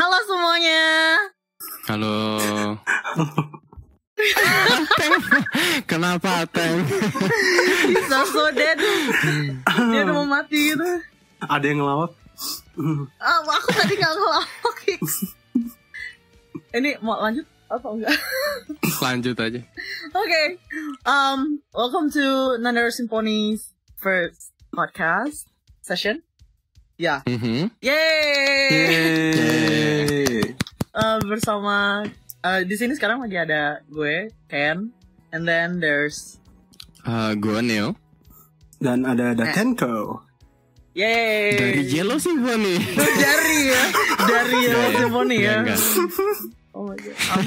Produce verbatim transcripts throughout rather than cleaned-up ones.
Halo semuanya. Halo. Kenapa Teng? Bisa so dead. Dia udah mau mati gitu. Ada yang ngelawak? Ah, aku tadi gak ngelawak. Ini mau lanjut apa enggak? Lanjut aja. Oke. Okay. Um, welcome to Nanero Symphony's first podcast session. Ya. Yeah. Mm-hmm. Yeay. Yeay. Uh, bersama uh, di sini sekarang lagi ada gue, Ken, and then there's uh, gue Neo. Dan ada Datenko. Yeay. Dari Yellow Symphony. Dari ya. Dari Yellow Symphony ya. Enggak. Oh my god. Um,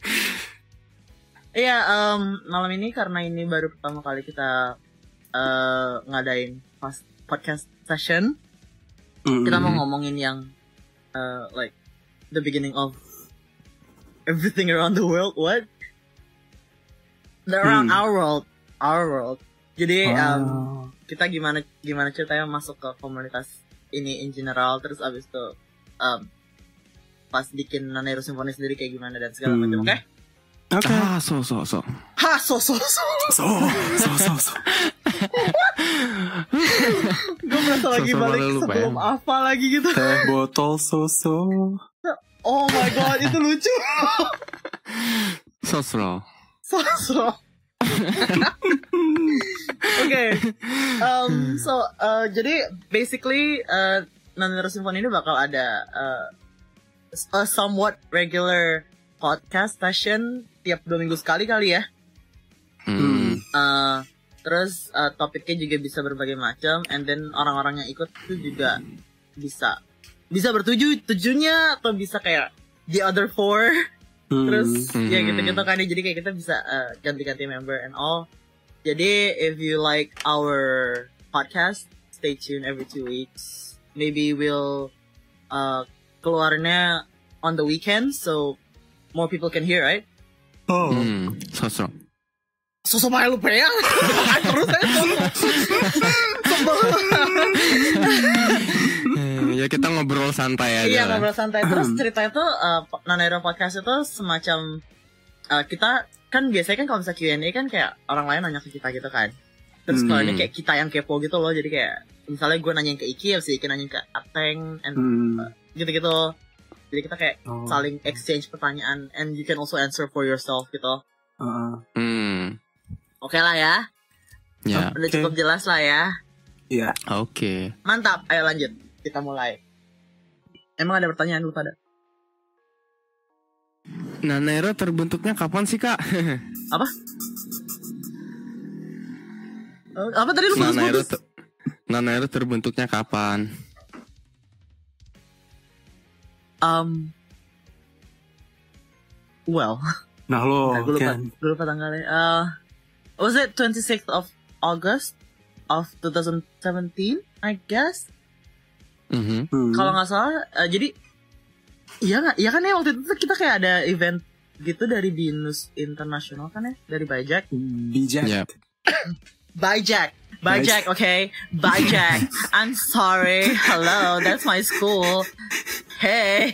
Iya, um, malam ini karena ini baru pertama kali kita uh, ngadain pas podcast session, mm-hmm. kita mau ngomongin yang uh, like the beginning of everything around the world. What? The around hmm. our world, our world. Jadi oh. um, kita gimana gimana ceritanya masuk ke komunitas ini in general, terus abis itu um, pas bikin Nanero Symphony sendiri kayak gimana dan segala hmm. macam, oke? Okay? Oke. Okay. Ah, so so so. Ha, so so so. So so so so. Gue merasa lagi so, balik sebelum ya. Apa lagi gitu. Teh botol so so. Oh my god, itu lucu. Sosro. Sosro. Oke. Um, so uh, jadi basically uh, Nanero Symphony ini bakal ada uh, a somewhat regular podcast session tiap dua minggu sekali kali ya. Hmm. Uh, terus uh, topiknya juga bisa berbagai macam, and then orang-orang yang ikut itu juga bisa bisa bertuju tujuhnya atau bisa kayak the other four. Hmm. Terus hmm. ya gitu-gitu kan, jadi kayak kita bisa uh, ganti-ganti member and all. Jadi if you like our podcast, stay tuned every two weeks. Maybe we'll uh, keluarnya on the weekend, so more people can hear, right? Oh, hmm, sosok. Sosok main lupa ya. Terus saya sosok. Ya kita ngobrol santai aja. Iya, ngobrol santai. Terus ceritanya tuh uh, Nanero Podcast itu semacam uh, kita kan biasanya kan kalau misalnya Q and A kan kayak orang lain nanya ke kita gitu kan. Terus hmm. kalau ini kayak kita yang kepo gitu loh. Jadi kayak misalnya gue nanyain ke Iki, habis Iki nanyain ke Ateng, and hmm. uh, gitu-gitu. Jadi kita kayak oh. saling exchange pertanyaan, and you can also answer for yourself gitu. Uh-uh. Hmm. Oke okay lah ya. Ya. Udah okay. Cukup jelas lah ya. Iya. Yeah. Oke. Okay. Mantap. Ayo lanjut. Kita mulai. Emang ada pertanyaan lu pada? Nanero terbentuknya kapan sih, Kak? Apa? Apa tadi lu Nanero putus-putus? Ter- Nanero terbentuknya kapan? Um, well, nah lo, nah, gue lupa, gue lupa tanggalnya. Uh, was it twenty-sixth of August of twenty seventeen, I guess. Mm-hmm. Hmm. Kalau nggak salah, uh, jadi iya nggak, iya kan ya waktu itu kita kayak ada event gitu dari Binus International kan ya, dari Bajak. Bijak. Yep. Bajak. Bajak, okay. Bajak. I'm sorry. Hello, that's my school. Hey.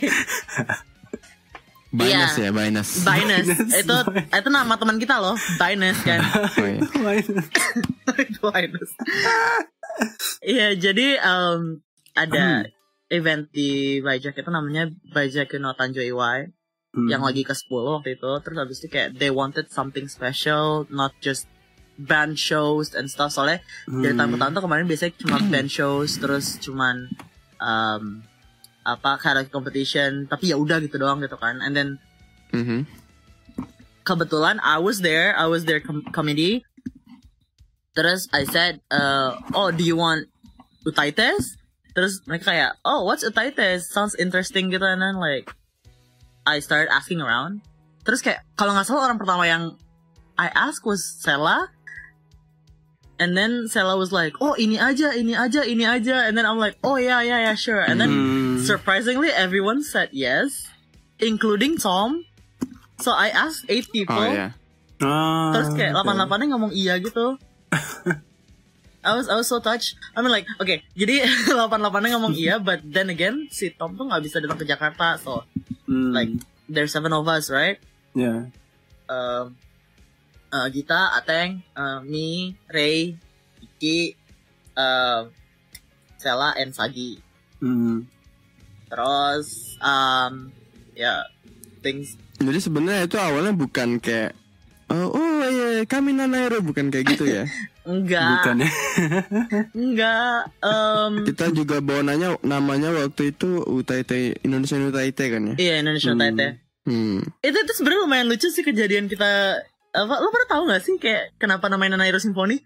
Binus yeah. ya, Binus. Binus. Itu itu nama teman kita loh, Binus kan. Oh, iya. Binus. Iya, jadi um, ada hmm. event di Bajak itu namanya Bajak no Tanjo Iwai hmm. yang lagi ke sepuluh waktu itu. Terus habis itu kayak they wanted something special, not just band shows and stuff. Soalnya hmm. dari tahun ke tahun tuh kemarin biasanya cuma band shows, terus cuman um, apa karaoke competition, tapi ya udah gitu doang gitu kan. And then mm-hmm. kebetulan I was there, I was their com- committee. Terus I said, uh, oh do you want Utaites? Terus mereka kayak, oh what's Utaites? Sounds interesting gitu. And then like I started asking around. Terus kayak kalau nggak salah orang pertama yang I asked was Sela. And then Sela was like, oh ini aja, ini aja, ini aja. And then I'm like, oh yeah, yeah, yeah, sure. And then mm. surprisingly everyone said yes, including Tom. So I asked eight people. Oh, yeah. ah, Terus kayak delapan-delapannya ngomong iya gitu. I was I was so touched. I mean like, okay, jadi delapan delapannya ngomong iya, but then again si Tom tuh nggak bisa datang ke Jakarta, so Hmm. like there's seven of us, right? Ya. Um, uh, Gita, Ateng, uh, me, Ray, Iki, uh, Sela, and Sagi. Hmm. Terus, um, ya, yeah, things. Jadi sebenarnya itu awalnya bukan kayak oh, oh iya kami Nanairo, bukan kayak gitu ya. Enggak, Bukan ya. enggak. Um, Kita juga bawa nanya namanya waktu itu U T I T, Indonesian U T I T kan ya. iya Indonesia Hmm. Tete. Hmm. Itu itu sebenarnya lumayan lucu sih kejadian kita. Apa lo pernah tahu nggak sih kayak kenapa namanya Nanairo Symphony?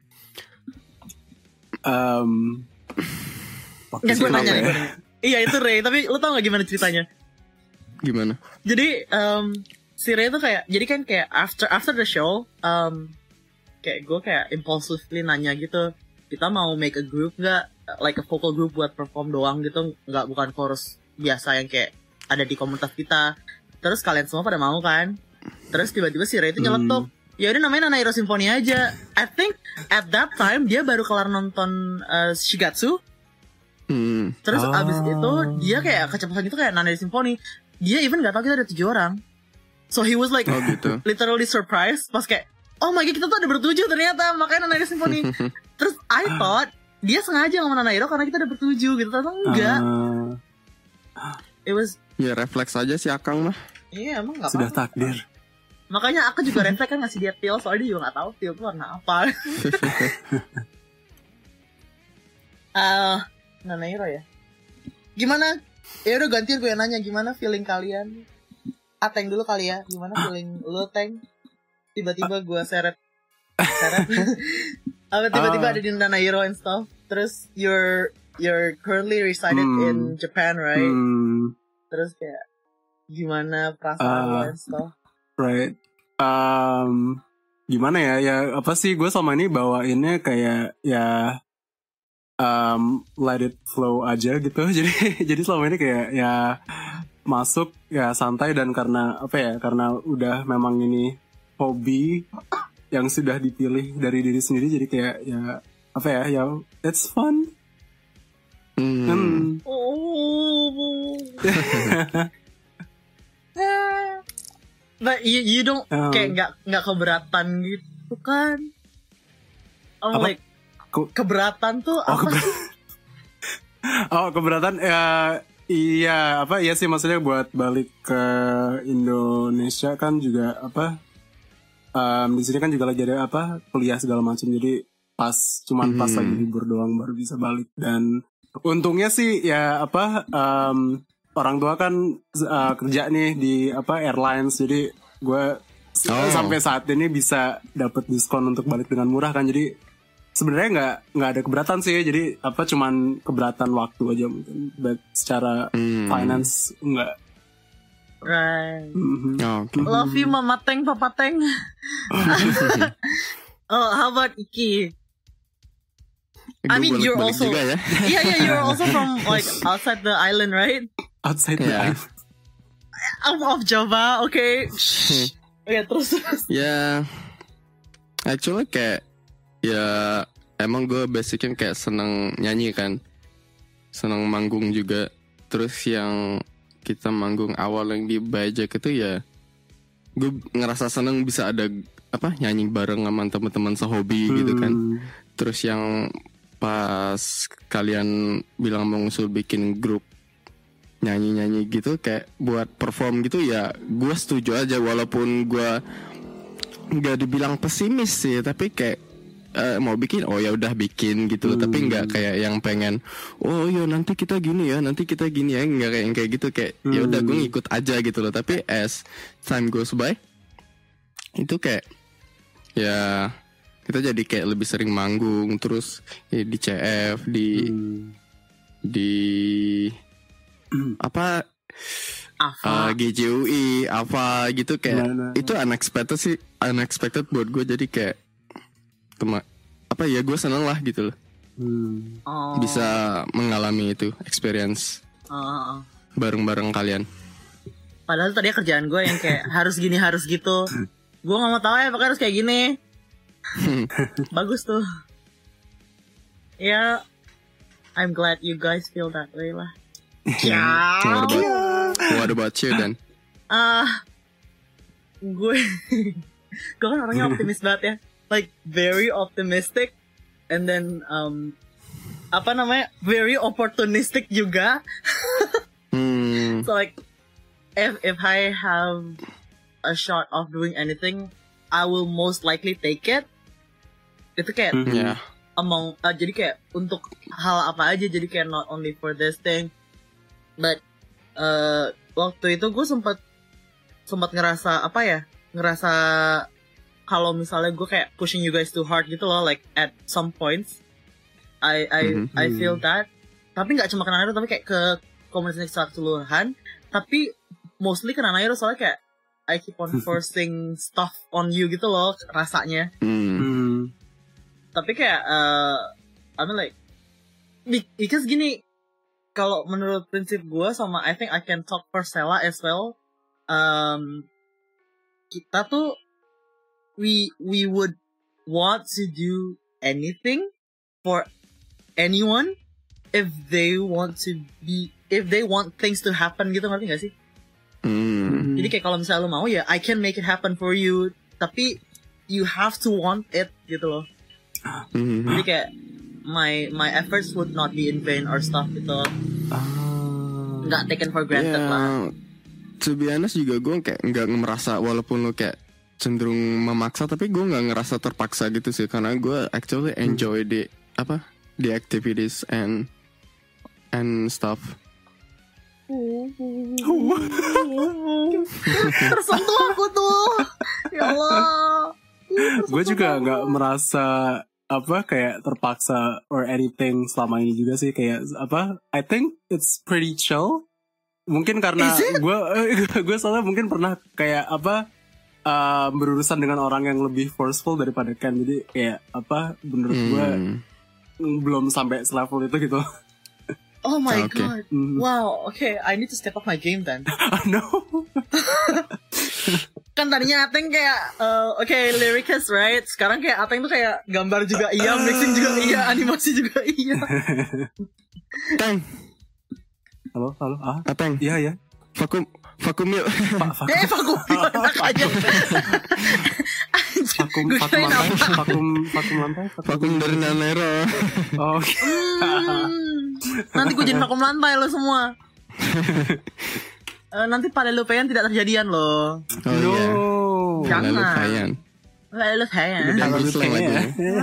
Um, waktu Yang itu gue nanya apa nih, ya? gue nanya. Iya itu Ray, tapi lo tau nggak gimana ceritanya? Gimana? Jadi um, si Ray tuh kayak, jadi kan kayak after after the show, um, kayak gue kayak impulsively nanya gitu, kita mau make a group nggak, like a vocal group buat perform doang gitu, nggak bukan chorus biasa yang kayak ada di komunitas kita. Terus kalian semua pada mau kan? Terus tiba-tiba si Ray itu nyeletuk, Hmm. ya udah namanya Nanairo Symphony aja. I think at that time dia baru kelar nonton uh, Shigatsu. Hmm. Terus Oh. abis itu dia kayak kecepatan gitu kayak Nanairo Symphony. Dia even gak tahu kita ada tujuh orang. So he was like Oh gitu. literally surprised pas kayak, oh my god kita tuh ada bertujuh ternyata, makanya Nanairo Symphony. Terus I thought dia sengaja ngomong Nanairo karena kita ada bertujuh gitu, ternyata enggak. Ah, It was, Ya refleks aja si Akang mah. iya emang gak sudah apa-apa. takdir. Makanya aku juga refleks kan ngasih dia pil, soalnya dia juga gak tahu pil itu warna apa. Ah, Nanairo ya. Gimana? Ya udah gantian gue yang nanya, gimana feeling kalian? Ateng dulu kali ya. Gimana feeling lu, Teng? Tiba-tiba gue seret seret. Apa tiba-tiba Ah. ada di Nanairo and stuff. Terus you're you're currently resided Hmm. in Japan, right? Hmm, Terus kayak gimana perasaan Ah. lo and stuff? right. Um, gimana ya? Ya apa sih? Gue selama ini bawainnya kayak ya um, let it flow aja gitu. Jadi jadi selama ini kayak ya masuk ya santai, dan karena apa ya? Karena udah memang ini hobi yang sudah dipilih dari diri sendiri, jadi kayak ya apa ya? Ya it's fun. Hmm. Hmm. Oh. But you you don't Um, kayak nggak nggak keberatan gitu kan? I'm Apa? like Ku- keberatan tuh Oh, apa keber- sih? Oh, keberatan ya, iya apa iya sih, maksudnya buat balik ke Indonesia kan juga apa em, di sini kan juga lagi ada apa kuliah segala macam, jadi pas cuman pas Mhm. lagi libur doang baru bisa balik. Dan untungnya sih ya apa em, orang tua kan eh, kerja nih di apa airlines, jadi gue s- Oh. sampai saat ini bisa dapat diskon untuk balik dengan murah kan, jadi sebenarnya nggak nggak ada keberatan sih, jadi apa cuman keberatan waktu aja mungkin, but secara Hmm. finance enggak. Right. Mhm. Oh, oke. Love you Mama Teng, Papa Teng. Oh, how about Iki? I Gua mean, you're bolak-balik also juga ya. yeah, yeah, you're also from like outside the island, right? Outside the Yeah. island. I'm of Java, okay. Oke, terus terus. Ya, actually kayak ya emang gue basicnya kayak seneng nyanyi kan, seneng manggung juga. Terus yang kita manggung awal yang di Bajak itu ya, gue ngerasa seneng bisa ada apa nyanyi bareng sama teman-teman sehobi gitu kan. Hmm. Terus yang pas kalian bilang mau ngusul bikin grup nyanyi-nyanyi gitu kayak buat perform gitu ya, gue setuju aja walaupun gue nggak dibilang pesimis sih, tapi kayak eh, mau bikin oh ya udah bikin gitu loh. Hmm. Tapi nggak kayak yang pengen oh ya nanti kita gini ya nanti kita gini ya, nggak kayak yang kayak gitu, kayak ya udah gue Hmm. ngikut aja gitu loh. Tapi as time goes by itu kayak ya kita jadi kayak lebih sering manggung, terus ya, di C F di Hmm. di apa Apa? uh, G J U I apa gitu kayak Nah, nah, itu unexpected sih, unexpected buat gue, jadi kayak tema apa ya gue seneng lah gitu loh Hmm. Oh. bisa mengalami itu experience Oh, oh, oh. bareng-bareng kalian. Padahal tadi kerjaan gue yang kayak harus gini harus gitu. Gue nggak mau tahu ya, pokoknya harus kayak gini. Bagus tuh. Yeah, I'm glad you guys feel that way lah. Yeah. What about, what about you then? Ah, uh, gue, gue kan orangnya optimis banget ya, like very optimistic, and then um, apa namanya, very opportunistic juga. Hmm. So like, if if I have a shot of doing anything, I will most likely take it. Itu kayak. Mm-hmm. Yeah. Among uh, jadi kayak untuk hal apa aja, jadi kayak not only for this thing, but uh, waktu itu gue sempat sempat ngerasa apa ya, ngerasa kalau misalnya gue kayak pushing you guys too hard gitu loh, like at some points I I Mm-hmm. I feel that, tapi nggak cuma ke Nanairo tapi kayak ke komunitas secara keseluruhan, tapi mostly ke Nanairo soalnya kayak I keep on forcing stuff on you gitu loh rasanya. Hmm. Hmm. Tapi kayak uh, I mean like because gini, kalau menurut prinsip gue sama I think I can talk for Sela as well, um, kita tuh we we would want to do anything for anyone if they want to be if they want things to happen gitu, ngerti gak sih? Hmm. Jadi kayak kalau misalnya lo mau ya I can make it happen for you, tapi you have to want it gitu loh. Hmm. Jadi kayak my my efforts would not be in vain or stuff gitu. Ah. Nggak taken for granted Yeah, lah. to be honest juga gue kayak nggak merasa, walaupun lo kayak cenderung memaksa, tapi gue nggak ngerasa terpaksa gitu sih, karena gue actually enjoy the apa the activities and and stuff. Tersentuh aku tuh. Ya Allah. Gue juga nggak merasa apa kayak terpaksa or anything selama ini juga sih, kayak apa I think it's pretty chill. Mungkin karena gue gue soalnya mungkin pernah kayak apa uh, berurusan dengan orang yang lebih forceful daripada Ken, jadi kayak apa menurut gue Hmm. belum sampai selevel itu gitu. Oh my Okay. god. Mm. Wow. Okay, I need to step up my game then. No. Kan tadinya Ateng kayak uh, oke okay, lyricist right, sekarang kayak Ateng tuh kayak gambar juga iya, mixing juga iya, animasi juga iya. Teng, Halo, halo, ah, Ateng, iya ya. vakum, vakum yuk. Pak, vakum, Eh vakum enak aja. Anjir, vakum, gue vakum kirain lantai, apa? vakum, vakum lantai, Vakum dari Nanairo. Oh, oke. Hmm, nanti gue jadi vakum lantai lo semua. Uh, nanti pada lupayan tidak terjadian loh. Oh No. iya. Jangan. Lalu Fayan. Pada lupayan. Udah Kalau habis lupayan lagunya. ya.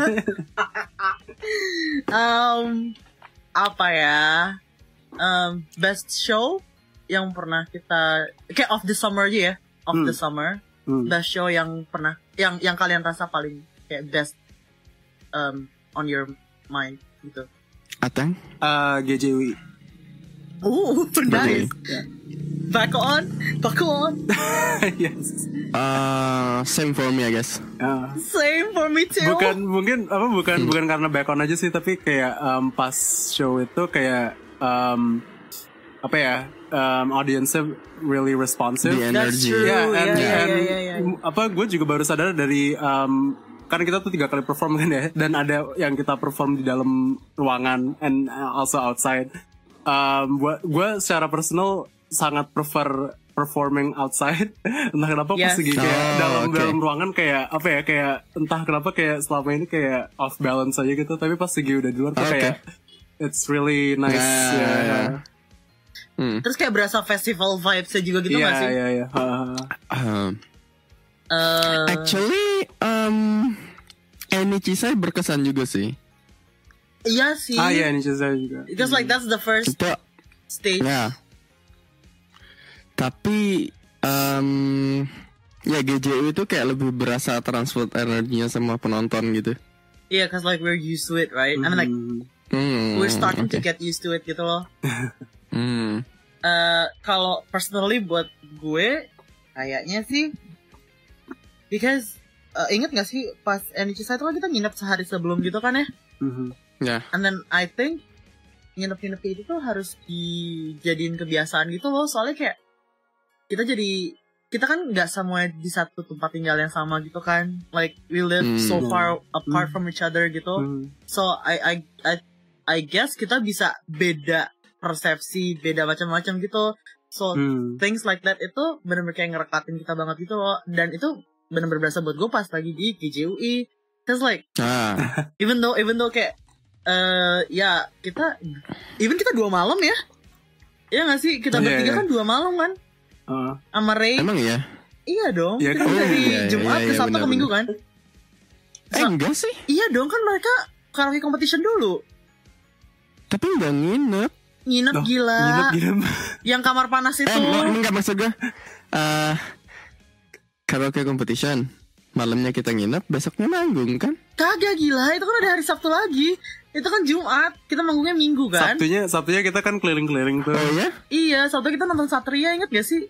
um, apa ya? Um, best show yang pernah kita kayak of the summer aja ya, of Hmm. the summer. Hmm. Best show yang pernah yang yang kalian rasa paling kayak best um, on your mind gitu. Ateng? Uh, G J W. Oh, nice. Yeah. Back on, back on. Yes. Uh, same for me I guess. Uh, Same for me too. bukan mungkin apa bukan bukan karena back on aja sih, tapi kayak um, pas show itu kayak um, apa ya um, audience-nya really responsive. The That's energy. true. Yeah, and, yeah, and yeah, yeah, yeah. apa gue juga baru sadar dari um, kan kita tuh tiga kali perform kan ya, dan ada yang kita perform di dalam ruangan and also outside. Um, gue gue secara personal sangat prefer performing outside. Entah kenapa pas Yes. lagi kayak Oh, dalam okay. dalam ruangan kayak apa ya, kayak entah kenapa kayak selama ini kayak off balance aja gitu, tapi pas lagi udah di luar tuh Okay. kayak it's really nice. Nah, Yeah. ya. Hmm. Terus kayak berasa festival vibes-nya juga gitu Iya nggak sih? iya iya. Uh, Um, Uh, actually, um, Eni Cisai berkesan juga sih. iya sih. ah iya ini saya juga. Because like that's the first Itu stage. ya. Tapi um, ya G J U itu kayak lebih berasa transfer energinya sama penonton gitu. Yeah, cause like we're used to it, right? I mean like Hmm. Hmm, we're starting to okay. get used to it gitu loh. Hmm. Uh, kalau personally buat gue kayaknya sih, because uh, inget gak sih pas N H S itu kan kita nginep sehari sebelum gitu kan ya? Mhm. Ya. And then I think nginep-nginep itu tuh harus dijadiin kebiasaan gitu loh, soalnya kayak kita jadi kita kan nggak semua di satu tempat tinggal yang sama gitu kan, like we live Hmm. so far apart Hmm. from each other gitu. Hmm. So I I I I guess kita bisa beda persepsi, beda macam-macam gitu. So Hmm. things like that itu benar-benar kayak ngerekatin kita banget gitu loh. Dan itu benar-benar berasa buat gue pas lagi di K J U I. Cause like Ah, even though even though kayak eh ya kita even kita dua malam ya. Iya gak sih? Kita Iya, bertiga iya. kan dua malam kan Uh, sama Ray. emang ya? Iya dong. Iya Kita kan? dari Iya, iya, Jumat iya, ke iya, Sabtu ke benar, Minggu kan. Eh enggak sih. Iya dong, kan mereka karaoke competition dulu. Tapi enggak nginep. Nginep Loh, gila. nginep-nginep. Yang kamar panas itu. Eh enggak, enggak maksud gue. Eh karaoke competition. Malamnya kita nginep, besoknya manggung kan? Kagak gila, itu kan ada hari Sabtu lagi. Itu kan Jumat, kita manggungnya Minggu kan. Sabtunya, Sabtunya kita kan keliling-keliling tuh. Oh ya? Iya, Sabtu kita nonton Satria, inget gak sih?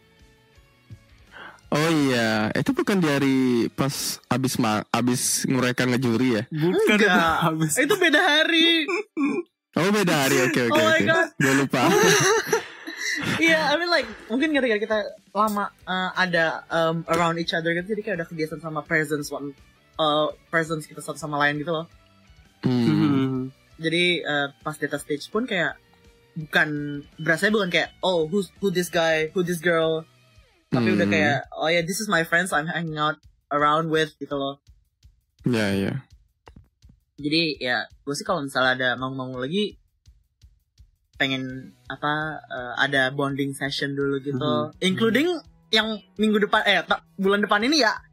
Oh iya, itu bukan di hari pas abis ma abis mereka ngejuri ya? Bukan itu Enggak, habis. itu beda hari. Oh beda hari, oke oke Oh my oke. God. Gue lupa. Iya, I mean like mungkin gara-gara kita lama uh, ada um, around each other gitu, jadi kayak udah kebiasaan sama presence one, uh, presence kita satu sama lain gitu loh. Hmm. Hmm. Jadi uh, pas di atas stage pun kayak bukan berasanya bukan kayak oh who's who this guy, who this girl, tapi Hmm. udah kayak oh ya yeah, this is my friends I'm hanging out around with gitu loh. Ya ya. Jadi ya gue sih kalau misalnya ada mau-mau lagi pengen apa uh, ada bonding session dulu gitu, Mhm. including yang minggu depan eh tak, bulan depan ini ya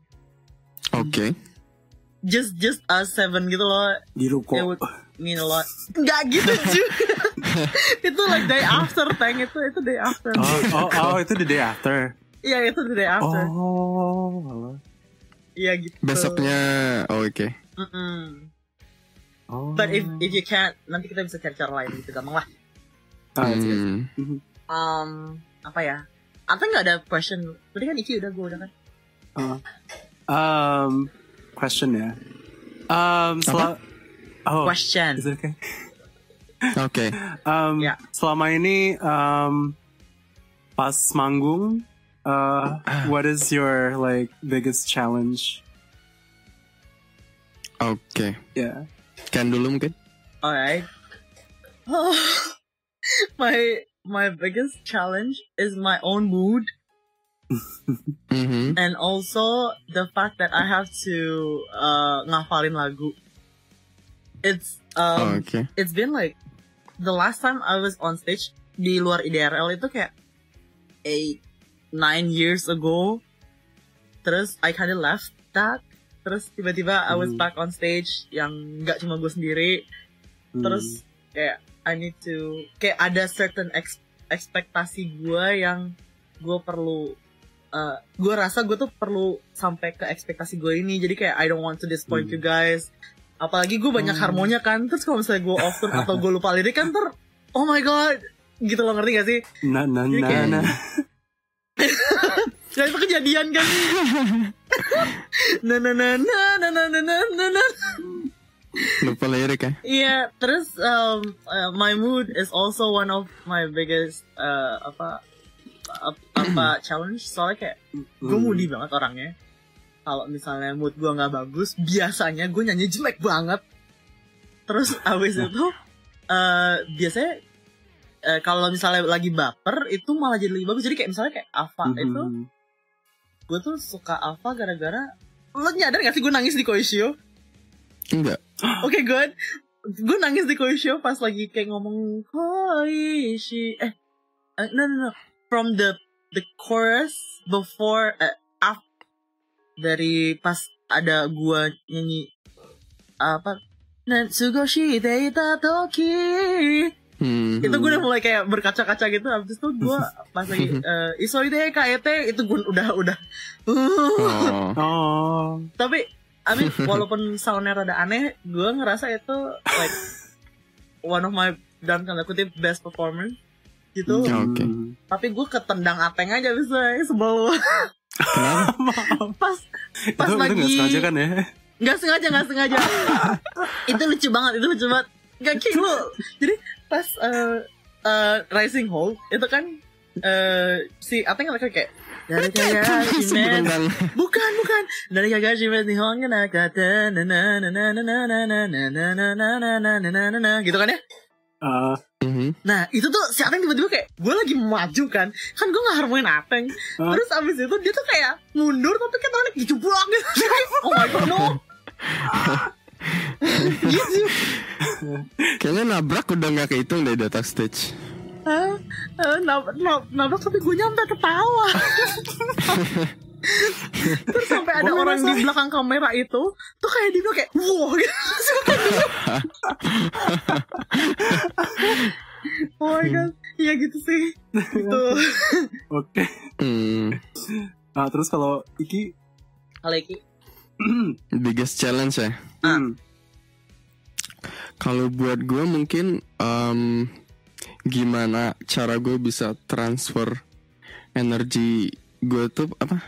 Oke. just just us seven gitu loh. Di ruko. It would mean a lot. Nggak gitu juga. Itu like day after Tang, itu itu day after. Oh, oh, oh, itu the day after. Iya itu the day after. Oh, Iya gitu. Besoknya, oh, oke. Mm-mm. oh. But if if you can't, nanti kita bisa cari cara lain gitu, gampang lah. Ah, it's good. Hmm. Um, apa ya? Atau nggak ada question? Tadi kan Iki udah, gue udah kan. Uh, um, question ya. Um, sel- oh, Question. is it okay? Oke. Um, Ya. Selama ini, um, pas manggung, uh, what is your like biggest challenge? Oke. Yeah. Kan dulu mungkin. Alright. Oh, my my biggest challenge is my own mood, Mhm. and also the fact that I have to uh, ngafalin lagu. It's Oh, um, oke. it's been like the last time I was on stage di luar I D R L itu kayak eight nine years ago. Terus I kinda left that. Terus tiba-tiba I was Hmm. back on stage yang nggak cuma gue sendiri. Hmm. Terus kayak I need to kayak ada certain ex- ekspektasi gue yang gue perlu uh, gue rasa gue tuh perlu sampai ke ekspektasi gue ini. Jadi kayak I don't want to disappoint Hmm. you guys. Apalagi gue banyak Hmm. harmonya kan. Terus kalau misalnya gue off tune atau gue lupa lirik kan ter oh my god gitu loh, ngerti gak sih? na na Jadi na kayak- na. Ya itu kejadian kan. na na na na na na na na na na. Lupa lirik ya. Iya, terus um, uh, my mood is also one of my biggest uh, apa ap- apa challenge. Soalnya kayak gue Hmm. moody banget orangnya. Kalau misalnya mood gue nggak bagus, biasanya gue nyanyi jelek banget. Terus abis itu uh, biasanya uh, kalau misalnya lagi baper itu malah jadi lebih bagus. Jadi kayak misalnya kayak Ava Mhm. itu, gue tuh suka Ava gara-gara lo nyadar gak sih gue nangis di Koishio? Enggak. Oke, good. Gue nangis di Koishio pas lagi kayak ngomong Koishi. Eh, uh, no no no. From the the chorus before uh, af, dari pas ada gua nyanyi apa Natsugoshi Deita Toki. Hmm. Itu gue udah mulai kayak berkaca-kaca gitu. Abis itu gue pas lagi uh, Isoide K E T itu gue udah udah. Oh. Oh. Tapi I mean, walaupun soundnya rada aneh, gue ngerasa itu like one of my dalam tanda kutip best performance gitu. Ya, oke. Hmm. Tapi gue ketendang ateng aja bisa sebel. Kenapa? pas pas itu, lagi itu gak sengaja kan ya? nggak sengaja nggak sengaja. Itu lucu banget, itu lucu banget. Gak kayak lu. Jadi pas uh, uh, Rising Hope itu kan uh, si ateng lagi kayak Dari Kagashi Sebelum men. kan. Bukan, bukan. Dari Kagashi men Nihon ga nakata na na na na na na na na na na na na na na na na gitu kan ya? Uh, Mhm. Nah itu tuh si Ateng tiba-tiba kayak gue lagi maju kan, kan gue nggak harmonin Ateng. Hah? Terus abis itu dia tuh kayak mundur tapi kayak tangannya dijeblok gitu. Oh my god no. Gitu. Kayaknya nabrak udah nggak kehitung deh di atas stage. Ah, ah, nab- nab- nabrak tapi gue nyampe ketawa. Terus sampai ada Gua orang ngerasa- di belakang kamera itu tuh kayak dia kayak wow gitu. Oh my god, iya gitu sih. Gitu. Oke. Hmm. Nah, terus kalau Iki, Aleki. Biggest challenge ya. hmm, Kalau buat gue mungkin um, gimana cara gue bisa transfer energi gue tuh apa?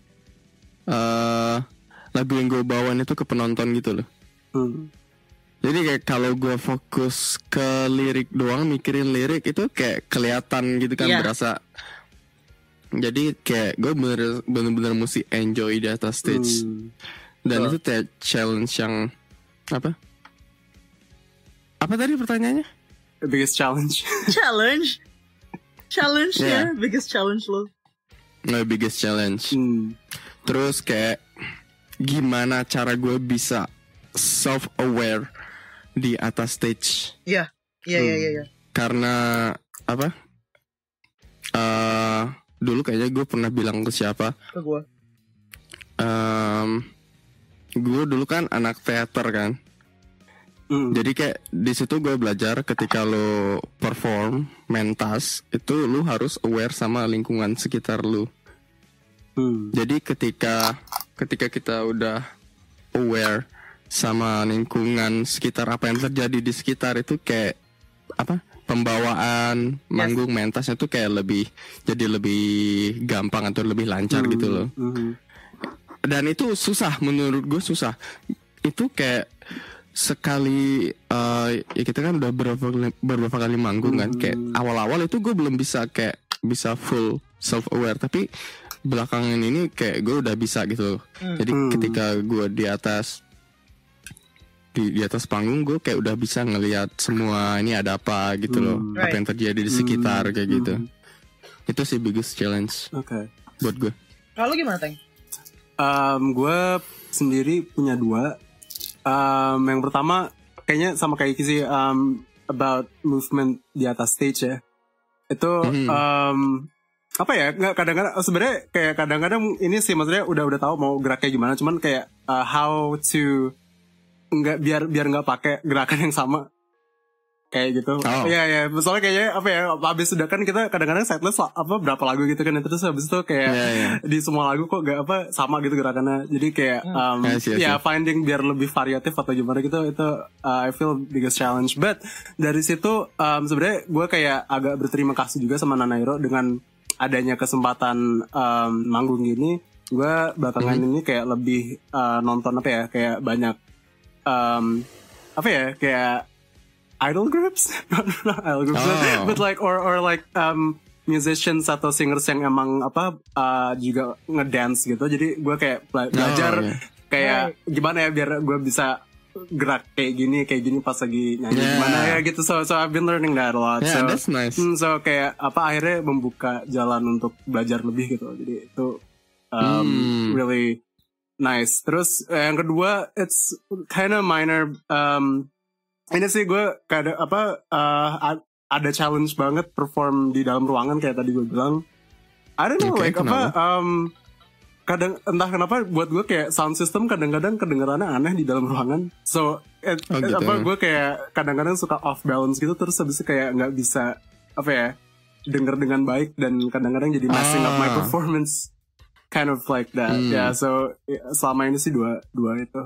Eh lagu yang gue bawain itu ke penonton gitu loh. hmm, Jadi kayak kalau gue fokus ke lirik doang, mikirin lirik itu kayak kelihatan gitu kan, Iya. berasa. Jadi kayak gue bener bener mesti enjoy di atas stage. hmm. Dan Betul. itu kayak challenge yang apa? Apa tadi pertanyaannya? The biggest challenge. Challenge. Challenge Yeah. ya, biggest challenge lo. My biggest challenge. Hmm, Terus kayak gimana cara gue bisa self-aware di atas stage. Iya, iya, iya, iya. iya. Karena apa? Eh dulu kayaknya gue pernah bilang ke siapa? Ke gue. Em, gue dulu kan anak teater kan. hmm, Jadi kayak di situ gue belajar ketika lo perform mentas itu lo harus aware sama lingkungan sekitar lo. hmm, Jadi ketika ketika kita udah aware sama lingkungan sekitar, apa yang terjadi di sekitar itu kayak apa? Pembawaan manggung mentasnya tuh kayak lebih jadi lebih gampang atau lebih lancar hmm, gitu loh. hmm, Dan itu susah, menurut gue susah. Itu kayak sekali eh, ya kita kan udah beberapa kali, beberapa kali manggung kan. Hmm. Kayak awal-awal itu gue belum bisa kayak bisa full self aware, tapi belakangan ini kayak gue udah bisa gitu. Hmm. Jadi Hmm. ketika gue di atas di di atas panggung gue kayak udah bisa ngelihat semua ini ada apa gitu loh, Hmm. apa yang terjadi di sekitar kayak gitu. Itu sih biggest challenge Oke. buat gue. Kalau gimana, Teng? Um, gue sendiri punya dua. Um, yang pertama kayaknya sama kayak Iki sih, um, about movement di atas stage ya. Itu Mhm. um, apa ya? Nggak, kadang-kadang sebenarnya kayak kadang-kadang ini sih maksudnya udah udah tahu mau geraknya gimana. Cuman kayak uh, how to nggak biar biar nggak pakai gerakan yang sama kayak gitu. Oh. Iya ya. Soalnya kayaknya apa ya? Habis sudah kan kita kadang-kadang setlist lah, apa berapa lagu gitu kan. Terus habis itu kayak Iya, iya. di semua lagu kok gak apa sama gitu gerakannya. Jadi kayak um, I see, I see. ya finding biar lebih variatif atau gimana gitu, itu uh, I feel biggest challenge. But dari situ um, sebenarnya gue kayak agak berterima kasih juga sama Nanairo dengan adanya kesempatan um, manggung gini. Gue belakangan Mhm. ini kayak lebih uh, nonton apa ya, kayak banyak um, apa ya, kayak idol groups, not idol groups, but, Oh. but like or or like um, musicians atau singers yang emang apa uh, juga ngedance gitu. Jadi gue kayak bela- belajar Oh, iya. kayak gimana ya biar gue bisa gerak kayak gini kayak gini pas lagi nyanyi Yeah. gimana ya gitu. So so I've been learning that a lot. Yeah, so that's nice. hmm, so kayak apa akhirnya membuka jalan untuk belajar lebih gitu. Jadi itu um, Hmm. really nice. Terus eh, yang kedua it's kind of minor. Um, ini sih gue kadang apa uh, a- ada challenge banget perform di dalam ruangan kayak tadi gue bilang. I don't know Oke, like apa kenapa? um, kadang entah kenapa buat gue kayak sound system kadang-kadang kedengarannya aneh di dalam ruangan. So it, Oh, gitu. apa gue kayak kadang-kadang suka off balance gitu, terus habis itu kayak nggak bisa apa ya denger dengan baik, dan kadang-kadang jadi messing up my Ah. performance, kind of like that. Hmm. Ya, so ya, selama ini sih dua dua itu.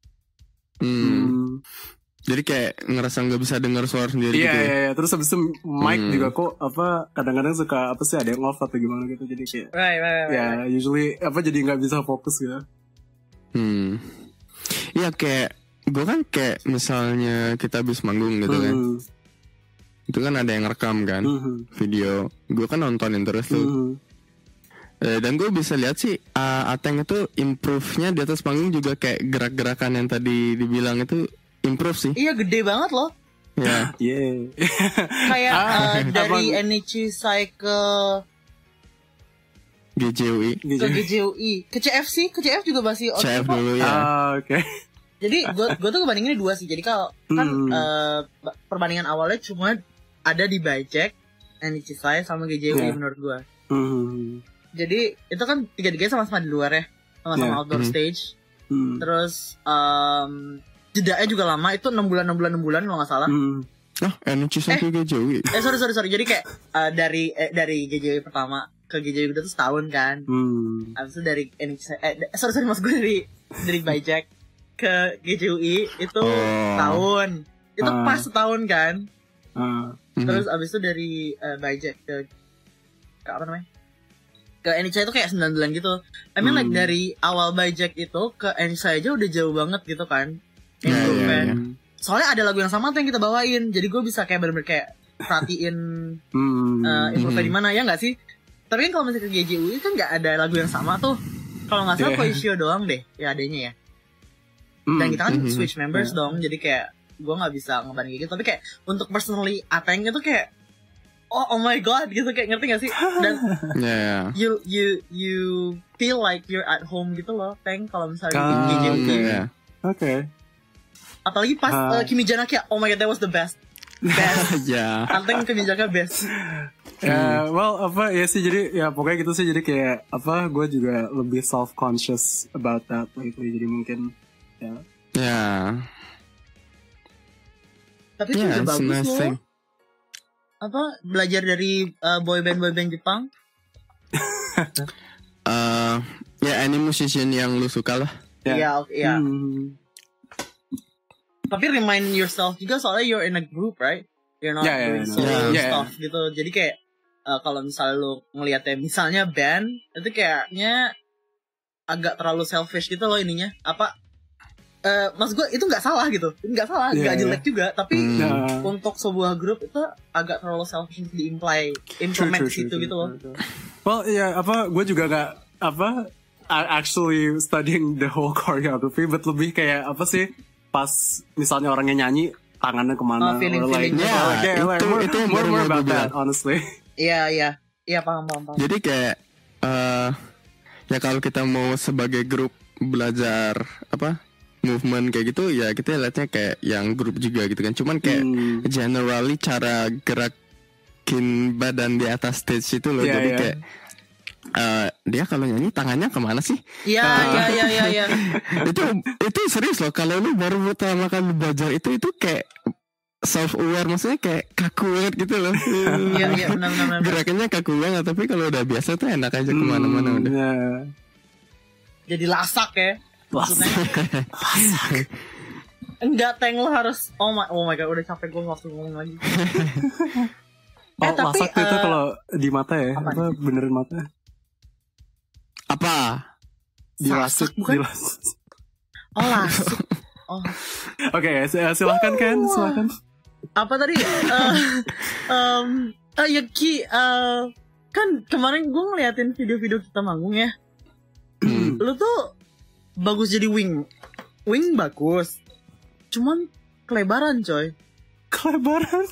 Hmm. Hmm. Jadi kayak ngerasa nggak bisa dengar suara sendiri Iya gitu. iya ya? iya. Terus habis itu mic Hmm. juga kok apa kadang-kadang suka apa sih ada yang off atau gimana gitu, jadi kayak Right, right, right. ya usually apa jadi nggak bisa fokus gitu. Hmm. Iya kayak gue kan kayak misalnya kita habis manggung gitu kan, Hmm. itu kan ada yang rekam kan Hmm. video, gue kan nontonin terus tuh. Hmm. Eh, dan gue bisa lihat sih uh, Ateng itu improve-nya di atas panggung juga kayak gerak-gerakan yang tadi dibilang itu improve sih. Iya gede banget loh. Ya. Yeah. Kayak Ah, uh, dari abang- N H C saya ke G J U I, ke G J U I, ke C F C, ke C F juga masih oke C F kok. dulu ya. Ah, oke. Jadi gue gue tuh ngebandinginnya dua sih. Jadi kalau kan Hmm. uh, perbandingan awalnya cuma ada di Bajek, N H C saya sama G J U I Yeah. menurut gue. Hmm. Jadi itu kan tiga-tiganya sama-sama di luar ya, sama-sama Yeah. outdoor Mhm. stage. Hmm. Terus um, jedanya juga lama, itu enam bulan enam bulan enam bulan kalau nggak salah. Hmm. Oh, N H C sampai G J U I. Eh sorry sorry sorry. Jadi kayak uh, dari eh, dari G J U I pertama ke G J U I kedua tuh setahun kan. Hmm. Abis itu dari N H C eh d- sorry sorry mas gue dari dari Bajak ke G J U I itu Oh. tahun. Itu Ah. pas setahun kan. Ah. Mhm. Terus abis itu dari uh, Bajak ke ke apa namanya? Ke N H C itu kayak sembilan bulan gitu. I mean like Hmm. dari awal Bajak itu ke N H C aja udah jauh banget gitu kan. Ya, ya, Improvement. ya. Soalnya ada lagu yang sama tuh yang kita bawain. Jadi gue bisa kayak bener-bener kayak perhatiin Hmm. uh, improve Hmm. di mana ya nggak sih? Tapi kan kalau misalnya ke G J U I kan nggak ada lagu yang sama tuh. Kalau nggak salah Yeah. Poisio doang deh ya adanya ya. Hmm. Dan kita kan Mhm. switch members Yeah. dong. Jadi kayak gue nggak bisa ngebanding gitu. Tapi kayak untuk personally Ateng itu kayak oh, oh my god gitu kayak ngerti gak sih? Dan Ya, ya. you you you feel like you're at home gitu loh, Teng kalau misalnya di Ah, G J U I. Oke, ya. Oke. Apalagi pas Ah. uh, Kimi Janaki, oh my god that was the best. Best. Ya. Ateng Kimi Janaki best. Ya, well apa ya sih jadi ya pokoknya gitu sih jadi kayak apa gue juga lebih self conscious about that lately jadi mungkin ya. Ya. Tapi itu Ya, udah it's a bagus nice loh. thing. Apa belajar dari uh, boyband boyband Jepang? Eh, ya any musician yang lu suka lah. Ya. Iya, oke, iya. Hmm. Tapi remind yourself juga soalnya you're in a group, right? You're not Yeah, yeah, doing yeah, solo yeah. Yeah. stuff gitu. Jadi kayak uh, kalau misalnya lu ngeliatnya misalnya band itu kayaknya agak terlalu selfish gitu loh ininya. Apa? Eh, maksud gue itu nggak salah gitu, nggak salah, nggak Yeah, jelek juga. Tapi Hmm. Nah, untuk sebuah grup itu agak terlalu selfish untuk di-imply, true, implement true, situ true, gitu loh. true, true. Well, ya apa gue juga gak apa a- actually studying the whole choreography, but lebih kayak apa sih pas misalnya orangnya nyanyi tangannya Oh, kemana, feeling- or like, feeling. or Yeah, like, yeah, like, itu- more, itu yang more, baru more mau about gue that, bilang. honestly. Iya, iya, iya paham, paham, paham. Jadi kayak eh ya kalau kita mau sebagai grup belajar apa movement kayak gitu ya kita lihatnya kayak yang grup juga gitu kan. Cuman kayak Hmm. generally cara gerakin badan di atas stage itu loh. Iya, Jadi iya. kayak eh dia kalau nyanyi tangannya kemana sih? Iya, iya, iya, iya, iya. itu itu serius loh. Kalau lu baru pertama kali belajar itu itu kayak self aware maksudnya kayak kaku banget gitu loh. Iya, iya, benar, benar, benar. Gerakannya kaku banget tapi kalau udah biasa tuh enak aja kemana-mana Hmm, udah. ya. Jadi lasak ya. Lasak. Maksudnya. Enggak, Teng lo harus oh my oh my god udah capek gue waktu ngomong lagi. Oh, Eh, tapi, lasak tuh itu eh, kalau di mata ya, apa? apa benerin mata? Apa? Dilasuk, Sasak, bukan? dilasuk. Oh lasuk. Oh Oke, sil- silahkan Ken, silahkan. apa tadi? Eh, um, eh, ya Ki, eh, kan kemarin gue ngeliatin video-video kita manggung ya. Hmm. Lu tuh bagus jadi wing, wing bagus. Cuman kelebaran coy. Kelebaran.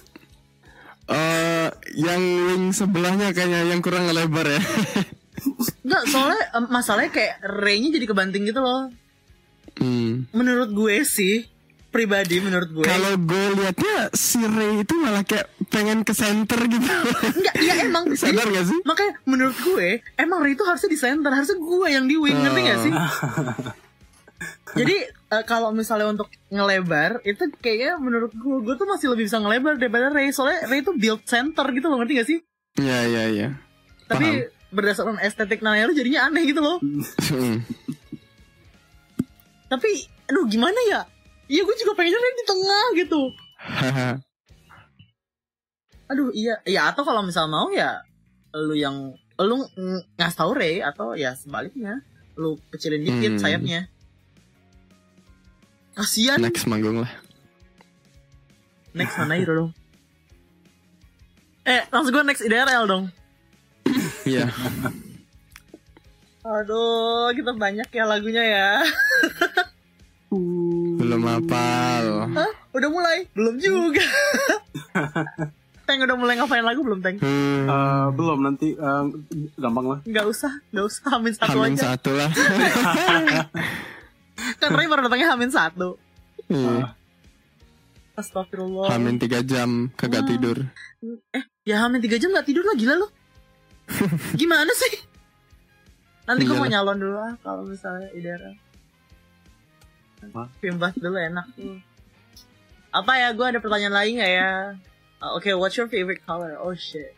Eh, yang wing sebelahnya kayaknya yang kurang lebar ya. Enggak, soalnya em, masalahnya kayak Ray-nya jadi kebanting gitu loh. Hmm. Menurut gue sih, pribadi menurut gue. Kalau gue liatnya si Ray itu malah kayak pengen ke center gitu. Enggak, iya emang. Sadar Jadi, gak sih? makanya menurut gue, emang Ray itu harusnya di center, harusnya gue yang di wing, ngerti gak sih? Jadi eh, kalau misalnya untuk ngelebar, itu kayaknya menurut gue, gue tuh masih lebih bisa ngelebar daripada Ray. Soalnya Ray itu build center gitu loh, ngerti gak sih? Iya iya iya. Tapi berdasarkan estetik Naya lu jadinya aneh gitu loh. Hmm. Tapi, aduh gimana ya? Iya gue juga pengennya Ray di tengah gitu. Haha. Aduh iya, ya atau kalau misal mau ya lu yang lu ng- ngasih tau Ray atau ya sebaliknya lu kecilin dikit Hmm. sayapnya. Kasian. Next, Next manggung lah. next mana Hiro dong? Eh, langsung gue next I D R L dong. Iya. Aduh, kita banyak ya lagunya ya. Belum hafal. Hah? Udah mulai? Belum juga. Teng udah mulai ngapain lagu belum, Teng? Hmm. Uh, belum, nanti uh, gampang lah. Nggak usah, nggak usah Hamin satu Hamin aja. satu lah. Kan Ray baru datangnya Hamin satu. Iya. Astagfirullah. Hamin tiga jam kagak Wah. tidur. Eh, ya Hamin tiga jam nggak tidur lah, gila lo. Gimana sih? Nanti gue mau Iyalah. nyalon dulu lah kalau misalnya Idera. Apa? Pimbas dulu enak tuh. Apa ya? Gue ada pertanyaan lain nggak ya? Uh, okay, what's your favorite color? Oh shit.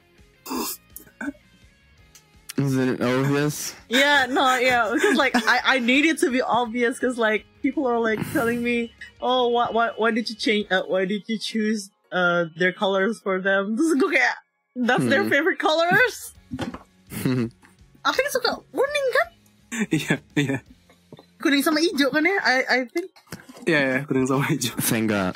Is it obvious? Yeah, no, yeah, because like I, I need it to be obvious because like people are like telling me, oh, what, what, why did you change? Uh, why did you choose uh their colors for them? Terus gue kayak, that's their Hmm. favorite colors. Aku kan suka kuning kan? Iya, iya. Kuning sama hijau kan ya? I I think Iya, ya, kuning sama hijau. Saya enggak.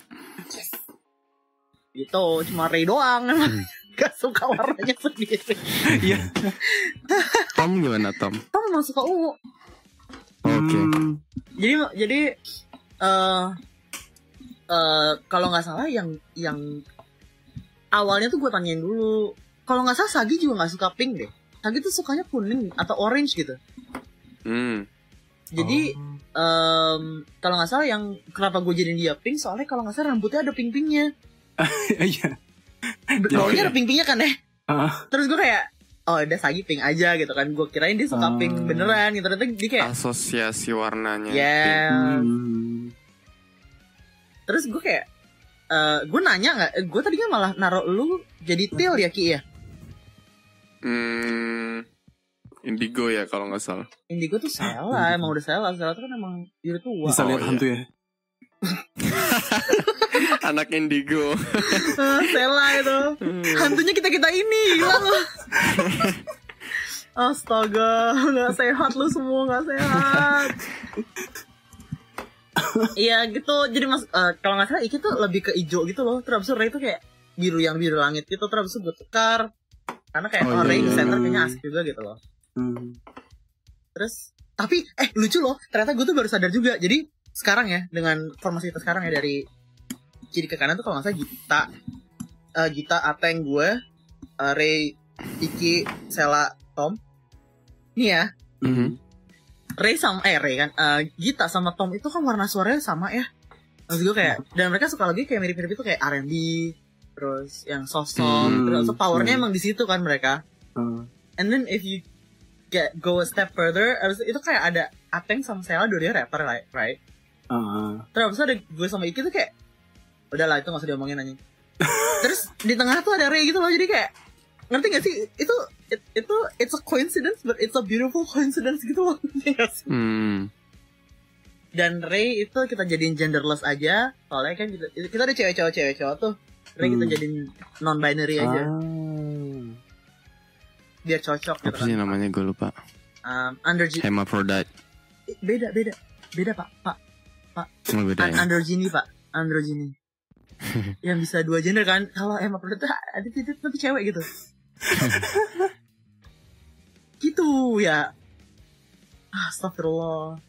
gitu. Cuma Ray doang emang gak suka warnanya sendiri. Iya. Tom gimana Tom? Tom emang suka ungu. Oke. Hmm, Jadi jadi eh eh kalau nggak salah yang yang awalnya tuh gue tanyain dulu. Kalau nggak salah Sagi juga nggak suka pink deh. Sagi tuh sukanya kuning atau orange gitu. Hmm. Jadi em, kalau nggak salah yang kenapa gue jadiin dia pink soalnya kalau nggak salah rambutnya ada pink-pinknya. Iya. Bawahnya ada pink-pinknya kan ya. Ah, Terus gue kayak oh udah Sagi pink aja gitu kan. Gue kirain dia suka Oh. pink beneran gitu. Ternyata dia kayak Asosiasi warnanya. ya. hmm. Terus gue kayak eh gue nanya nggak? Gue tadinya malah naruh lu jadi teal ya Ki ya. Hmm. Indigo ya kalau nggak salah. Indigo tuh Sela, emang udah Sela. Sela tuh kan emang biru tua. Bisa Oh, lihat iya. hantu ya. Anak Indigo. Ah, Sela itu. Hantunya kita-kita ini, gila lu. Astaga, gak sehat lu semua, gak sehat. Iya gitu, jadi mas eh, kalau nggak salah Iki tuh lebih ke hijau gitu loh. Terus abis itu Ray tuh kayak biru yang biru langit gitu. Terus abis itu gue tukar karena kayak Oh, oh, Ray iya, di iya, center iya. kayaknya asik juga gitu loh. Hmm. Terus tapi eh lucu loh, ternyata gue tuh baru sadar juga. Jadi sekarang ya dengan formasi kita sekarang ya dari kiri ke kanan tuh kalau nggak salah Gita, eh, Gita, Ateng, gue, eh, Ray, Iki, Sela, Tom. Nih ya, Mhm. Ray sama eh Ray kan, eh, Gita sama Tom itu kan warna suaranya sama ya. Maksud gue kayak dan mereka suka lagi kayak mirip-mirip itu kayak R and B, terus yang soft soft, Hmm, terus powernya hmm. emang di situ kan mereka. Ah. And then if you get go a step further, abis itu kayak ada Ateng sama Sela dua-duanya rapper right, right? Ah. Terus abis itu ada gue sama Iki tuh kayak udahlah itu gak usah diomongin aja. Terus di tengah tuh ada Ray gitu loh, jadi kayak ngerti gak sih itu it, itu it's a coincidence but it's a beautiful coincidence gitu loh. Ngerti gak sih? Hmm. Dan Ray itu kita jadiin genderless aja soalnya kan kita, kita ada cewek-cewek cewek-cewek tuh. Ray kita Hmm. jadiin non binary aja Ah. biar cocok gitu Apa sih kan. namanya gue lupa. Um, androgy Hermaphrodite. beda beda beda pak pak Oh, beda An- ya. androgyny pak androgyny yang bisa dua gender kan. Kalau emang produk ada titik tapi cewek gitu. Gitu ya. Astagfirullah.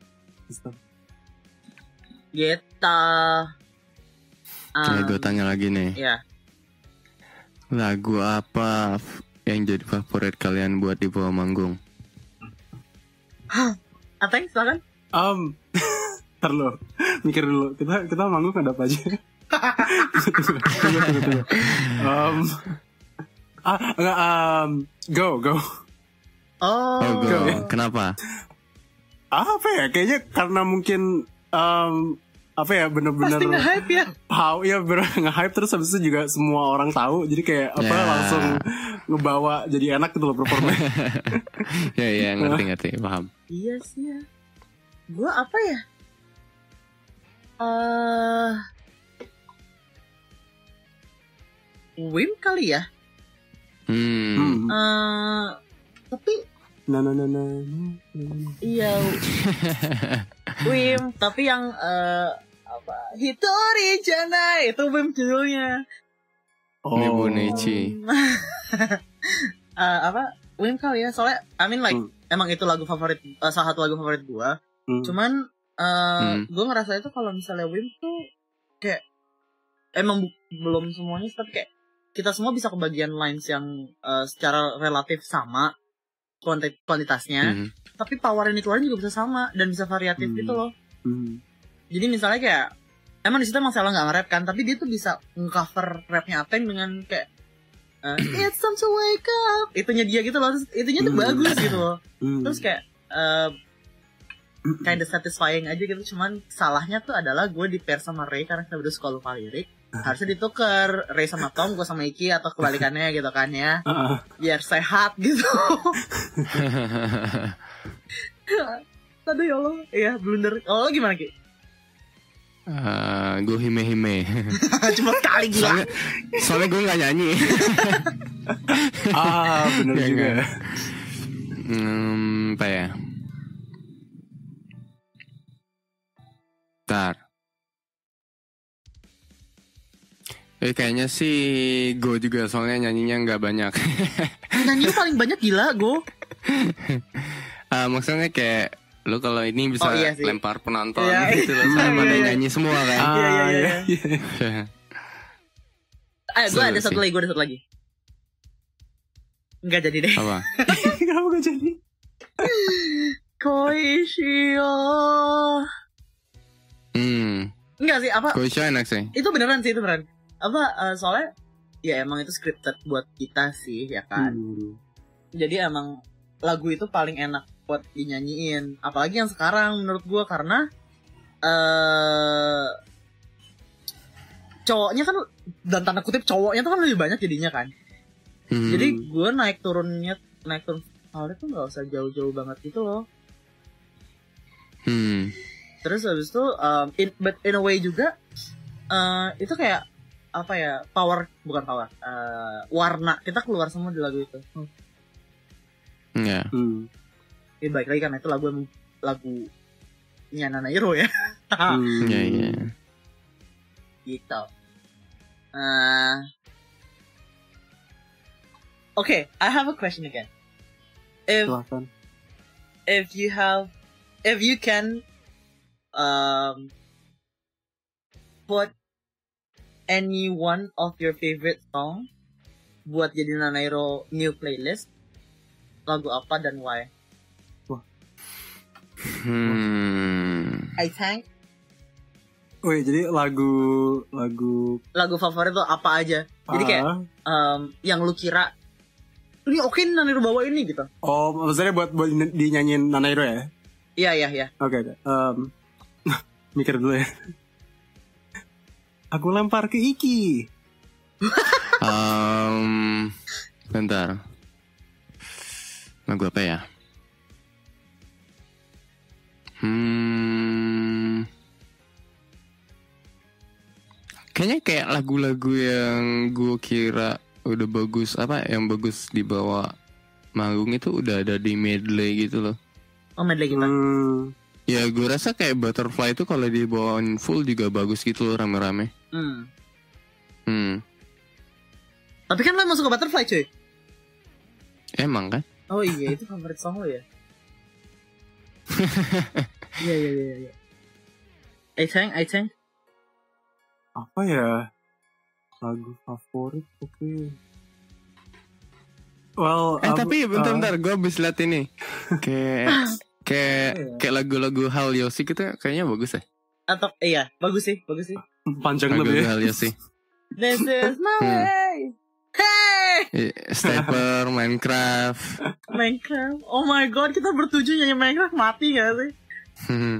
Geta. Oke, gue tanya lagi nih. Ya. Lagu apa f- yang jadi favorit kalian buat di bawah manggung? Ateng silakan. Um, ntar lo, mikir dulu. Kita kita manggung ada apa aja? tunggu, tunggu, tunggu, tunggu. Um, ah, enggak, um, go, go. Oh. Oh, go. Go. Kenapa? Apa ya? Kayaknya karena mungkin um, apa ya bener-bener Pasti nge-hype ya. how ya bener nge-hype terus habis itu juga semua orang tahu jadi kayak apa Ya. langsung ngebawa jadi enak gitu loh performanya. Ya ya ngerti ngerti paham. Iya sih ya. Gue apa ya? Eh Wim kali ya. Hmm. Hmm. Eh tapi Nah, nah, nah, nah. iya Wim, tapi yang eh apa? Hitori Janai itu Wim judulnya. Oh. Nebunichi. Eh apa? Wim kali ya. Soalnya I mean like Hmm. emang itu lagu favorit, uh, salah satu lagu favorit gue. Hmm. Cuman uh, hmm. gue ngerasa itu kalau misalnya Wim tuh kayak emang bu- belum semuanya, tapi kayak kita semua bisa kebagian lines yang uh, secara relatif sama kuantit- kuantitasnya, hmm. tapi power yang dikeluarin juga bisa sama dan bisa variatif hmm. gitu loh. Hmm. Jadi misalnya kayak emang di situ emang Sela nggak nge-rap kan, tapi dia tuh bisa nge-cover rapnya Ateng dengan kayak uh, it's time to wake up, itunya dia gitu loh, terus itunya tuh hmm. bagus gitu loh. Hmm. Terus kayak uh, kind of satisfying aja gitu. Cuman salahnya tuh adalah gue di pair sama Ray karena kita berdua suka lupa lirik. Harusnya ditukar Ray sama Tom, gue sama Iki, atau kebalikannya gitu kan ya, biar sehat gitu. Aduh ya Allah. Iya blunder. Oh gimana Ki? Uh, gue hime-hime. Cuma sekali gila. Soalnya, soalnya gue gak nyanyi. Ah bener ya, juga. Hmm, apa ya? Bentar. Eh kayaknya sih Go juga, soalnya nyanyinya gak banyak. Nyanyi paling banyak gila Go. uh, Maksudnya kayak lu kalau ini bisa oh, iya lempar penonton iya, gitu loh, sama pada iya, iya. nyanyi semua kan. Ah, iya iya iya. iya. Ayo gue ada satu lagi, gue ada satu lagi. Enggak jadi deh. Apa? Kenapa gak jadi? Koishio. Hmm. Enggak sih, apa? Koishio enak sih. Itu beneran sih, itu beneran. Apa uh, soalnya ya emang itu scripted buat kita sih ya kan. Hmm. Jadi emang lagu itu paling enak buat dinyanyiin, apalagi yang sekarang menurut gue, karena uh, cowoknya kan, dan tanda kutip cowoknya tuh kan lebih banyak jadinya kan. Hmm. Jadi gue naik turunnya naik turun awalnya tuh nggak usah jauh-jauh banget gitu loh. Hmm. Terus habis itu um, in, but in a way juga uh, itu kayak apa ya, power bukan power uh, warna kita keluar semua di lagu itu. Hmm. Ya. Yeah. Hmm. Ya baik lagi karena itu lagu lagu Nana Hero ya. Hmm. Iya iya. Gitu. Uh, okay, I have a question again. If Silahkan. if you have if you can um put any one of your favorite song buat jadi Nana Hero new playlist, lagu apa dan why? Hmm. I think. Wih, jadi lagu lagu lagu favorit tuh apa aja? Jadi kayak uh. um, yang lu kira ini oke okay, Nana Hero bawa ini gitu. Oh, maksudnya buat buat dinyanyiin Nana Hero ya? Iya iya iya. Oke, okay, um, mikir dulu ya. Aku lempar ke Iki. um, bentar. Lagu apa ya? Hmm. Kayaknya kayak lagu-lagu yang gue kira udah bagus, apa yang bagus dibawa manggung itu udah ada di medley gitu loh. Oh medley gitu. Hmm. Ya gue rasa kayak Butterfly itu kalau dibawain full juga bagus gitu loh, rame-rame. Hmm. Hmm. Tapi kan lo emang suka Butterfly cuy. Emang kan? Oh iya, itu favorit song lo ya. Iya iya iya iya. I think I think apa ya lagu favorit? Oke. Okay. Well, eh um, tapi bentar-bentar uh, gue habis liat ini kayak kayak yeah. kayak lagu-lagu Hal Yosi gitu kayaknya bagus ya. Atau iya bagus sih bagus sih. Panjang lebih. Hal Yosi. This is my way. Hey. Stepper, Minecraft. Minecraft. Oh my god, kita bertujuh nyanyi Minecraft mati gak sih? Hmm.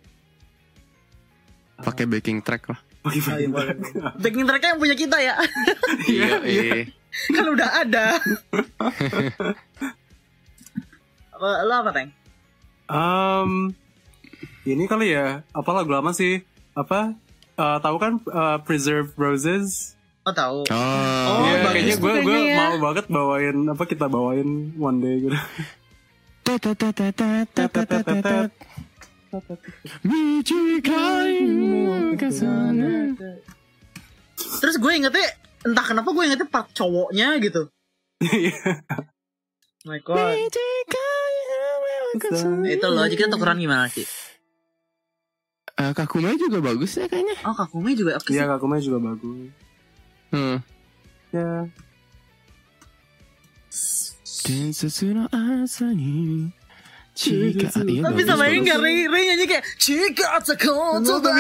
Pakai backing track lah. Pakai backing track. Backing tracknya yang punya kita ya. Iya, iya. Kan udah ada. Lo apa, Teng? Um, ini kali ya. Apa lagu lama sih? Apa? Uh, tahu kan uh, Preserve Roses? Oh tahu. Oh, oh yeah, kayaknya gue gue ya. mau banget bawain apa kita bawain one day gitu. Terus gue ingetnya entah kenapa gue ingetnya part cowoknya gitu. My god. Itu loh, jadi kita tukeran gimana sih? Uh, Kakume juga bagus ya kayaknya. Oh, Kakume juga oke sih. Iya, Kakume juga bagus. Hmm. Ya. Densetsu no asa ni Chika. Iya, Tapi bagus, sama ini bagus. gak Ray, Ray nyanyi kayak Chika Tsukoto da.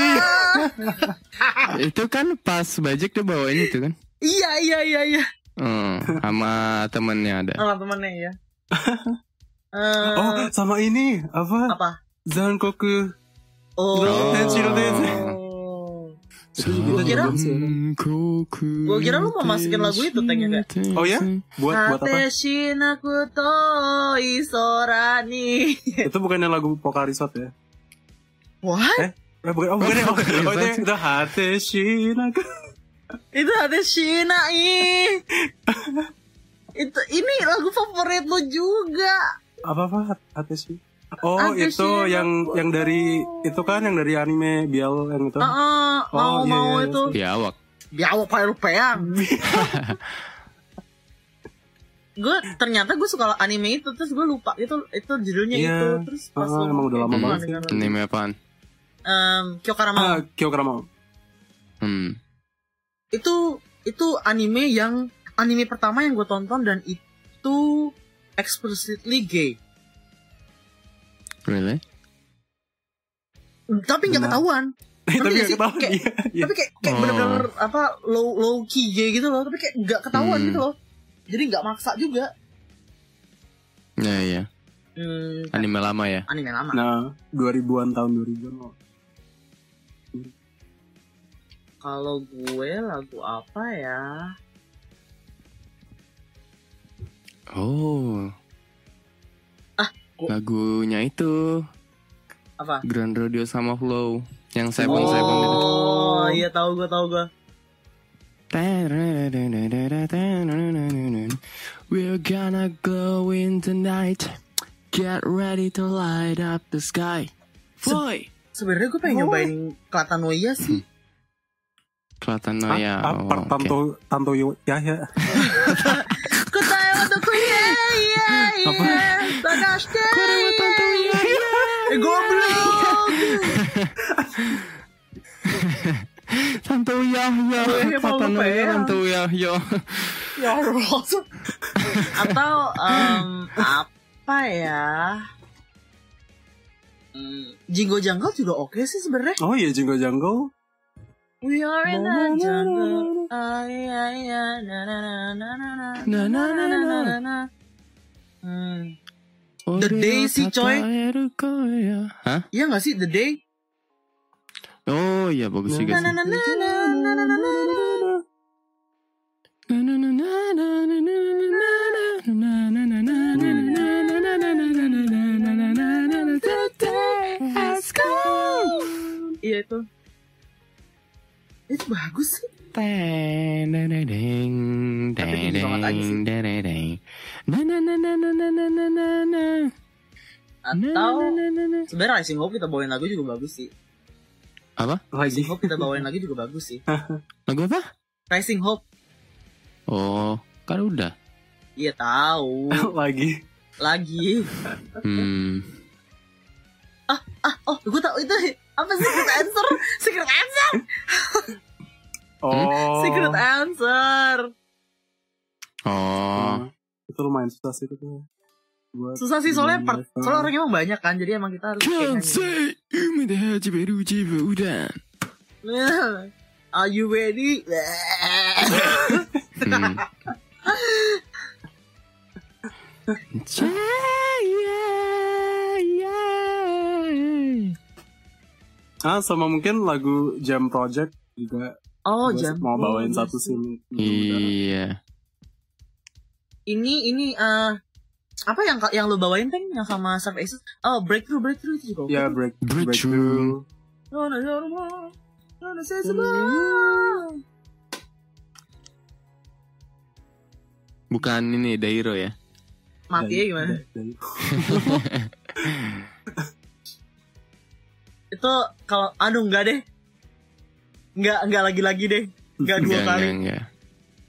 Itu kan pas Bajik dia bawain itu kan. Iya, iya, iya, iya. Hmm, sama temennya ada. Sama temennya ya. Eh, Oh, sama ini apa? apa? Zankoku. Oh. Tenshiro Dense. Itu juga kira- bagus ya. Gua kira lu mau masukin lagu itu, Tengnya, Oh ya? Buat buat apa? Hate shinaku to isorani. Itu bukannya lagu Pokarisot ya? What? Eh, eh bukan, oh bukan ya? Oh, oh itu yang itu Hate Shinaku. Itu Hate shinai. Itu ini lagu favorit lu juga. Apa apa Hate Shi? Oh Hate itu Shinaku. yang yang dari itu kan yang dari anime Bial yang itu. Heeh, mau Oh, iya, mau iya, itu. Biawak. Biawak pakai rupiah. Gue ternyata gue suka anime itu, terus gue lupa itu itu judulnya Iya. itu, terus pas Ah, lu- emang udah lama itu banget sih. dengar. Anime apaan? Em, Kyokarama. Ah, Kyokarama. Hmm. Itu itu anime yang anime pertama yang gue tonton dan itu explicitly gay. Really? Tapi nggak Benar. ketahuan. Tapi nggak gak sih? ketahuan. Kayak- Iya, iya. Tapi kayak kayak Oh. bener-bener apa low low key gay gitu loh. Tapi kayak nggak ketahuan Hmm. gitu loh. Jadi nggak maksa juga. Ya ya. Hmm, Anime lama ya. anime lama. Nah, dua ribuan tahun dua ribuan loh. Kalau gue lagu apa ya? Oh. Ah, gua- Lagunya itu Apa? Grand Rodeo sama Flow yang Seven Seven itu. Oh, iya tahu gue tahu gue. We're gonna go in tonight. Get ready to light up the sky. Boy. Sebenarnya gue pengen Oh. nyobain Katanoia sih. Kelihatan Ah, ya. ah, Oh, per- oke. Tanto Tanto Yo- ya ya. Kutai untuk ya ya Apa? ya. Tanashite. ya. Eh goblok. Tanto ya ya. Oh, iya, mau Tanto lupa ya. ya. Tanto ya ya. Ya Allah. Atau em, apa ya? Hmm, Jingo Jungle juga oke sih sebenarnya. Oh iya, Jingle Jungle. We are in the jungle. Ah, iya, iya. Na, na, na, na, na, na, Na, na, na, na. na, na. Hmm. The Day sih, coy. Hah? Iya gak sih The Day? Oh iya bagus juga Na, sih. na, na, na, na, na, na, na, na. Iya itu. Itu bagus sih. Teng deng deng deng Tapi deng tinggi banget aja sih. deng deng deng deng. Na na na na na na na na na na. Atau Na, na, na, na. sebenarnya Rising Hope kita bawain lagu juga bagus sih. Apa? Lagi. Rising Hope kita bawain lagi juga bagus sih. Lagu apa? Rising Hope. Oh, kan udah. Iya tahu. Lagi. Lagi. Hmm. Oh, gue tahu itu apa secret answer? Secret answer. Oh. Secret answer. Oh. Hmm. Itu lumayan susah sih itu tuh. Buat Susah sih soalnya part, Hmm. soalnya orangnya emang banyak kan, jadi emang kita harus kayak nyanyi. Kansai umi de hajimeru jibudan. Are you ready? Hmm. Cahaya. Ah, sama mungkin lagu Jam Project juga. Oh, Gua jam. mau bawain Oh, satu yes. scene. Iya. Ini ini eh apa yang yang lu bawain Teng yang sama Surf Aces? Oh, Breakthrough Breakthrough itu juga. Ya, break Breakthrough. No, no, no, no, no, no, say something. Bukan ini Dairo ya. Mati ya gimana? Dari- Itu kalau aduh enggak deh. Enggak enggak lagi-lagi deh. Enggak dua Enggak, kali. enggak, enggak.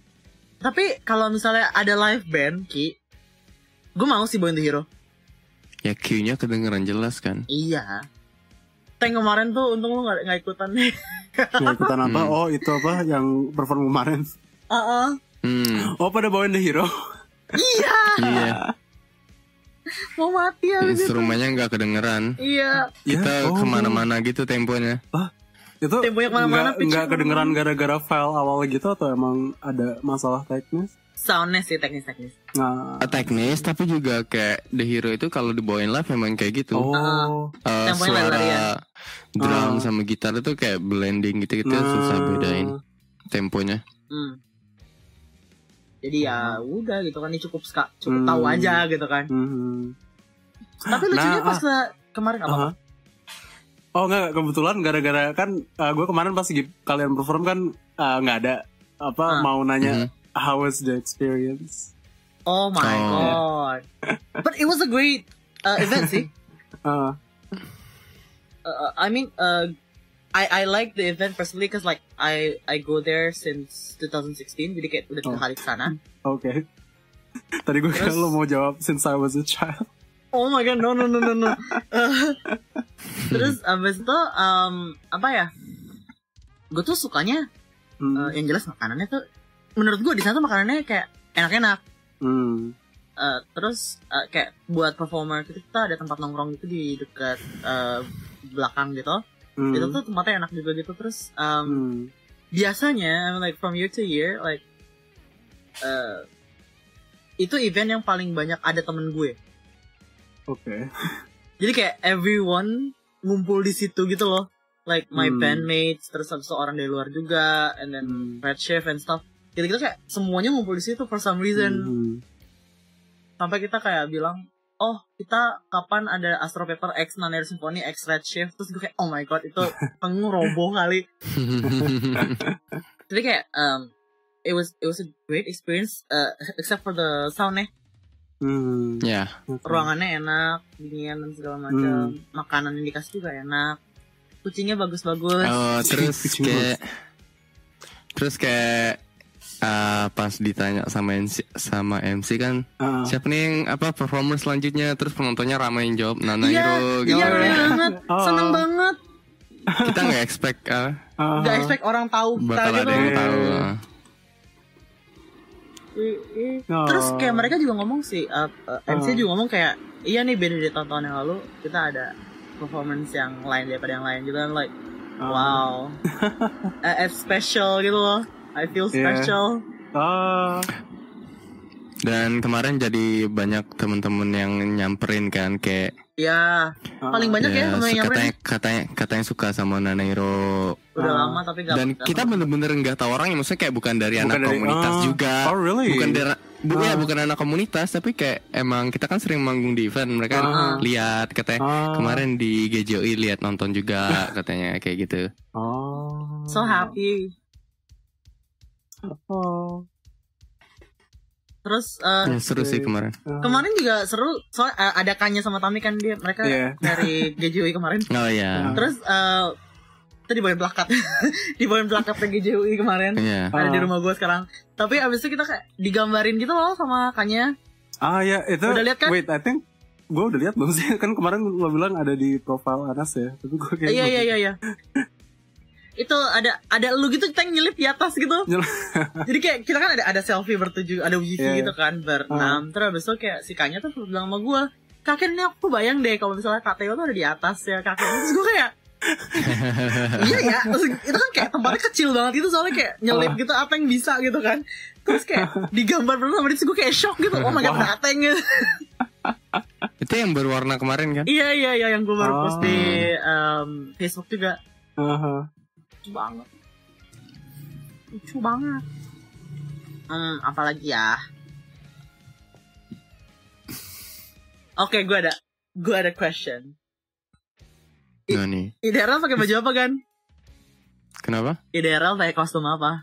Tapi kalau misalnya ada live band, Ki, gue mau sih bawain The Hero. Ya Q-nya kedengeran jelas kan. Iya. Tank kemarin tuh untung lu gak, gak ikutan nih. Nggak ikutan apa? Hmm. Oh itu apa yang perform kemarin? Uh-uh. Hmm. Oh pada bawain The Hero. Iya. Iya. Mau mati abis itu. Instrumennya nggak kedengeran. Iya. Kita Ya, oh. kemana-mana gitu temponya. Itu Temponya kemana-mana, nggak pitch nggak kedengeran kemana-mana. gara-gara file awal gitu atau emang ada masalah teknis? Soundnya sih teknis-teknis. Nah, Teknis tapi juga kayak The Hero itu kalau dibawain live memang kayak gitu. oh, Eh, Temponya suara lari-larian. drum Ah. sama gitar itu kayak blending gitu-gitu Nah. susah bedain temponya. Hmm. Jadi ya udah gitu kan, ini cukup ska, cukup Hmm. tahu aja gitu kan. mhm. Tapi lucunya Nah, pas ke- kemarin apa? Aha. Oh enggak, kebetulan gara-gara kan gue kemarin pas gi- kalian perform kan uh, nggak ada Ah. apa mau nanya Mhm. how was the experience? Oh my Oh. god. But it was a great uh, event sih. Uh, Uh, I mean, uh, I I like the event personally because like I I go there since twenty sixteen, jadi kayak udah tiga Oh. kali kesana. Oke. Tadi gue kira Terus- lo mau jawab since I was a child. Oh my god, no no no no no. Uh, terus abis itu um, apa ya? Gue tuh sukanya Hmm. uh, yang jelas makanannya tuh, menurut gue di sana tuh makanannya kayak enak-enak. Hmm. Uh, terus uh, kayak buat performer gitu, kita ada tempat nongkrong gitu di dekat uh, belakang gitu. Hmm. Itu tuh tempatnya enak juga gitu. Terus um, Hmm. biasanya I mean, like from year to year like uh, itu event yang paling banyak ada temen gue. Oke. Jadi kayak everyone ngumpul di situ gitu loh. Like my Hmm. bandmates, terus habis itu orang dari luar juga, and then Hmm. Red Chef and stuff. Gitu-gitu kayak semuanya ngumpul di situ for some reason. Hmm. Sampai kita kayak bilang, oh kita kapan ada Astro Paper X Nanair Symphony X Red Chef. Terus gue kayak, oh my god, itu panggung roboh kali. Tapi kayak um, it was it was a great experience uh, except for the sound-nya. Hmm. Ya, Oke. Ruangannya enak, dingin dan segala macam. Makanan yang dikasih juga enak. Kucingnya bagus-bagus. oh, terus Kucing kayak terus kayak ah, pas ditanya sama M C, sama M C kan Ah. siapa nih yang apa performer selanjutnya, terus penontonnya ramai yang jawab Nana Iya, Hiro gitu. iya bener banget. Oh. Seneng banget. Kita nggak expect ah, Ah. Gak expect orang tahu kita bakal gitu. ada yang Iya. tahu. ah. I- i- Oh. Terus kayak mereka juga ngomong sih, uh, uh, M C Oh. juga ngomong kayak, iya nih beda dari tahun-tahun yang lalu, kita ada performance yang lain daripada yang lain juga. Like, Ah. wow, uh, it's special gitu loh. I feel Iya. special. Ah. Dan kemarin jadi banyak temen-temen yang nyamperin kan kayak Ya, paling banyak ya, ya, temen yang katanya, nyamperin. katanya katanya suka sama Nana Hiro. Udah Ah. lama tapi gak Dan gak kita sama. bener-bener nggak tahu orangnya, maksudnya kayak bukan dari Bukan anak dari- komunitas ah. juga. Oh, really? Bukan dari bu, ya, Ah. bukan anak komunitas, tapi kayak emang kita kan sering manggung di event, mereka Ah. lihat katanya Ah. kemarin di G J O I lihat nonton juga katanya kayak gitu. Oh. So happy. Oh. Terus uh, Ya, seru sih kemarin. Ah. kemarin juga seru, soalnya uh, ada Kanya sama Tami kan, dia mereka Iya. dari G J U I kemarin. Oh ya. Terus uh, itu dibawain plakat, dibawain plakatnya G J U I kemarin. Iya. Ada di Ah. rumah gue sekarang. Tapi abis itu kita kayak digambarin gitu loh sama Kanya. Ah ya itu. Udah lihat kan? Wait, I think gue udah lihat belum sih? Kan kemarin lo bilang ada di profile Anas ya. Tapi gue kayak Iya iya iya iya. Itu ada ada lu gitu tank nyelip di atas gitu. Nyelip. Jadi kayak kita kan ada ada selfie bertujuh, ada wifi Iya, gitu kan Ah. berenam. Terus abis itu kayak si Kanya tuh bilang sama gue, kakek ini aku bayang deh kalau misalnya Kak Teo tuh ada di atas ya kakek. Terus gue kayak iya ya, terus itu kan kayak tempatnya kecil banget itu, soalnya kayak nyelip gitu apa yang bisa gitu kan. Terus kayak digambar bersama dia, terus gue kayak shock gitu. Oh my god, Wah. dateng. Itu yang berwarna kemarin kan? Iya iya iya, yang gue baru Oh. post di um, Facebook juga. Aha. Lucu banget. Lucu banget. Hmm, apalagi ya? Oke, gue ada gue ada question. Nah nih. Ideal pakai baju apa kan? Kenapa? Ideal pakai kostum apa?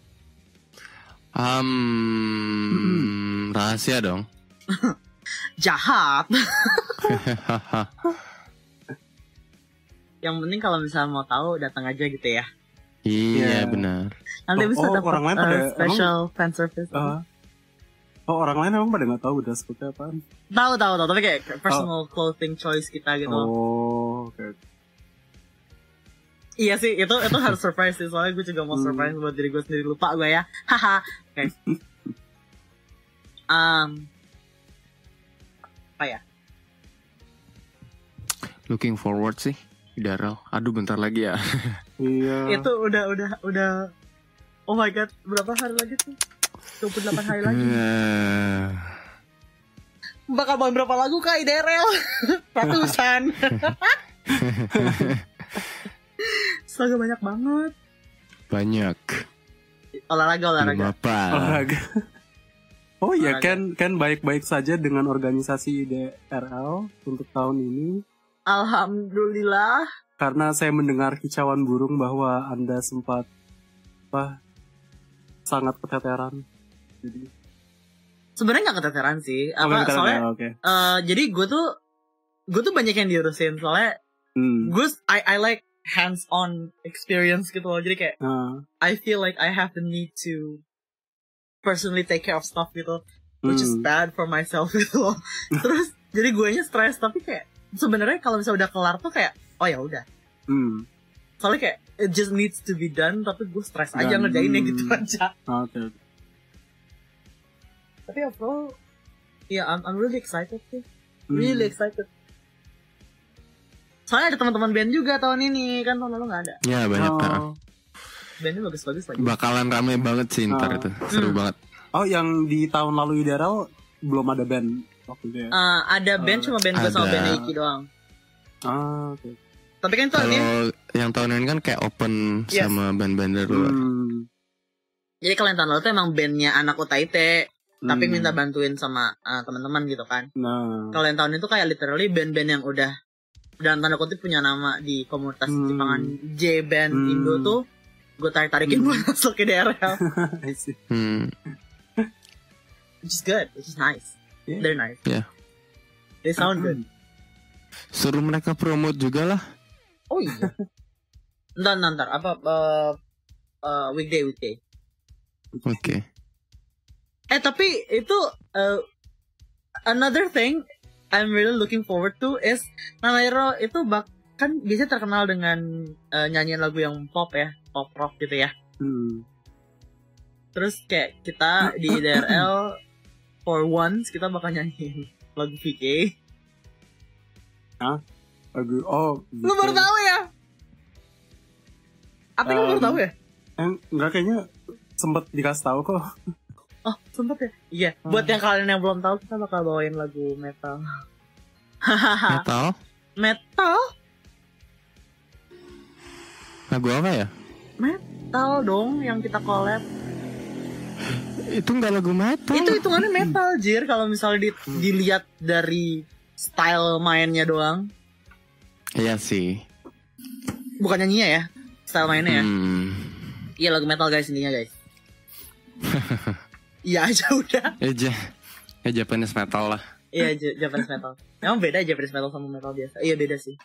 Um, rahasia dong. Jahat. Yang penting kalau misalnya mau tahu datang aja gitu ya. Iya Iya. benar. Nanti Oh, bisa oh, dapat orang lain uh, pada- special fan service. Ah. Oh, orang lain emang pada nggak tahu dress code-nya apaan? Tahu tahu tahu, tapi kayak personal clothing choice kita gitu. Oh, oke. Okay. Iya sih, itu itu harus surprise sih, soalnya gue juga mau surprise hmm. buat diri gue sendiri, lupa gue ya. Haha. Oke. Um, apa ya? Looking forward sih. Daryl, aduh bentar lagi ya. Iya. Itu udah udah udah. Oh my god, berapa hari lagi tuh? dua puluh delapan hari lagi. Bakal bawain berapa lagu kak Daryl? Ratusan. Astaga, banyak banget. Banyak. Olahraga olahraga. Apa? Olahraga. Oh iya, olahraga. kan kan baik-baik saja dengan organisasi D R L untuk tahun ini. Alhamdulillah. Karena saya mendengar kicauan burung bahwa Anda sempat apa sangat keteteran. Jadi sebenarnya nggak keteteran sih. Oh, apa keteteran, soalnya? ya, okay. uh, jadi gue tuh gue tuh banyak yang diurusin soalnya. Hmm. Gue I I like hands on experience gitu loh. Jadi kayak uh. I feel like I have the need to personally take care of stuff gitu, which hmm. is bad for myself gitu loh. Terus jadi gue nya stres, tapi kayak sebenarnya kalau misalnya udah kelar tuh kayak oh ya udah. Hmm. Soalnya kayak it just needs to be done, tapi gue stres aja Dan, ngerjainnya hmm. gitu aja. Oke. Okay. Tapi overall, ya yeah, I'm, I'm really excited sih, really hmm. excited. Soalnya ada teman-teman band juga tahun ini, kan tahun lalu nggak ada. Ya banyak. Oh. Nah. Bandnya bagus-bagus lagi. Bakalan rame banget sih ntar oh. itu, seru hmm. banget. Oh, yang di tahun lalu I D R L belum ada band waktu itu ya? Uh, ada band, uh, cuma band gue sama band Iki doang. Ah, oke. Okay. Tapi kan kalau ini yang tahun ini kan kayak open yes. sama band-band luar. Hmm. Jadi kalau yang tahun lalu tuh emang bandnya anak U T I T, hmm. tapi minta bantuin sama uh, teman-teman gitu kan. Nah. Kalau yang tahun itu kayak literally band-band yang udah dalam tanda kutip punya nama di komunitas hmm. Jepangan J band hmm. Indo tuh, gue tarik-tarikin hmm. buat masuk ke D R L. hmm. Which is good, which is nice. Yeah. They're nice. Yeah. They sound good. Suruh mereka promote juga lah. Oh iya. Ntar, ntar, apa uh, uh, weekday, weekday. Oke. Okay. Eh tapi itu uh, another thing I'm really looking forward to is Nanairo itu bak kan biasanya terkenal dengan uh, nyanyian lagu yang pop ya, pop rock gitu ya. Hmm. Terus kayak kita di D R L for once kita bakal nyanyiin lagu V K. Hah? Lagu oh. V K. Lu baru tahu ya? Apa um, lu baru tahu ya? Eh, enggak, kayaknya sempet dikasih tahu kok. Oh, sempet ya? Iya, hmm. Buat yang kalian yang belum tahu, kita bakal bawain lagu metal. Metal? Metal? Lagu apa ya? Metal dong, yang kita collab. Itu nggak lagu metal. Itu hitungannya metal, Jir. Kalau misalnya di, dilihat dari style mainnya doang. Iya sih. Bukan nyanyinya ya, style mainnya ya. Hmm. Iya, lagu metal guys, intinya guys. Iya aja udah. Iya, ya Japanese metal lah. Iya, Japanese metal. Emang beda Japanese metal sama metal biasa? Iya beda sih.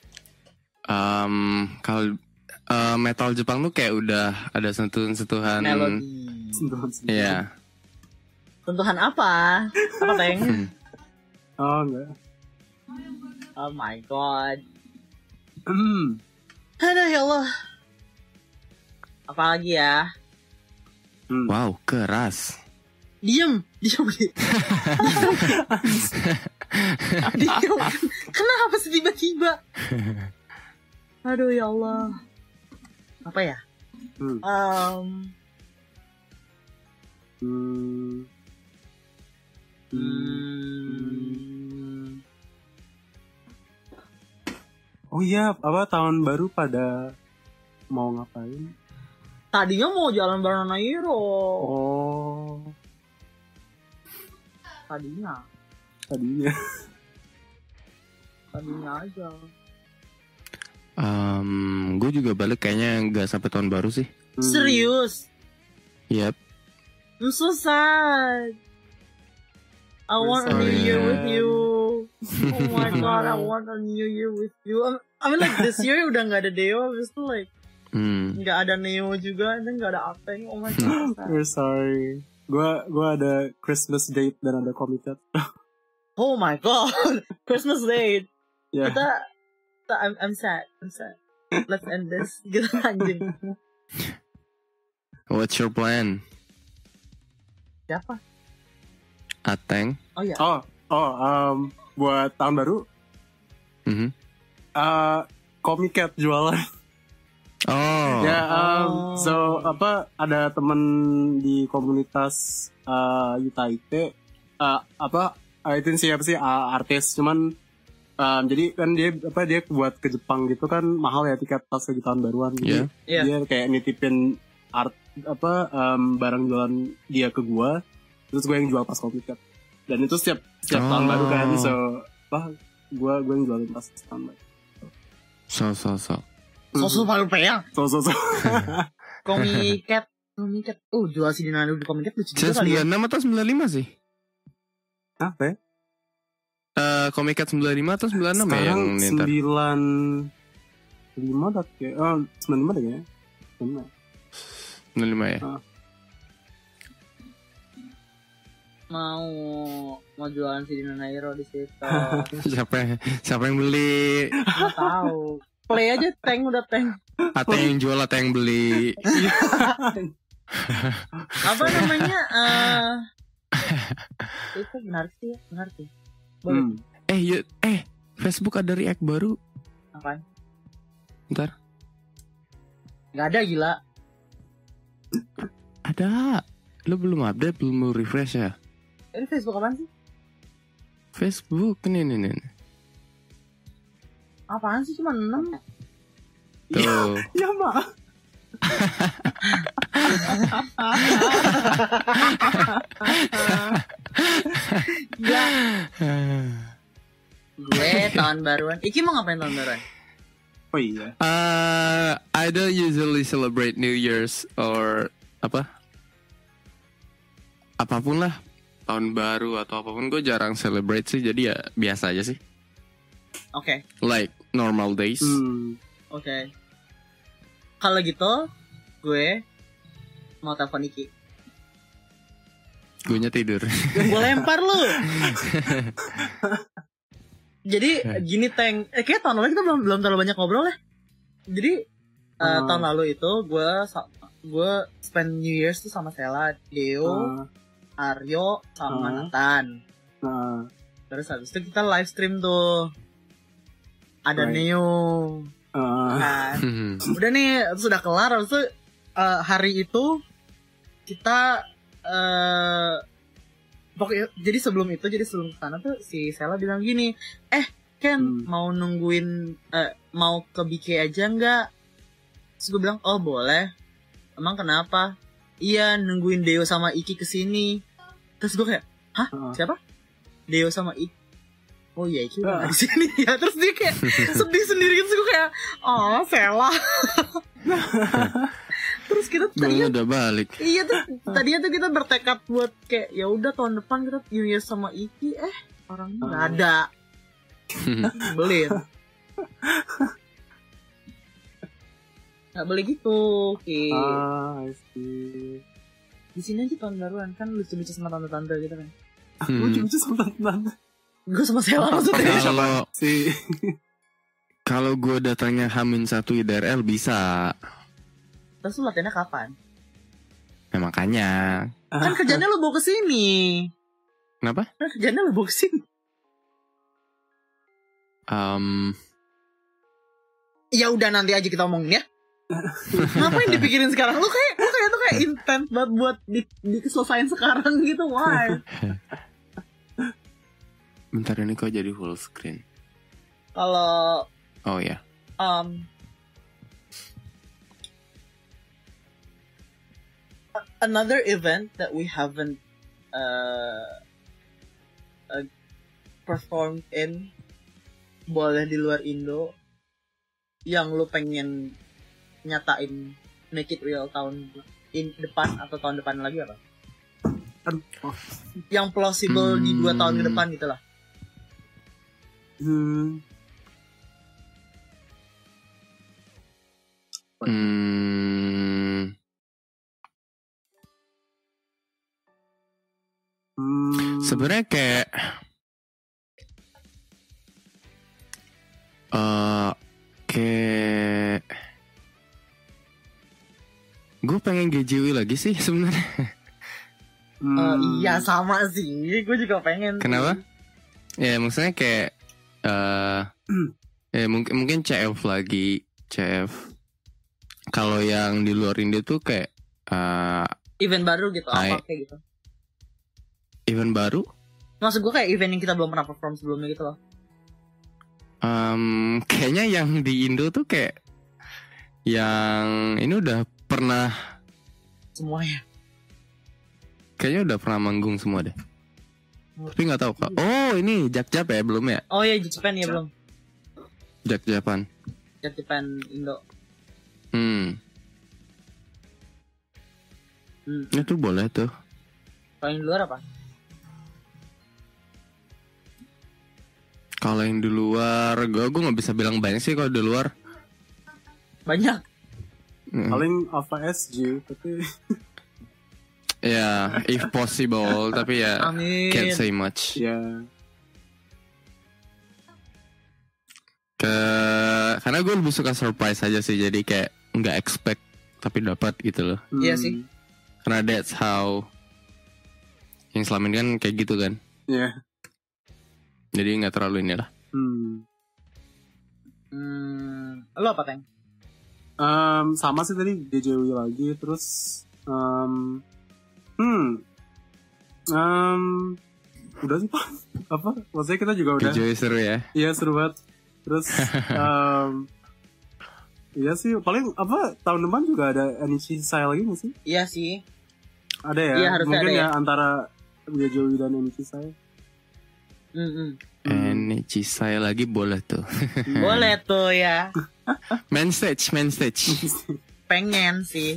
Um, kalau uh, metal Jepang tuh kayak udah ada sentuhan-sentuhan melodi. Sentuhan-sentuhan. Iya. Sentuhan apa? Apa Teng? Oh enggak. Oh my god. Hmm. Aduh ya Allah. Apa lagi ya? Hmm. Wow, keras. Diem, diem, diem. Diem. Kenapa sih tiba-tiba? Aduh ya Allah. Apa ya? Hmm. Um. Hmm. Hmm. Oh iya, apa tahun baru pada mau ngapain? Tadinya mau jalan bareng Nairo. Oh. Tadinya. Tadinya. Tadinya aja. Um, gue juga balik kayaknya nggak sampai tahun baru sih. Hmm. Serius? Yep. I'm so sad. I want a new year with you. Oh my god, I want a new year with you. I mean like this year udah nggak ada Deo, just like nggak hmm. ada Neo juga, dan nggak ada Apeng. Oh my god. We're sorry. gue gue ada Christmas date dan ada committed. Oh my god, Christmas date. Ya. Kita, kita I'm, I'm sad, I'm sad. Let's end this. Gitu anjing. What's your plan? Siapa? Ateng. Oh iya. Oh oh um, buat tahun baru. Mhm. Uh, Comiket jualan. Oh. Ya, um, Oh. so apa ada temen di komunitas uh, Yuta Ite, uh, apa uh, itu siapa sih uh, artis, cuman um, jadi kan dia apa dia buat ke Jepang gitu kan mahal ya tiket pas lagi tahun baruan, jadi Iya. dia kayak nitipin art apa um, barang jualan dia ke gua, terus gue yang jual pas Comiket, dan itu setiap setiap tahun Oh. baru kan, so apa gua gue yang jualin pas tahun baru. So so so. Sosok paling peyang. So so so. Komiket. Komiket. Oh, jual si Dinano di Komiket lucu Saya juga kali ya. sembilan puluh enam atau sembilan puluh lima sih? Apa ya? Eh, Comiket sembilan puluh lima atau sembilan puluh enam ya yang Sekarang ntar? sembilan lima dah kayak oh sembilan lima deh kayaknya. Sembilan. sembilan puluh lima ya. Ah. Mau mau jualan si Dinanairo di situ. Siapa yang, siapa yang beli? Nggak tahu. Play aja tank udah tank. Atau yang jual atau yang beli? Apa namanya? eh itu menarik sih ya, menarik sih. Boleh. Hmm. Eh, yuk, eh, Facebook ada react baru. Apaan? Ntar. Gak ada gila. Ada. Lu belum update, belum mau refresh ya? Ini Facebook apaan sih? Facebook, nih, nih, nih. Apaan sih cuma enam? Tuh. Ya mak. Ya. Gue tahun baruan. Iki mau ngapain tahun baruan? Oh iya. Uh, I don't usually celebrate New Year's or apa? Apapun lah, tahun baru atau apapun gue jarang celebrate sih, jadi ya biasa aja sih. Oke, Like normal days. Hmm. oke. Kalau gitu, gue mau telepon Iki. Gue nya tidur. Gue lempar lu. Jadi gini Teng, eh, kayak tahun lalu kita belum belum terlalu banyak ngobrol ya. Jadi eh, Hmm. tahun lalu itu gue sa- gue spend New Year's tuh sama Sela, Deo, Ah, Aryo, sama Hmm. Nathan. nah, Terus habis itu kita live stream tuh. Ada Right. Neo. ah, Kan. Hmm. Udah nih sudah kelar. Habis itu eh, hari itu kita eh pokoknya jadi sebelum itu jadi sebelum kesana tuh si Sela bilang gini, eh Ken Hmm. mau nungguin eh, mau ke B K aja nggak? Terus gue bilang oh boleh. Emang kenapa? Iya nungguin Deo sama Iki kesini. Terus gue kayak hah ah. siapa? Deo sama Iki. Oh iya Iki udah Ah. nggak di sini ya. Terus dia kayak sedih sendiri gitu. Terus gue kayak oh Sela. Terus kita Gue tadinya udah balik. iya tuh tadinya tuh kita bertekad buat kayak ya udah tahun depan kita New Year sama Iki eh orangnya nggak Ah. ada. Belin. Nggak boleh gitu, Ki. Ah, I see. Di sini aja tahun baruan kan lucu-lucu sama tante-tante gitu kan. Lu Hmm. lucu sama tante. Gue sama Sela maksudnya. Kalau Si. kalau gue datangnya Hamin satu I D R L bisa. Terus lu latihannya kapan? Ya makanya. Kan kerjanya lu bawa ke sini. Kenapa? Kan kerjanya lu bawa ke sini. Um, Ya udah nanti aja kita omongin ya. Ngapain dipikirin sekarang? Lu kayak lu kayak tuh kayak intent banget buat di, diselesain sekarang gitu. Why? bentar ini kok jadi full screen. Kalau Oh ya. um, a- another event that we haven't uh, uh, performed in boleh di luar Indo yang lu pengen nyatain make it real tahun in depan atau tahun depan lagi apa? Aduh. Oh. Yang plausible di dua Hmm. tahun ke depan gitu lah. Hmm. Hmm. Hmm. Sebenarnya kayak uh, kayak gue pengen G J W lagi sih sebenarnya. Hmm. Uh, iya sama sih, gue juga pengen. Kenapa? Ya maksudnya kayak uh, ya mungkin mungkin C F lagi C F. Kalau yang di luar Indo tuh kayak uh, event baru gitu, I, apa kayak gitu. Event baru? Maksud gue kayak event yang kita belum pernah perform sebelumnya gitu loh. Um, kayaknya yang di Indo tuh kayak yang ini udah pernah semuanya. Kayaknya udah pernah manggung semua deh. Tapi nggak tahu kak. Oh ini Jak-Jap ya belum ya? Oh iya Japan ya belum. Jak-Japan. Jak-Japan Indo. Hmm. Hmm. Itu boleh tuh. Kalau yang di luar apa? Kalau yang di luar, gue gue nggak bisa bilang banyak sih kalau di luar. Banyak. Hmm. Paling Alpha S G tapi. Ya, yeah, if possible, tapi ya Amin. Can't say much. Ya. Yeah. Ke karena gue lebih suka surprise aja sih, jadi kayak nggak expect tapi dapat gitu loh. Hmm. Iya sih. Karena that's how yang selama ini kan kayak gitu kan. Iya. Yeah. Jadi nggak terlalu inilah. Hmm. Hmm. Lo apa Teng? Um, sama sih tadi G J W lagi terus. Um, Hmm, um, udah sih pak. Apa? Maksudnya kita juga udah. G J W seru ya? Iya seru banget. Terus, um, iya sih. Paling apa? Tahun depan juga ada Anichi Sai lagi nggak sih? Iya sih. Ada ya. Iya, harusnya mungkin ada ya, ya antara G J W dan Anichi Sai. Hmm. Anichi Sai lagi boleh tuh. Boleh tuh ya. Main stage, main stage. Pengen sih.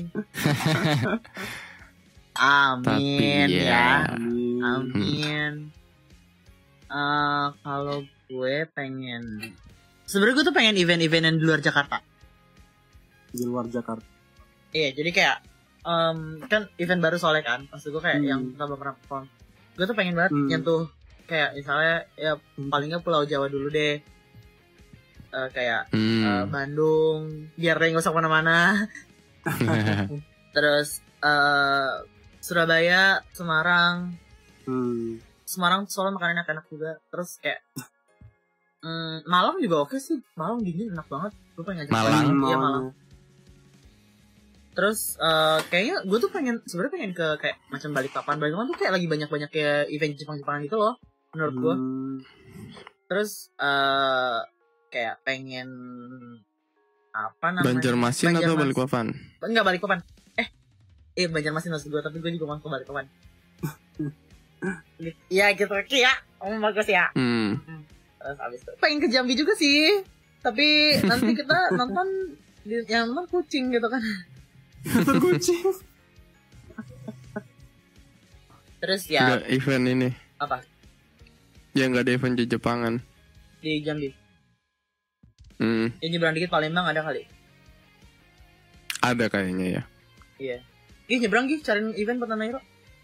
Amin tapi ya, ya. amin. Uh, kalau gue pengen, sebenarnya gue tuh pengen event-event yang di luar Jakarta. Di luar Jakarta. Iya, jadi kayak um, kan event baru soalnya kan, maksud gue kayak Hmm. yang kita belum pernah perform. Gue tuh pengen banget Hmm. nyentuh kayak misalnya ya paling nggak Pulau Jawa dulu deh. Uh, kayak Hmm. uh, Bandung, biar dia nggak usah kemana-mana. Terus uh, Surabaya, Semarang. Hmm. Semarang soalnya makanannya enak juga. Terus kayak mm, Malang juga oke sih. Malang dingin enak banget. Gue pengen ngajak Malang? Iya Malang. Malang. Terus uh, kayaknya gue tuh pengen sebenarnya pengen ke kayak macam Balikpapan. Balikpapan tuh kayak lagi banyak-banyak kayak event Jepang-Jepangan gitu loh menurut gue. Hmm. Terus uh, kayak pengen apa namanya? Banjarmasin atau Banjarmasin. Balikpapan? Enggak Balikpapan. Eh, eh Banjarmasin maksud gue, tapi gue juga mau ke Balikpapan. Iya gitu, ya. Oh bagus ya. Hmm. Terus abis itu pengen ke Jambi juga sih, tapi nanti kita nonton di, yang nonton kucing gitu kan. Nonton kucing. Terus ya Nggak event ini. apa Ya nggak ada event di Jepangan. di Jambi? Hmm. Ya nyebrang dikit Palembang ada kali. Ada kayaknya ya. Iya. Ih nyebrang Gih, cariin event buat Nanairo.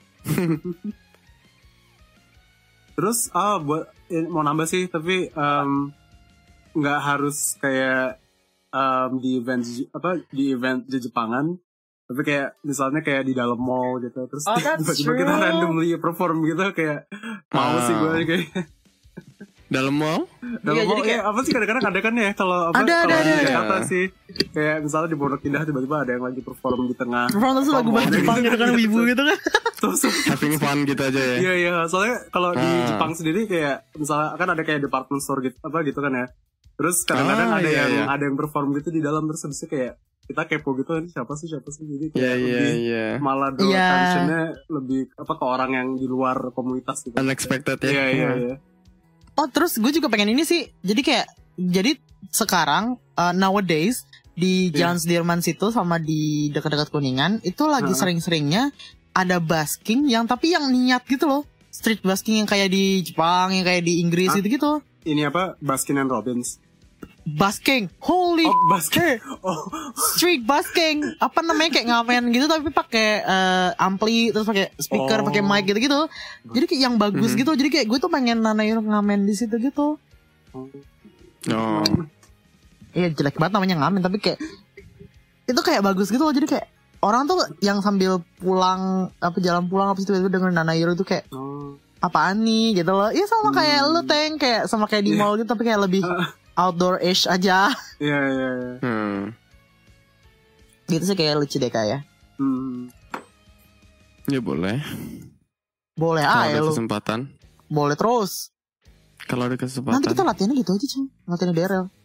Terus ah buat eh, mau nambah sih tapi um, nggak harus kayak um, di event apa di event di Jepangan, tapi kayak misalnya kayak di dalam mall gitu. Terus Oh, that's tiba-tiba kita true. randomly perform gitu kayak mau Ah. sih gue kayak Dalam mall? dalam Iya, mall jadi kayak- ya, apa sih kadang-kadang ada kan ya kalau apa Ada, kalau ada, di ada. Jakarta sih kayak misalnya di Pondok Indah tiba-tiba ada yang lagi perform di tengah Perform terus lagu bahasa Jepang gitu kan, wibu gitu kan. terus Having fun gitu aja ya. iya iya soalnya kalau di Ah. Jepang sendiri kayak misalnya kan ada kayak department store gitu apa gitu kan ya, terus kadang-kadang Ah, ada iya, yang iya. ada yang perform gitu di dalam, terus habisnya kayak kita kepo gitu kan siapa sih siapa sih jadi Iya kayak iya lebih iya. malah draw Iya. attention-nya lebih apa ke orang yang di luar komunitas gitu. Unexpected ya. Iya iya iya. Oh terus gue juga pengen ini sih. Jadi kayak jadi sekarang uh, nowadays di Jalan Sudirman situ sama di dekat-dekat Kuningan itu lagi Heeh. sering-seringnya ada busking yang tapi yang niat gitu loh. Street busking yang kayak di Jepang, yang kayak di Inggris Hah? gitu-gitu. Ini apa Baskin and Robbins. busking. Holy Oh, basket. shit. Oh, Street busking. Apa namanya, kayak ngamen gitu tapi pakai uh, ampli, terus pakai speaker, Oh. pakai mic gitu-gitu. Jadi kayak yang bagus Mhm. gitu. Jadi kayak gue tuh pengen Nanairo ngamen di situ gitu. Oh. Iya, jelek banget namanya ngamen, tapi kayak itu kayak bagus gitu loh. Jadi kayak orang tuh yang sambil pulang, apa jalan pulang apa itu dengan Nanairo itu kayak oh. apaan nih gitu loh. Iya sama kayak Hmm. lu Teng, kayak sama kayak di Iya. mall gitu tapi kayak lebih outdoor-ish aja. Iya, iya, iya. Hmm. Gitu sih kayak lucu deh kayak. Hmm. Ya boleh. Boleh Kalau aja ada lu. kesempatan. Boleh terus. Kalau ada kesempatan. Nanti kita latihannya gitu aja cuy. Latihannya D R L.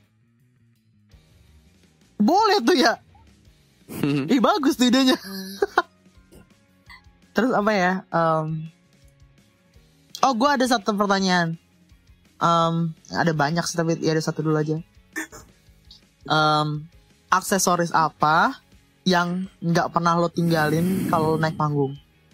Boleh tuh ya. Ih bagus tuh idenya. Terus apa ya? Um, oh gue ada satu pertanyaan. Um, ada banyak sih tapi ya ada satu dulu aja. Um, aksesoris apa yang nggak pernah lo tinggalin kalau naik panggung?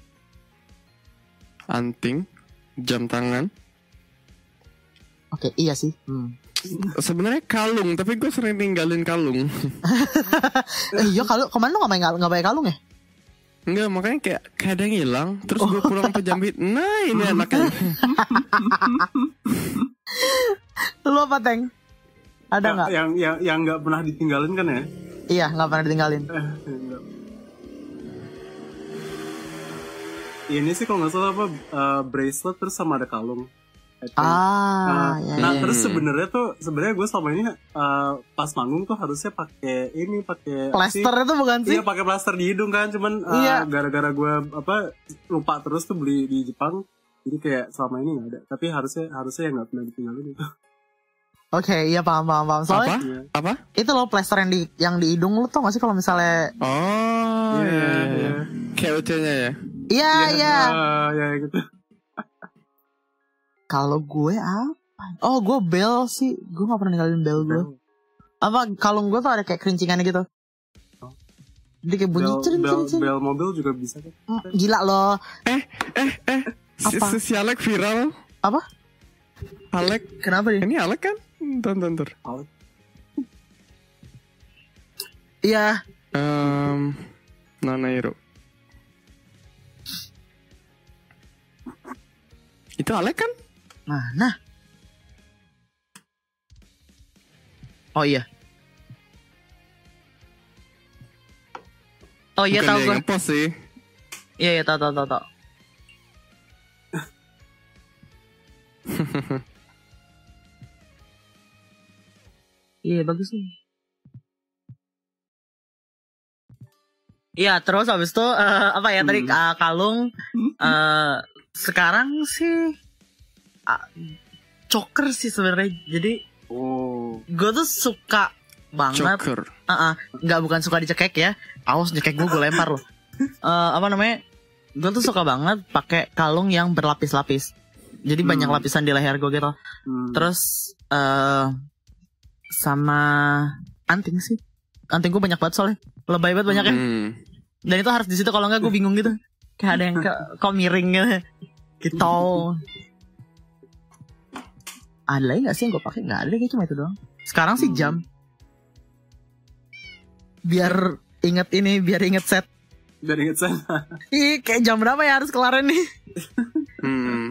Anting, jam tangan. Oke iya sih. Hmm. Sebenarnya kalung, tapi gue sering tinggalin kalung. Eh, iya kalau kemana lo nggak main nggak pakai kalung ya? Enggak, makanya kayak kadang hilang, terus gue pulang ke Jambi. Nah ini anaknya. Lu apa Teng? Ada Ya, nggak? yang yang yang nggak pernah ditinggalin kan ya? Iya nggak pernah ditinggalin. Eh, enggak. Ini sih kalau nggak salah apa uh, bracelet terus sama ada kalung. I think. Ah, Nah, ya, nah, ya. terus sebenarnya tuh sebenarnya gue selama ini uh, pas manggung tuh harusnya pakai ini pakai apa sih? Plaster itu bukan sih? Iya pakai plaster di hidung kan, cuman uh, Iya. gara-gara gue apa lupa terus tuh beli di Jepang, jadi kayak selama ini nggak ada. Tapi harusnya harusnya yang nggak pernah ditinggalin itu. Oke, iya paham paham paham. Soalnya Apa? Iya. Apa? itu loh plaster yang di yang di hidung lu tau gak sih kalau misalnya Oh, Iya, iya, iya. iya. Kayak ucanya ya. iya iya. Ah, ya gitu. Kalau gue apa? Oh, gue bel sih. Gue gak pernah ninggalin bel gue. Apa kalung gue tuh ada kayak kerincingannya gitu. Jadi kayak bunyi Bel, cering bel, cering cering. bel mobil juga bisa kan? Mm, Gila loh. Si, Apa? si, si Alek viral. Apa? Alek, Kenapa dia? ini Alek kan? Tonton, tonton. Iya. Um, Nanairo. Itu Alek kan? Mana? Oh iya. Oh iya Bukan tahu dia gue. yang ngepost sih. Iya iya tahu tahu tahu tahu. Iya bagus nih. Iya terus habis itu eh, apa ya tadi Hmm. eh, kalung eh, sekarang sih ah, choker sih sebenarnya. Jadi Oh. gue tuh suka banget. Choker. Uh nggak bukan suka dicekek ya. Awas nyekek gue gue lempar loh. Eh, apa namanya? Gue tuh suka banget pakai kalung yang berlapis-lapis. Jadi Hmm. banyak lapisan di leher gue gitu. Hmm. Terus eh sama anting sih. Anting gue banyak banget soalnya. Lebay banget banyaknya. Hmm. Dan itu harus di situ kalau nggak gue bingung gitu. Kayak ada yang ke- kok miring gitu. Gitu. Ada lagi nggak sih yang gue pakai? Nggak ada deh, kayak cuma itu doang. Sekarang sih Hmm. jam. Biar inget ini, biar inget set. Biar inget sana. Ih, kayak jam berapa ya harus kelar nih? Hmm.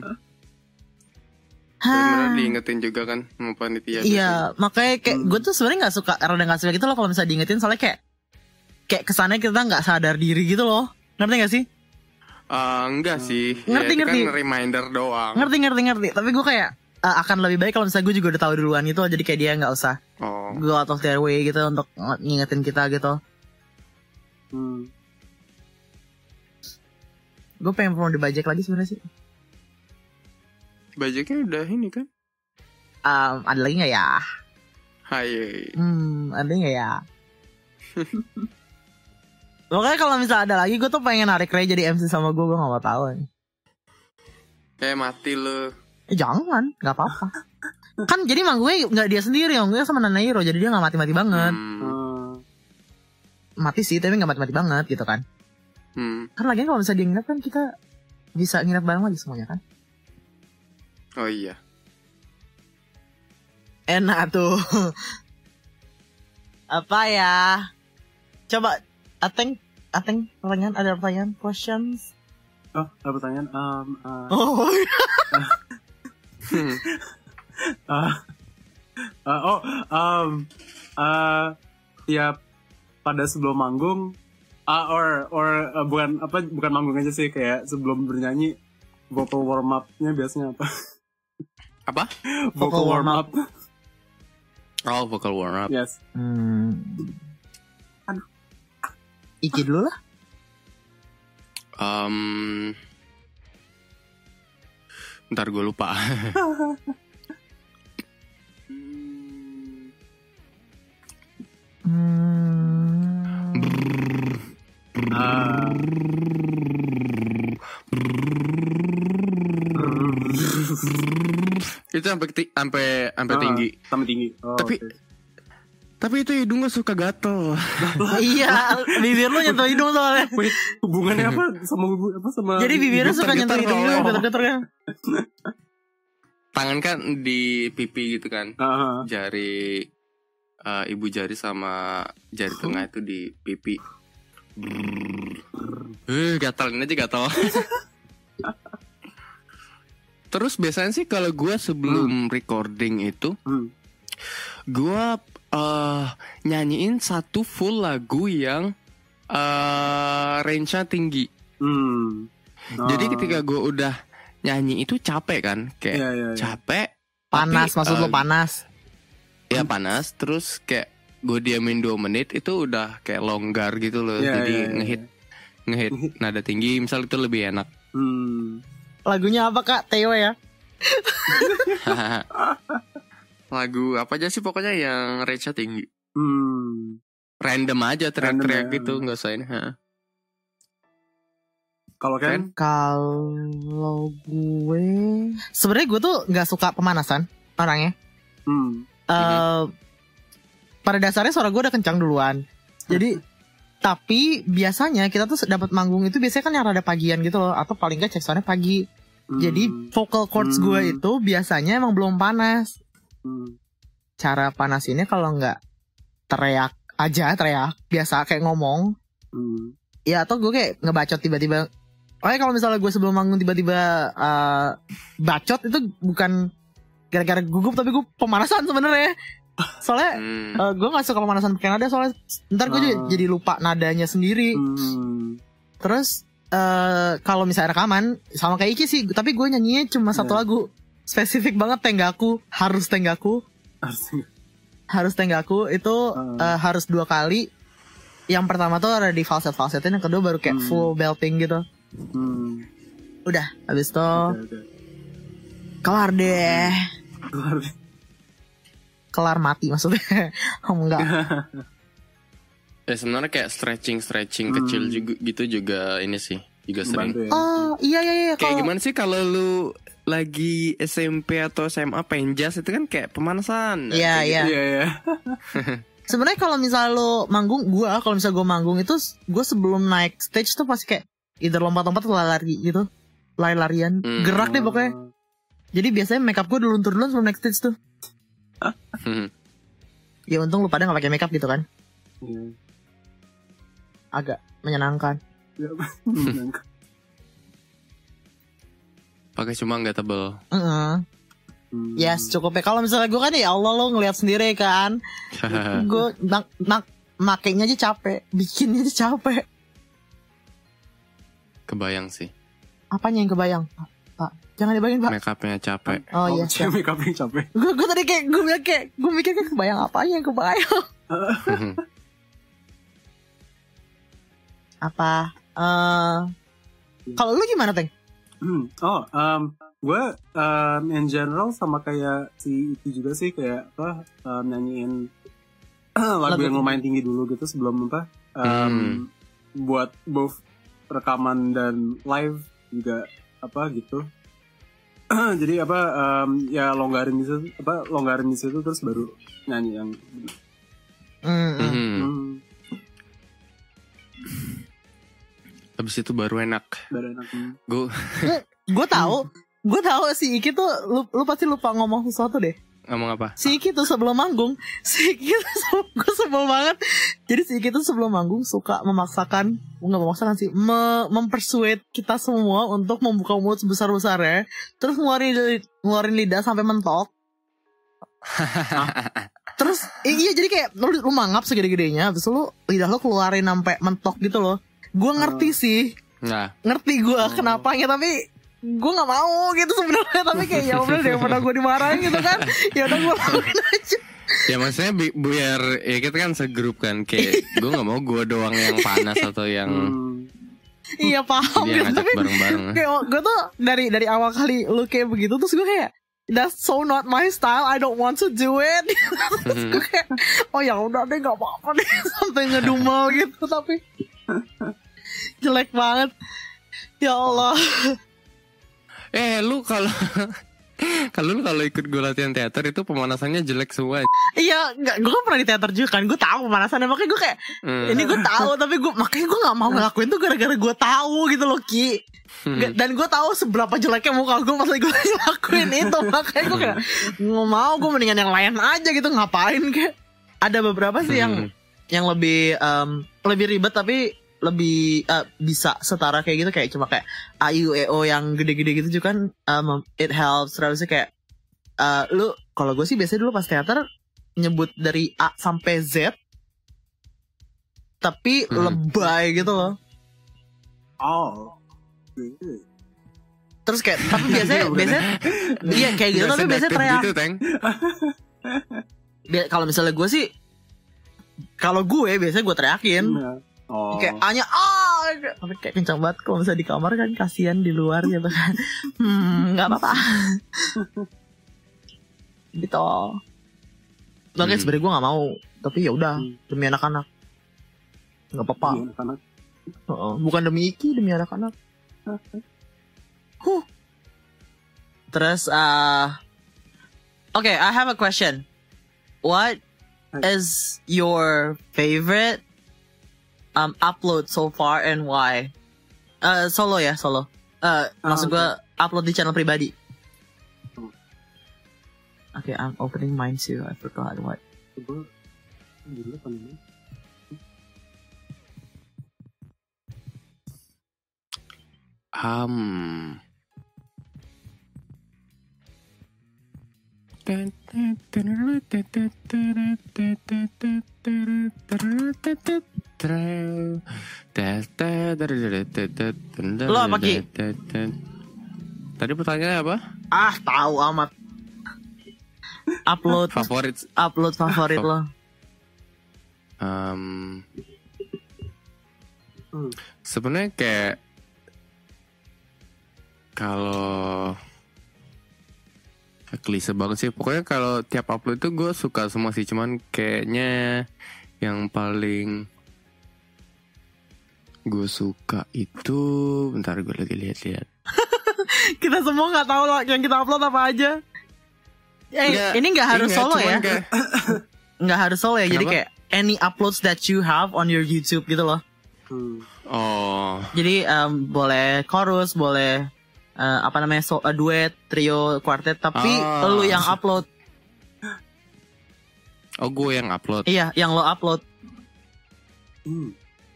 Hah. Bener diingetin juga kan sama panitia. Iya, makanya kayak Hmm. gue tuh sebenarnya nggak suka, rada nggak suka gitu loh kalau misalnya diingetin, soalnya kayak kayak kesannya kita nggak sadar diri gitu loh. Ngerti gak sih? Ah, enggak sih. Ngerti, ya, itu ngerti. kan reminder doang. Ngerti ngerti ngerti. Tapi gue kayak eh, akan lebih baik kalau misalnya gue juga udah tahu duluan gitu, jadi kayak dia nggak usah Oh. go out of their way gitu untuk ngingetin kita gitu. Hmm. Gue pengen promo dibajak lagi sebenarnya sih. Bajaknya udah ini kan? Um, ada lagi nggak ya? Hai. Hmm, ada nggak ya? Pokoknya kalau misalnya ada lagi, gue tuh pengen narik Ray jadi M C sama gue, gue gak mau tahu. Kayak mati lo. Eh jangan, nggak apa-apa. Kan jadi manggungnya nggak dia sendiri, manggungnya sama Nanairo, jadi dia nggak mati-mati banget. Hmm. Hmm. Mati sih, tapi nggak mati-mati banget gitu kan. Hmm. Kan lagian kalau misalnya dia nginep kan kita bisa nginep bareng lagi semuanya kan. Oh iya. Enak tuh. Apa ya? Coba, Ateng, Ateng, pertanyaan, ada pertanyaan, questions? Oh, ada pertanyaan. Um, uh, Oh, uh, uh, oh, um, uh, ya pada sebelum manggung, uh, or or uh, bukan apa, bukan manggung aja sih, kayak sebelum bernyanyi, vocal warm up-nya biasanya apa? Apa? Vocal warm up. Oh, vocal warm up. Yes. hmm. Iki dulu lah. Um, Ntar gue lupa. Hmm. Ah. Itu sampai ti- sampai sampai Ah, tinggi. Sampai tinggi. Oh, Tapi oke. tapi itu hidung gue suka gatel. Iya, bibir lu nyentuh hidung soalnya. Wait, hubungannya apa sama hubung apa sama? Jadi bibirnya suka nyentuh Getar-getar, hidung lu, oh. getar-getar kan. Tangan kan di pipi gitu kan. Ah, Jari uh, ibu jari sama jari tengah itu di pipi. Eh, gatal ini aja gatal. Terus biasanya sih kalau gue sebelum recording itu, hmm. gue uh, nyanyiin satu full lagu yang uh, range-nya tinggi. Hmm. Jadi Ah. ketika gue udah nyanyi itu capek kan, kayak Iya, iya, iya. capek. Panas, tapi, maksud uh, lu panas. Ya panas. Terus kayak gue diamin dua menit itu udah kayak longgar gitu loh. Iya, Jadi iya, iya. ngehit ngehit nada tinggi, misal itu lebih enak. Hmm. Lagunya apa Kak? Theo ya? Lagu apa aja sih pokoknya yang range-nya tinggi. Hmm. Random aja teriak-teriak Random ya. gitu, nggak usah ini. Ha. Kalau kan? Kalau gue, sebenarnya gue tuh nggak suka pemanasan orangnya. Hmm. Eh, pada dasarnya suara gue udah kencang duluan. Jadi, tapi biasanya kita tuh dapat manggung itu biasanya kan yang rada pagian gitu loh, atau paling nggak cek soundnya pagi. Hmm. Jadi vocal cords Hmm. gue itu biasanya emang belum panas. Hmm. Cara panasinnya kalau nggak teriak aja, teriak biasa kayak ngomong. Hmm. Ya atau gue kayak ngebacot tiba-tiba. Oke, kalau misalnya gue sebelum manggung tiba-tiba uh, bacot itu bukan gara-gara gugup, tapi gue pemanasan sebenarnya. Soalnya Hmm. uh, gue nggak suka pemanasan pakai nada, soalnya ntar gue Ah. jadi lupa nadanya sendiri. Hmm. Terus uh, kalau misalnya rekaman sama kayak Iki sih, tapi gue nyanyinya cuma satu Yeah. lagu spesifik banget, Tenggaku, harus Tenggaku, Harusnya. harus Tenggaku itu Ah. uh, harus dua kali. Yang pertama tuh ada di falset falsetin, yang kedua baru kayak Hmm. full belting gitu. Hmm. Udah, habis itu Oke, oke. kelar deh, Keluar. kelar mati maksudnya. Oh enggak. Ya sebenarnya kayak stretching stretching Hmm. kecil juga gitu juga ini sih juga sering. Membantu ya. Oh iya iya iya. Kayak Kalau gimana sih kalau lu lagi S M P atau S M A penjas itu kan kayak pemanasan. Iya Kayak iya. Iya, iya. Sebenarnya kalau misalnya lo manggung, gua kalau misalnya gua manggung itu gue sebelum naik stage tuh pasti kayak either lompat-lompat atau lari gitu, lari-larian, Hmm. gerak deh pokoknya. Jadi biasanya makeup gue dulu turun sebelum naik stage tuh. Hmm. Ya untung lu pada nggak pakai makeup gitu kan, Iya. agak menyenangkan. Iya. Pakai cuma nggak tebel. Heeh. Hmm. Yes, cukup ya. Kalau misalnya gue kan ya Allah lo ngeliat sendiri kan, gue nak nak makainya aja capek, bikinnya aja capek. Kebayang sih. Apanya yang kebayang, Pak? Jangan dibayangin Pak. Make upnya capek. Oh iya. Cewek make up-nya capek. Gue gue tadi kayak gue bilang kayak gue mikir kayak kebayang apa yang kebayang. Apa? Eh kalau lu gimana Teng? Hmm. Oh, um, gue um, in general sama kayak si itu juga sih, kayak apa um, nyanyiin lagu Lagu yang tinggi. lumayan tinggi dulu gitu sebelum apa um, Hmm. buat both rekaman dan live juga apa gitu. Jadi apa um, ya longgarin di situ, apa longgarin di situ terus baru nyanyi yang Hmm. hmm. Hmm. hmm, Habis itu baru enak. baru enak. Hmm. Gue Gue tahu, gue tahu si Iki tuh lu, lu pasti lupa ngomong sesuatu deh. ngomong apa? Si Iki tuh sebelum manggung, si Iki tuh gue sebel banget. Jadi si Iki tuh sebelum manggung suka memaksakan, nggak memaksakan sih, me- mempersuade kita semua untuk membuka mulut sebesar-besarnya, terus ngeluarin ngeluarin lidah sampai mentok. Nah, terus iya jadi kayak lu, lu mangap segede-gedenya, terus lu lidah lu keluarin sampai mentok gitu loh. Gue ngerti sih, Nah, ngerti gue kenapanya, tapi gue nggak mau gitu sebenarnya. Tapi kayak ya udah daripada gue dimarahin gitu kan, ya udah gue lakuin aja. ya maksudnya bi- biar ya kita kan segrup kan, kayak gue nggak mau gue doang yang panas atau yang Hmm. Iya paham dia gitu, ngajak tapi bareng-bareng. kayak gue tuh dari dari awal kali lu kayak begitu, terus gue kayak that's so not my style, I don't want to do it. Terus gue kayak oh ya udah deh nggak apa-apa deh, sampai ngedumel gitu. Tapi jelek banget ya Allah. Eh lu kalau kalau lu kalau ikut gue latihan teater itu pemanasannya jelek semua. Iya, nggak, gue kan pernah di teater juga kan, gue tahu pemanasannya, makanya gue kayak Hmm. ini gue tahu, tapi gue makanya gue nggak mau ngelakuin tuh gara-gara gue tahu gitu loh Ki. Nggak- dan gue tahu seberapa jeleknya muka gue pas lagi gue ngelakuin itu, makanya gue kayak nggak mau, gue mendingan yang lain aja gitu, ngapain kayak. Ada beberapa sih yang yang lebih em, lebih ribet tapi lebih eh, bisa setara kayak gitu, kayak cuma kayak A I U E O yang gede-gede gitu juga kan, um, it helps. Terus kayak eh, lu kalau gue sih biasanya dulu pas teater nyebut dari A sampai Z tapi Hmm. lebay gitu loh. Oh. Terus kayak tapi biasanya biasanya iya kayak gitu, tapi biasanya sedaktep teriak. gitu, Teng. Bia- Kalau misalnya gue sih, kalau gue biasanya gue teriakin. Nah. Oh. Kayak hanya ah, tapi kayak kencang banget kalau misalnya di kamar kan, kasihan di luar gitu kan. Hmm, nggak apa-apa. Gitu. Makanya Hmm. sebenarnya gue nggak mau, tapi ya udah Hmm. demi anak-anak, nggak apa-apa. Iya, anak-anak. Heeh, bukan demi Iki, demi anak-anak. Huh. Terus, uh, okay, I have a question. What is your favorite um upload so far and why? Uh, solo ya, solo. Uh, maksud okay. gue upload di channel pribadi. Hmm. Okay, I'm opening mine too. I forgot what. Coba dulu apa namanya? Um. Lo apa, Ki? Tadi pertanyaannya apa? Ah, tahu amat. Upload Favorit. upload favorit lo. Um, Hmm. Sebenarnya kayak kalau klise banget sih. Pokoknya kalau tiap upload itu gue suka semua sih. Cuman kayaknya yang paling gue suka itu, bentar gue lagi lihat-lihat. Kita semua nggak tahu loh yang kita upload apa aja. Eh, Nggak, ini nggak harus ingat, solo cuman ya. kayak- Nggak harus solo ya. Jadi Kenapa? kayak any uploads that you have on your YouTube gitu loh. Hmm. Oh, Jadi em, boleh chorus, boleh eh, apa namanya, so, eh, duet, trio, quartet, tapi Ah. lu yang upload. oh gue yang upload. Iya, yang lo upload. Hmm.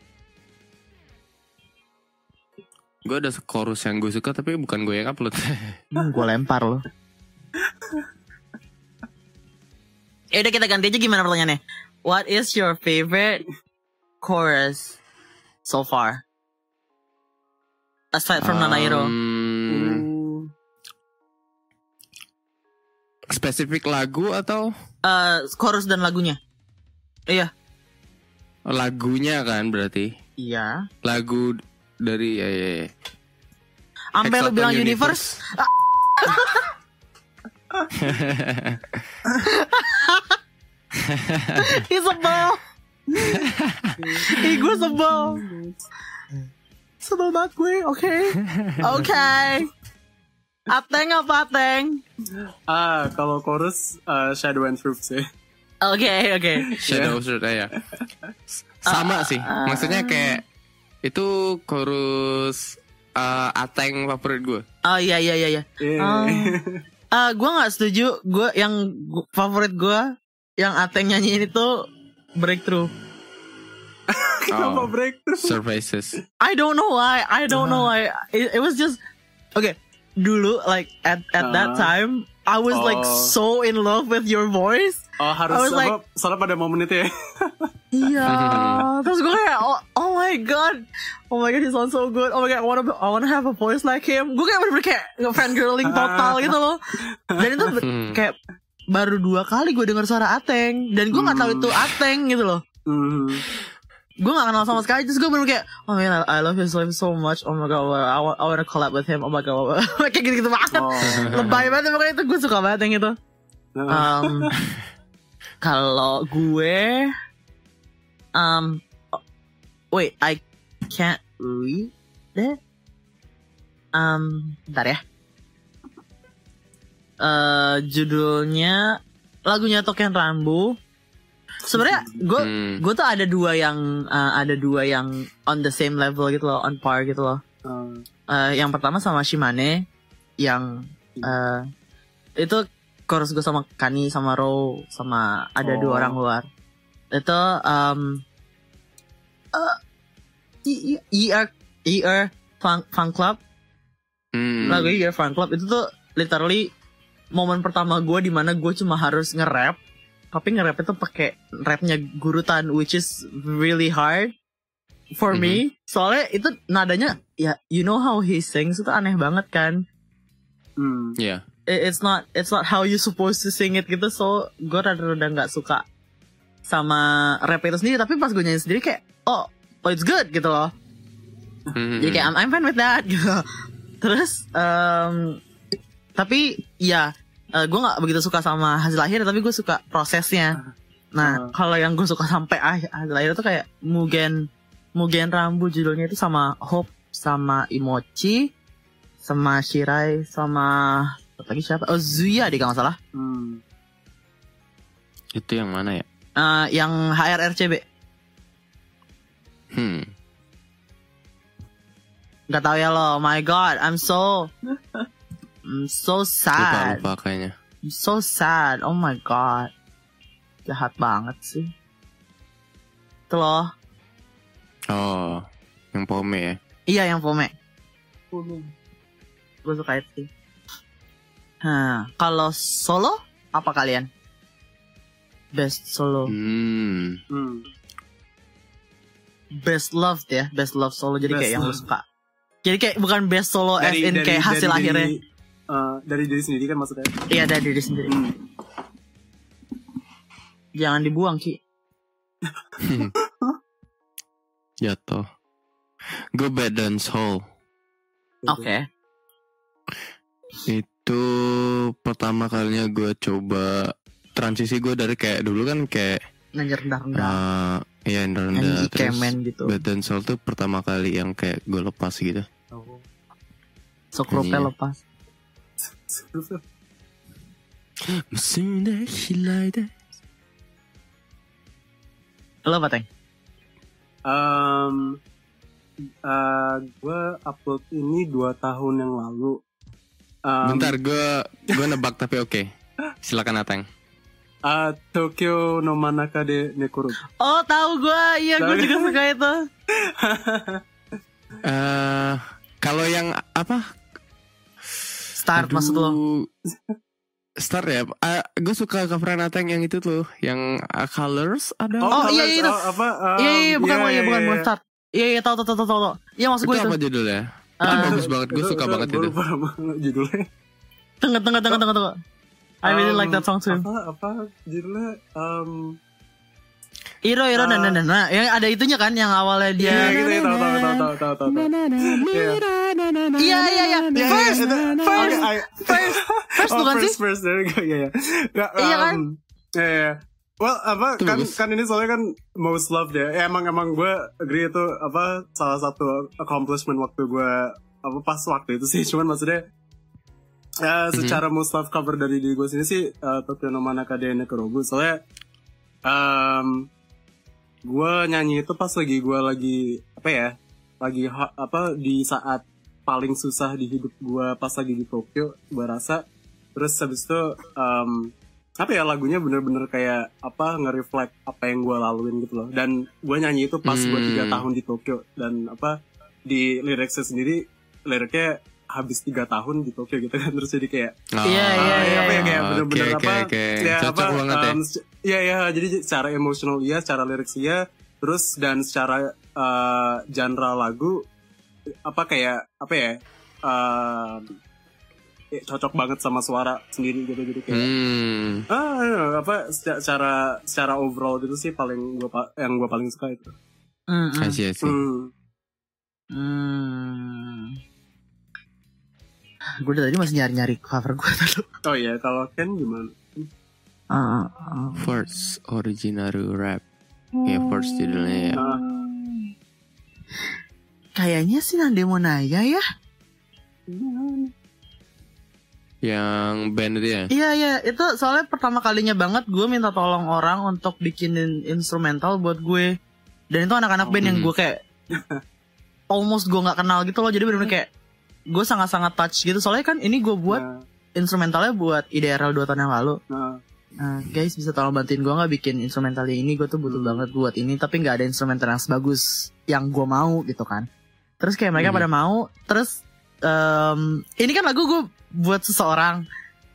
Gue ada chorus yang gue suka tapi bukan gue yang upload. Hmm, gue lempar lo. Ya udah, kita ganti aja, gimana pertanyaannya? What is your favorite chorus so far? Aside from Nanairo. Um, Hmm. Spesifik lagu atau Eh, chorus dan lagunya. Iya. lagunya kan berarti? Iya. Lagu dari ya ya. ya. Sampai lu Hexagon bilang universe. Ih, sebel. Ih, gue sebel. Sebel banget gue, oke. Oke. Ateng apa Ateng? Ah, kalau chorus uh, Shadow and Truth sih. Oke, oke. Shadow Sword ya. Sama sih. Maksudnya kayak itu chorus uh, Ateng favorit gue. Oh iya iya iya iya. Eh. Oh. uh, gue nggak setuju. Gue yang gua, favorit gue yang Ateng nyanyiin itu Breakthrough. Kenapa Oh. breakthrough? Surfaces. I don't know why. I don't know why. It, it was just okay. Dulu like at at that Uh. time, I was like Oh. so in love with your voice. Oh harus I was apa? like- Soalnya pada momen itu ya. Iya. Terus gue kayak oh, oh my god, oh my god, he sounds so good. Oh my god, I wanna be- I wanna have a voice like him. Gue kayak bener-bener kayak fangirling total gitu loh. Dan itu be- kayak baru dua kali gue denger suara Ateng dan gue nggak tahu itu Ateng gitu loh. Hmm. Gue gak kenal sama sekali. Terus gue bener kayak oh man I, I love his voice so much. Oh my god I, want, I wanna collab with him. Oh my god kayak gitu-gitu banget. Oh. Lebay banget makanya itu gue suka banget yang itu. um, Kalau gue um, oh, wait I can't read it. Um, bentar ya. Uh, judulnya lagunya Token Rambu. Sebenarnya gue Hmm. gue tuh ada dua yang uh, ada dua yang on the same level gitu loh, on par gitu loh. Hmm. Uh, yang pertama sama Shimane, yang uh, itu chorus gue sama Kani sama Ro sama ada Oh. dua orang luar. Itu um, uh, E R E R Fun, Fun Club, Hmm. lagu E R Fun Club itu tuh literally momen pertama gue di mana gue cuma harus nge-rap. Tapi nge-rap itu pakai rapnya Gurutan, which is really hard for Mm-hmm. me. Soalnya itu nadanya, ya you know how he sings itu aneh banget kan. Hmm. Yeah. It- It's not it's not how you supposed to sing it gitu. So gue rada-rada nggak suka sama rap itu sendiri. Tapi pas gue nyanyi sendiri kayak, oh, oh it's good gitu loh. Hmm. Jadi kayak I'm, I'm fine with that gitu. Terus um, tapi ya uh, gue nggak begitu suka sama hasil akhir, tapi gue suka prosesnya. Nah Uh. kalau yang gue suka sampai akhir, hasil akhir itu kayak Mugen Mugen Rambu judulnya itu sama Hope sama Imochi sama Shirai sama apa lagi siapa? Oh Zuya deh kalau nggak salah. Hmm. Itu yang mana ya? Uh, yang H R R C B. Hmm. Gak tau ya lo. My God, I'm so I'm so Lupa sad. lupa kayaknya. I'm so sad. Oh my God. Jahat banget sih. Itu loh. Oh, yang Pome ya. Iya yang Pome. Gue suka itu sih. Nah, kalau solo apa kalian? Best solo, Hmm. Hmm. best love ya, best love solo. Jadi Best kayak yang lu love. suka. Jadi kayak bukan best solo as in kayak hasil dari, akhirnya. uh, dari diri sendiri kan maksudnya. Iya dari diri sendiri. Hmm. Jangan dibuang Ki. Jatuh. Gue Bad dan Soul. Oke. Itu pertama kalinya gue coba transisi gue dari kayak dulu kan kayak Nyanyi rendah-rendah. uh, ya rendah Nyanyi terus Ikemen gitu. Bad dan Soul tuh pertama kali yang kayak gue lepas gitu. Sok rupanya Iya. lepas. Lo apa Teng? Um, uh, gue upload ini dua tahun yang lalu. Um, Bentar gue gue nebak tapi oke. Silakan Ateng. uh, Tokyo no Manaka de Nekoro. Oh tahu gue, iya gue Tahu. juga suka itu. Eh kalau yang apa? Start maksud lo? Start ya. Uh, gue suka coveran Ateng yang itu tuh, yang uh, Colors ada. Oh, iya, Colors, iya, itu. oh, apa? um, Iya iya bukan iya, iya iya, bukan iya. bukan start. Iya iya tahu tahu tahu tahu tahu. Iya maksud itu gue itu. apa judulnya? Itu Ah. bagus banget. Gue suka banget itu. Gue lupa nama judulnya. Tengah tengah tengah tengah tengah. I really Um, like that song too. Apa apa judulnya? Um, Iro Iro Ah. dan dan dan. Nah, yang ada itunya kan yang awalnya dia. Iya gitu ya, tahu tahu tahu tahu tahu tahu. Iya. Iya iya iya. Iya, First iya, itu- first oke, I- first first oh, bukan first, sih? First, there you go, iya, iya. Nggak, Iya um, kan? Iya, iya. Well, apa, Itu kan, bagus. kan ini soalnya kan most loved ya. Ya, emang, emang gue agree itu, apa, salah satu accomplishment waktu gue, apa, pas waktu itu sih. Cuman maksudnya, ya, secara most loved cover dari diri gue sini sih, uh, Tokyo no Manaka de Nekorobu. Soalnya, um, gue nyanyi itu pas lagi gue lagi, apa ya, lagi, ha- apa, di saat paling susah di hidup gue pas lagi di Tokyo, gue rasa Terus habis itu um, apa ya lagunya bener-bener kayak apa nge-reflect apa yang gue laluin gitu loh. Dan gue nyanyi itu pas gue tiga Hmm. tahun di Tokyo, dan apa di liriknya sendiri liriknya habis tiga tahun di Tokyo gitu kan. Terus jadi kayak Oh, Iya, iya, ah, iya. apa ya kayak Oke, bener-bener oke, apa oke. ya Cocok apa banget ya. um, se- iya iya jadi secara emosional iya, secara lirik iya, terus dan secara uh, genre lagu apa kayak apa ya um, ya, cocok banget sama suara sendiri gitu, jadi kayak Hmm. ah iya, apa secara secara, secara overall gitu sih paling gua pa- yang gue paling suka itu. Mm, mm. I see, I see. Hmm. Hmm. Gue dari tadi masih nyari-nyari cover gue dulu. Oh iya, kalau Ken gimana? Uh, uh. First original rap. Ya first judulnya ya. Ah, Kayaknya sih Nande Monaya ya. Yang band itu ya. Iya iya, itu soalnya pertama kalinya banget gue minta tolong orang untuk bikinin instrumental buat gue. Dan itu anak-anak band yang Hmm. gue kayak almost gue nggak kenal gitu loh. Jadi bener-bener kayak gue sangat-sangat touch gitu. Soalnya kan ini gue buat nah, instrumentalnya buat I D R L dua tahun yang lalu. nah, Nah, guys bisa tolong bantuin gue nggak bikin instrumentalnya ini, gue tuh butuh banget buat ini, tapi nggak ada instrumental yang sebagus yang gue mau gitu kan. Terus kayak mereka Hmm. pada mau, terus em, ini kan lagu gue buat seseorang.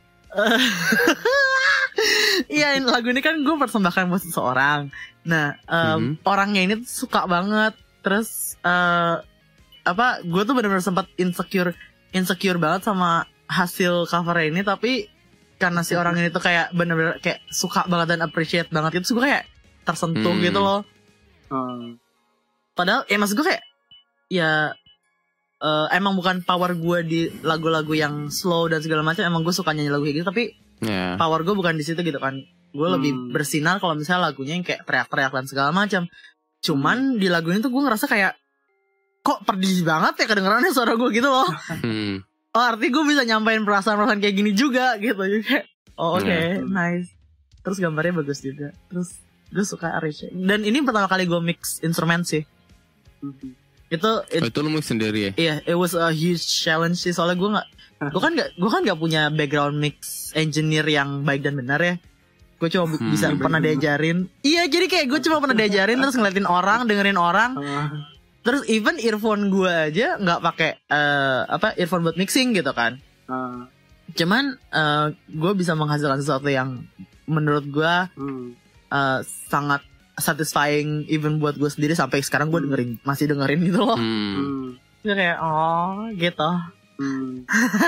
Iya, ini lagu ini kan gue persembahkan buat seseorang. Nah, em, orangnya ini tuh suka banget. Terus eh, apa? Gue tuh benar-benar sempat insecure, insecure banget sama hasil cover ini, tapi karena si orang ini tuh kayak bener-bener kayak suka banget dan appreciate banget itu, gue kayak tersentuh Hmm. gitu loh. ah, Padahal ya maksud gue kayak ya eh, emang bukan power gue di lagu-lagu yang slow dan segala macam, emang gue suka nyanyi lagu kayak gitu, tapi Ya. power gue bukan di situ gitu kan. Gue Hmm. lebih bersinar kalau misalnya lagunya yang kayak teriak-teriak dan segala macam. Cuman di lagu ini tuh gue ngerasa kayak kok pedih banget ya kedengerannya suara gue gitu loh. Hmm. Oh, artinya gue bisa nyampein perasaan-perasaan kayak gini juga gitu. Jadi kayak, oh oke, Yeah. nice. Terus gambarnya bagus juga. Terus gue suka arrange. Dan ini pertama kali gue mix instrumen sih. mhm. Itu, Oh, it, itu lu mix sendiri ya? iya, it was a huge challenge sih. Soalnya gue nggak, gue kan nggak, gue kan nggak punya background mix engineer yang baik dan benar ya. Gue cuma bu- Hmm. bisa pernah diajarin. Iya, jadi kayak gue cuma pernah diajarin terus ngeliatin orang, dengerin orang. Ah, Terus even earphone gue aja nggak pakai eh, apa earphone buat mixing gitu kan. ah, Cuman gue bisa menghasilkan sesuatu yang menurut gue hmm. uh, sangat satisfying even buat gue sendiri, sampai sekarang gue dengerin, masih dengerin gitu loh. Hmm. Hmm. Gue kayak oh gitu. Hmm.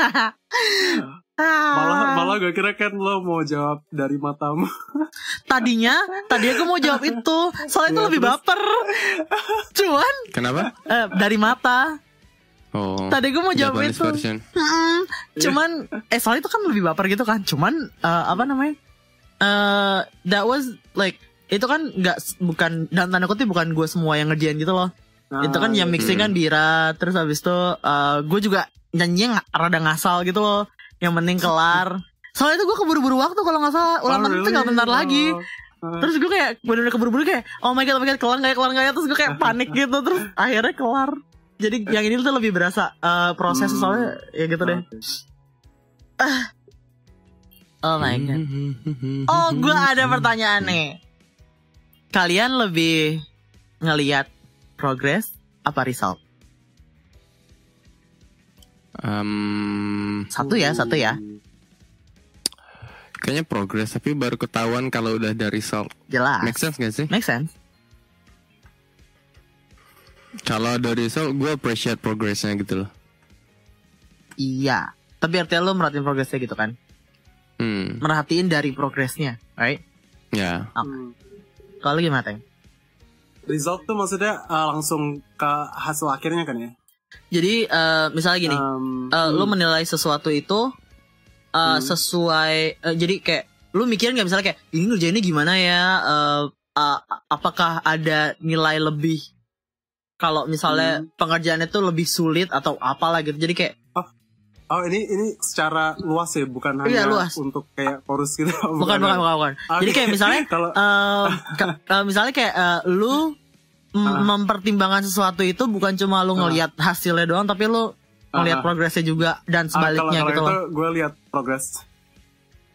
Ah. Malah malah gue kira kan lo mau jawab dari matamu. Tadinya tadinya gue mau jawab itu, soalnya itu Ya, lebih terus? baper. Cuman Kenapa? eh, dari mata. Oh. Tadi gue mau jawab Japanese itu. version. Mm-mm. Cuman eh soalnya itu kan lebih baper gitu kan. Cuman eh, apa namanya? Eh that was like itu kan nggak bukan, dan tanda kutip bukan gue semua yang ngerjain gitu loh. Ah, Itu kan yang iya. mixing kan Bira, terus habis itu eh, gue juga nyanyinya ng- rada ngasal gitu loh. Yang penting kelar. Soalnya itu gue keburu-buru waktu kalau nggak salah. Ulang Oh, tahun itu really? nggak bentar lagi. Oh, ah. Terus gue kayak bener-bener keburu-buru kayak oh my god, oh my god, kelar nggak ya, kelar nggak ya. Terus gue kayak panik gitu. Terus akhirnya kelar. Jadi yang ini tuh lebih berasa eh, proses Hmm. soalnya ya gitu deh. Oke. Oh my god. Hmm. Oh, gue ada pertanyaan nih. Kalian lebih ngelihat progress apa result? Um, Satu ya, satu ya. kayaknya progress, tapi baru ketahuan kalau udah ada result. Jelas. Make sense gak sih? Make sense. Kalau ada result, gue appreciate progressnya gitu loh. Iya. Tapi artinya lo merhatiin progresnya gitu kan? Hmm, Merhatiin dari progresnya, right? ya. Hmm. Kalau lu gimana, Teng? Result tuh maksudnya uh, langsung ke hasil akhirnya kan ya? Jadi eh, misalnya gini, Um, eh, lu hmm. menilai sesuatu itu eh, Hmm. sesuai, eh, jadi kayak lu mikirin nggak misalnya kayak ini ngerjainnya gimana ya? eh, eh, apakah ada nilai lebih? Kalau misalnya Hmm. pengerjaannya tuh lebih sulit atau apalah gitu. Jadi kayak Oh ini ini secara luas ya, bukan hanya Iya, luas. untuk kayak chorus gitu. bukan bukan bukan bukan. Oke. Jadi kayak misalnya kalau eh, ka- eh, misalnya kayak eh, lu m- Ah. mempertimbangkan sesuatu itu bukan cuma lu Ah. ngelihat hasilnya doang, tapi lu ngelihat Ah. progresnya juga dan ah, kalau sebaliknya kalau gitu itu loh. gue lihat progress.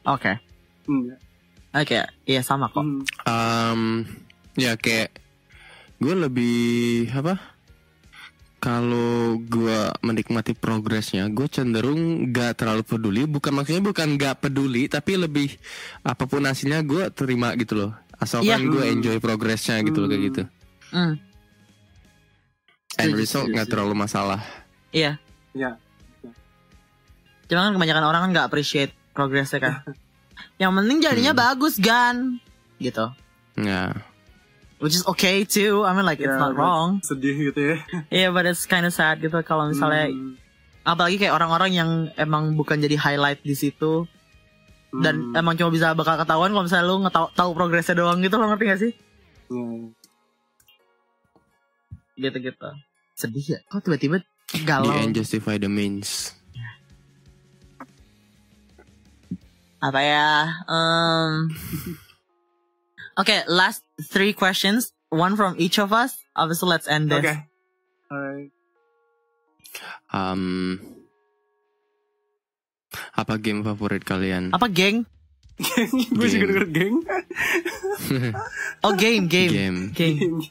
Oke. Hmm, Oke, iya sama kok. hmm. Um, ya kayak gue lebih apa? Kalau gue menikmati progresnya, gue cenderung gak terlalu peduli. Bukan maksudnya bukan gak peduli, tapi lebih apapun hasilnya gue terima gitu loh. Asalkan Iya. gue enjoy progresnya gitu loh kayak gitu. Hmm. End Setuju, result setuju, gak setuju. terlalu masalah. Iya. Ya. Cuma kan kebanyakan orang kan nggak appreciate progresnya kan. Yang penting jadinya Hmm. bagus kan, gitu. Ya. Which is okay too. I mean like it's Ya, not but wrong. Sedih gitu ya. Yeah, but it's kind of sad gitu kalau misalnya, Hmm, apalagi kayak orang-orang yang emang bukan jadi highlight di situ dan hmm. emang cuma bisa bakal ketahuan kalau misalnya lu ngetau tahu progresnya doang gitu, lo ngerti gak sih? Ya. Gitu-gitu. Sedih ya. Kok tiba-tiba The galau? end justify the means. Apa ya? Um, okay, last three questions. One from each of us. Obviously, let's end this. Oke. Alright. Um, apa game favorit kalian? Apa geng? Gue juga Game. denger geng. Oh game, game, Game. Game.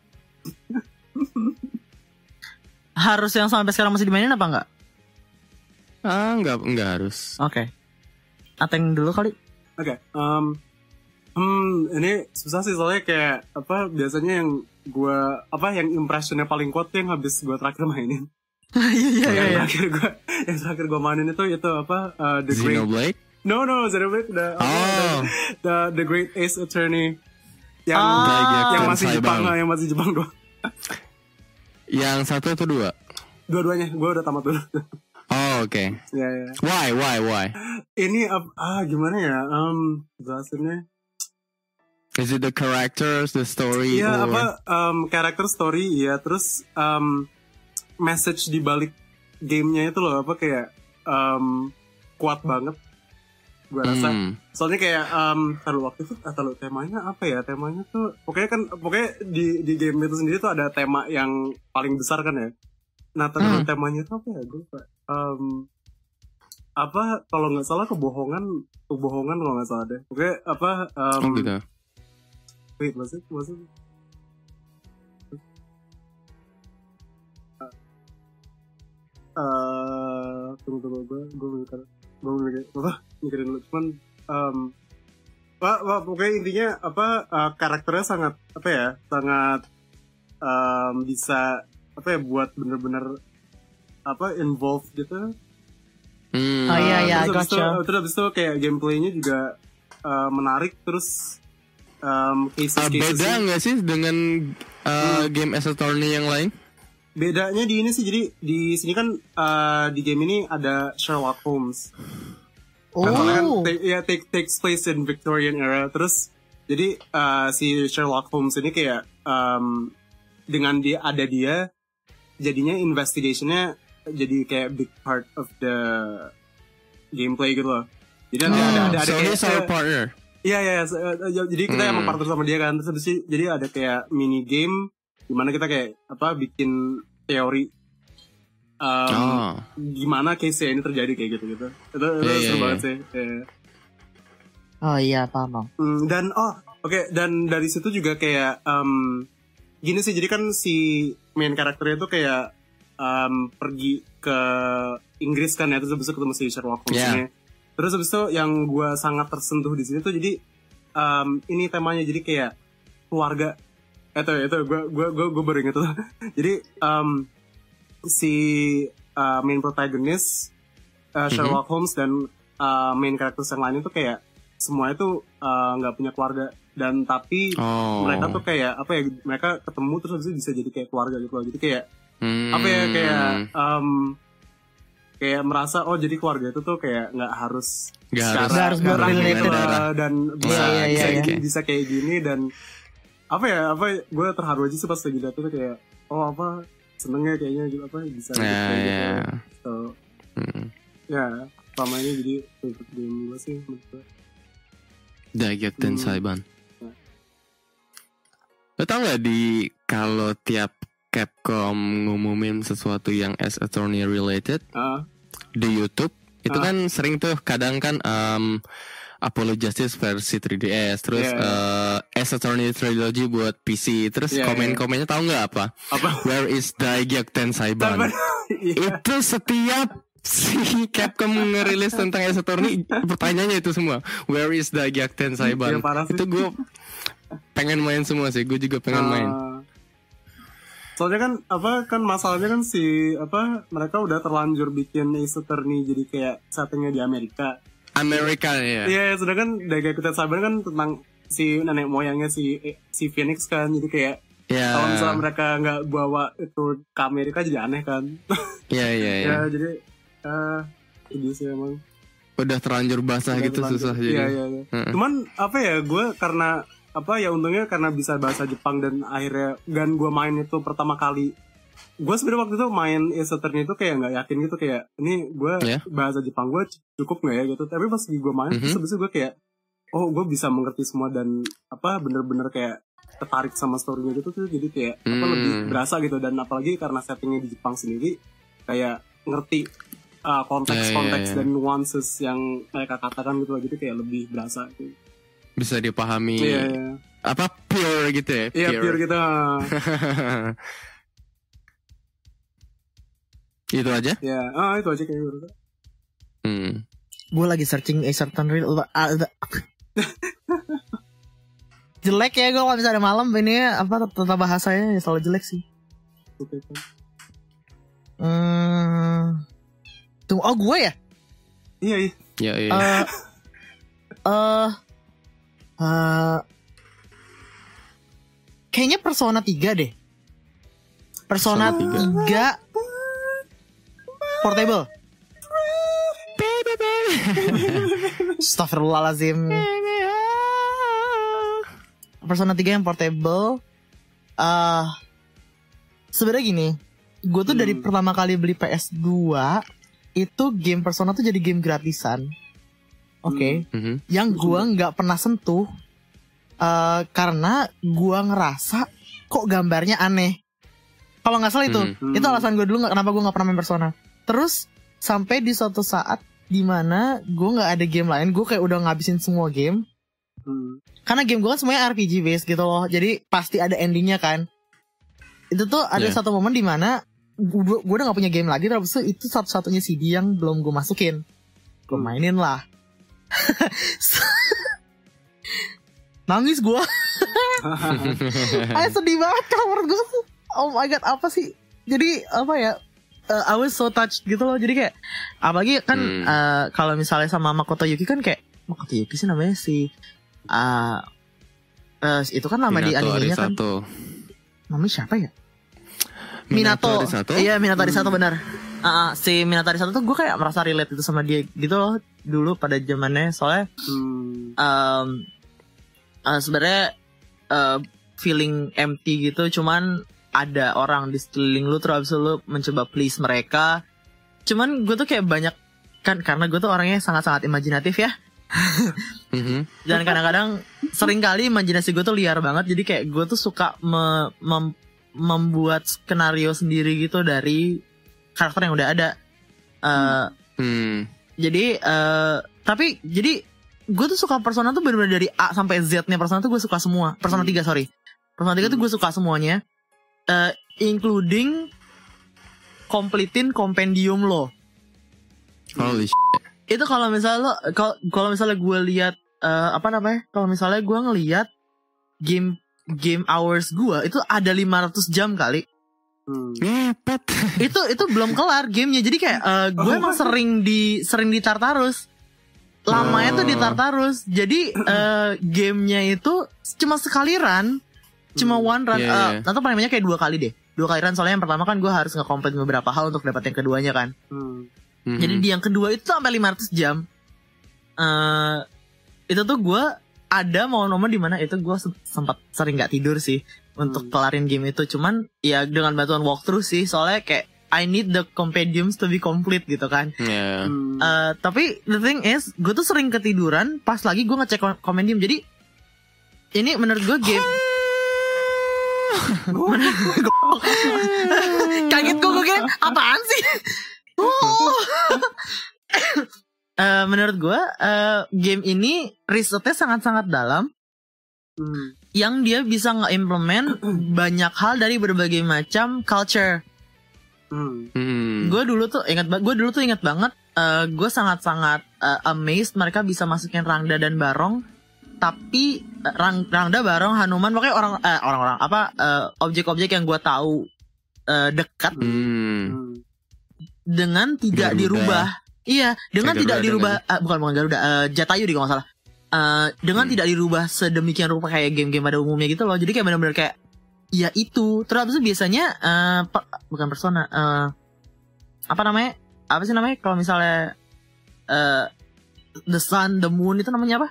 Harus yang sampai sekarang masih dimainin apa enggak? Ah, nggak nggak harus. Oke. Ateng dulu kali. Oke, um, hmm, ini susah sih soalnya kayak apa biasanya yang gue apa yang impressionnya paling kuat tuh yang habis gue terakhir mainin. Iya iya yang iya. terakhir gue yang terakhir gue mainin itu itu apa uh, the great Xenoblade? no no Xenoblade the, apa, Oh. the the the Great Ace Attorney yang Ah. yang Daigyakuten masih Jepang Saibang. yang masih Jepang doang. Yang satu atau dua? Dua-duanya gue udah tamat dulu. Oh, oke. Ya ya. Why, why, why? Ini ap- ah gimana ya? Um, jelasinnya. Is it the characters, the story, Iya or apa um, karakter story ya terus um, message di balik gamenya itu loh apa kayak um, kuat banget gue rasa. Hmm. Soalnya kayak um, kalau waktu itu atau temanya apa ya temanya tuh pokoknya kan pokoknya di di game itu sendiri tuh ada tema yang paling besar kan ya. Nah terus Hmm. temanya itu apa ya gue lupa. Um, apa kalau nggak salah kebohongan kebohongan kalau nggak salah deh. Oke apa um, Oh gitu. wait was it was it uh, tunggu tunggu gue gue mikir gue mikir apa mikirin dulu cuman um, wah, wah, pokoknya intinya apa uh, karakternya sangat apa ya sangat um, bisa apa ya buat bener-bener apa involved gitu. Hmm. Oh, iya, Uh, iya, terus habis itu, gotcha. terus habis itu kayak gameplaynya juga uh, menarik terus um, cases Ah, cases beda nggak sih dengan uh, game Ace Attorney yang lain? bedanya di ini sih jadi di sini kan uh, di game ini ada Sherlock Holmes. Kan soalnya kan Oh. ta- ya take takes place in Victorian era terus jadi uh, si Sherlock Holmes ini kayak um, dengan dia ada dia jadinya investigationnya jadi kayak big part of the gameplay gitu loh. Jadi ada ada ada, ada so kayak he's our partner. iya iya so, uh, jadi kita Hmm. emang partner sama dia kan terus habis itu jadi ada kayak mini game dimana kita kayak apa bikin teori um, Oh. gimana case ini terjadi kayak gitu gitu itu, itu Iya, seru iya, banget iya. sih. Iya. Oh iya paham. Bang. Hmm, dan oh oke dan dari situ juga kayak um, gini sih jadi kan si main karakternya tuh kayak um, pergi ke Inggris kan ya terus habis itu ketemu si Sherlock Holmes Yeah. ini. Terus habis itu yang gue sangat tersentuh di sini tuh jadi um, ini temanya jadi kayak keluarga itu itu gue gue gue gue baru inget tuh. Jadi um, si uh, main protagonis uh, Sherlock Holmes dan uh, main karakter yang lain itu kayak semuanya tuh uh, nggak punya keluarga dan tapi Oh. mereka tuh kayak apa ya mereka ketemu terus habis itu bisa jadi kayak keluarga gitu loh. Jadi kayak Hmm. apa ya kayak um, kayak merasa oh jadi keluarga itu tuh kayak nggak harus Nggak secara harus- Nggak harus darah blood gitu related. lah, dan bisa Iya, iya, bisa, iya, gini, iya. bisa kayak gini dan apa ya apa gue terharu aja sih pas lagi liat itu kayak oh apa senengnya kayaknya gitu apa bisa gitu, Ya, kayak ya. gitu. So, Hmm. ya selama ini jadi favorite game gue sih menurut gue. Daigyakuten Hmm. Saiban. Lo tau gak di kalau tiap Capcom ngumumin sesuatu yang Ace Attorney related Ah, di YouTube itu Ah. kan sering tuh kadang kan um, Apollo Justice versi three D S, terus Yeah. uh, Ace Attorney Trilogy buat P C, terus Yeah, komen-komennya tahu nggak apa? Apa? Where is Daegyakten Saiban? Iya. Itu setiap si Capcom ngerilis tentang Ace Attorney, pertanyaannya itu semua. Where is Daegyakten Saiban? Iya, parah sih. Itu gue pengen main semua sih, gue juga pengen Ah. main. Soalnya kan apa kan masalahnya kan si apa mereka udah terlanjur bikin Ace Attorney jadi kayak settingnya di Amerika. Amerika ya. Iya, sedangkan Daegyakuten Saiban kan tentang si nenek moyangnya si si Phoenix kan, jadi kayak Ya. kalau misalnya mereka nggak bawa itu ke Amerika jadi aneh kan. Iya iya iya. Ya jadi uh, ini sih emang. Udah terlanjur basah Udah gitu terlanjur. susah jadi. Iya iya. iya. Heeh. Cuman apa ya gue karena apa ya untungnya karena bisa bahasa Jepang dan akhirnya dan gue main itu pertama kali. Gue sebenarnya waktu itu main Ace Attorney itu kayak nggak yakin gitu kayak ini gue Yeah. bahasa Jepang gue cukup nggak ya gitu. Tapi pas gue main Mhm. terus habis itu gue kayak oh gue bisa mengerti semua dan apa bener-bener kayak tertarik sama storynya gitu tuh jadi kayak apa Hmm. lebih berasa gitu dan apalagi karena settingnya di Jepang sendiri kayak ngerti uh, konteks-konteks Ya, ya, ya. dan nuances yang mereka katakan gitu jadi kayak lebih berasa gitu. Bisa dipahami. Iya iya Apa pure gitu ya? iya pure gitu. Itu aja? Ya ah itu aja kayak gitu. Hmm. Gue lagi searching Ace Attorney. ah, ada- jelek ya gue kalau misalnya malam ini apa tata bahasanya ya selalu jelek sih. Oke, kan. Hmm. Tunggu, oh gue ya? Iya iya. Ya iya. Eh eh eh, kayaknya Persona tiga deh. Persona Persona tiga Portable. Astagfirullahaladzim. Persona tiga yang portable. uh, Sebenarnya gini, gue tuh dari Hmm. pertama kali beli P S dua itu game Persona tuh jadi game gratisan. Oke, Mhm. yang gue nggak pernah sentuh uh, karena gue ngerasa kok gambarnya aneh. Kalau nggak salah itu, Hmm. itu alasan gue dulu nggak kenapa gue nggak pernah main Persona. Terus sampai di suatu saat dimana gue nggak ada game lain, gue kayak udah ngabisin semua game. Hmm. Karena game gue kan semuanya R P G based gitu loh, jadi pasti ada endingnya kan. Itu tuh ada Yeah. satu momen dimana gue, gue udah gak punya game lagi, terus itu satu-satunya C D yang belum gue masukin. Gue Hmm. mainin lah. Nangis gue. Ayo sedih banget kamar gue. Oh my god, apa sih? Jadi apa ya? Uh, I was so touched gitu loh. Jadi kayak apalagi kan Hmm. uh, kalau misalnya sama Makoto Yuki kan kayak Makoto Yuki sih namanya si uh, uh, itu kan nama di Minato animenya kan. Arisato. Namanya siapa ya? Minato Minato. Arisato? Iya, Minato Arisato benar. Ah, ah, si Minato Arisato tuh gue kayak merasa relate itu sama dia gitu loh dulu pada zamannya, soalnya Hmm. um, uh, sebenarnya uh, feeling empty gitu, cuman ada orang di sekeliling lu terus abis itu lu mencoba please mereka. Cuman gue tuh kayak banyak kan karena gue tuh orangnya sangat-sangat imajinatif ya. Mhm. Dan kadang-kadang sering kali imajinasi gue tuh liar banget. Jadi kayak gue tuh suka me- mem- membuat skenario sendiri gitu dari karakter yang udah ada. Uh, Hmm. Jadi uh, tapi jadi gue tuh suka Persona tuh bener-bener dari A sampai Z-nya Persona tuh gue suka semua. Persona tiga sorry. Persona tiga tuh gue suka semuanya. Uh, including completing compendium lo. Holy shit. Itu kalau misalnya lo kalau kalau misalnya gue lihat uh, apa namanya? Kalau misalnya gue ngelihat game game hours gue itu ada lima ratus jam kali. Hmm. Ngepet. itu itu belum kelar gamenya. Jadi kayak uh, gue Oh. emang sering di sering di Tartarus. Lamanya tuh di Tartarus. Jadi uh, gamenya itu cuma sekali run, cuma Hmm. one run. Iya, uh, iya. Atau paling banyak kayak dua kali deh. Dua kali run soalnya yang pertama kan gue harus nge-complete beberapa hal untuk dapat yang keduanya kan. Hmm. Mhm. Jadi di yang kedua itu sampai lima ratus jam. Eh itu tuh gue ada momen-momen di mana itu gue se- sempat sering nggak tidur sih untuk Hmm. kelarin game itu. Cuman ya dengan bantuan walkthrough sih, soalnya kayak I need the compendiums to be complete gitu kan. Ya. Hmm. Eh tapi the thing is, gue tuh sering ketiduran pas lagi gue ngecek kom- compendium. Jadi ini menurut gue game kaget gue gue kira apaan sih? Oh. uh, menurut gue uh, game ini risetnya sangat-sangat dalam. Hmm. Yang dia bisa nge-implement banyak hal dari berbagai macam culture. Hmm. Hmm. Gue dulu tuh ingat, gue dulu tuh ingat banget. Uh, gue sangat-sangat uh, amazed mereka bisa masukin Rangda dan Barong. Tapi uh, Rang, Rangda, Barong, Hanuman, pokoknya orang uh, orang-orang apa uh, objek-objek yang gue tahu uh, dekat Hmm. Hmm. dengan tidak Garuda. dirubah. Iya, dengan Kayak tidak Garuda dirubah. Uh, bukan bukan Garuda, uh, Jatayu di kalau nggak salah. Uh, dengan Hmm. tidak dirubah sedemikian rupa kayak game-game pada umumnya gitu loh. Jadi kayak benar-benar kayak ya itu. Terus abis itu biasanya uh, per, bukan persona uh, apa namanya? Apa sih namanya kalau misalnya uh, the sun, the moon itu namanya apa?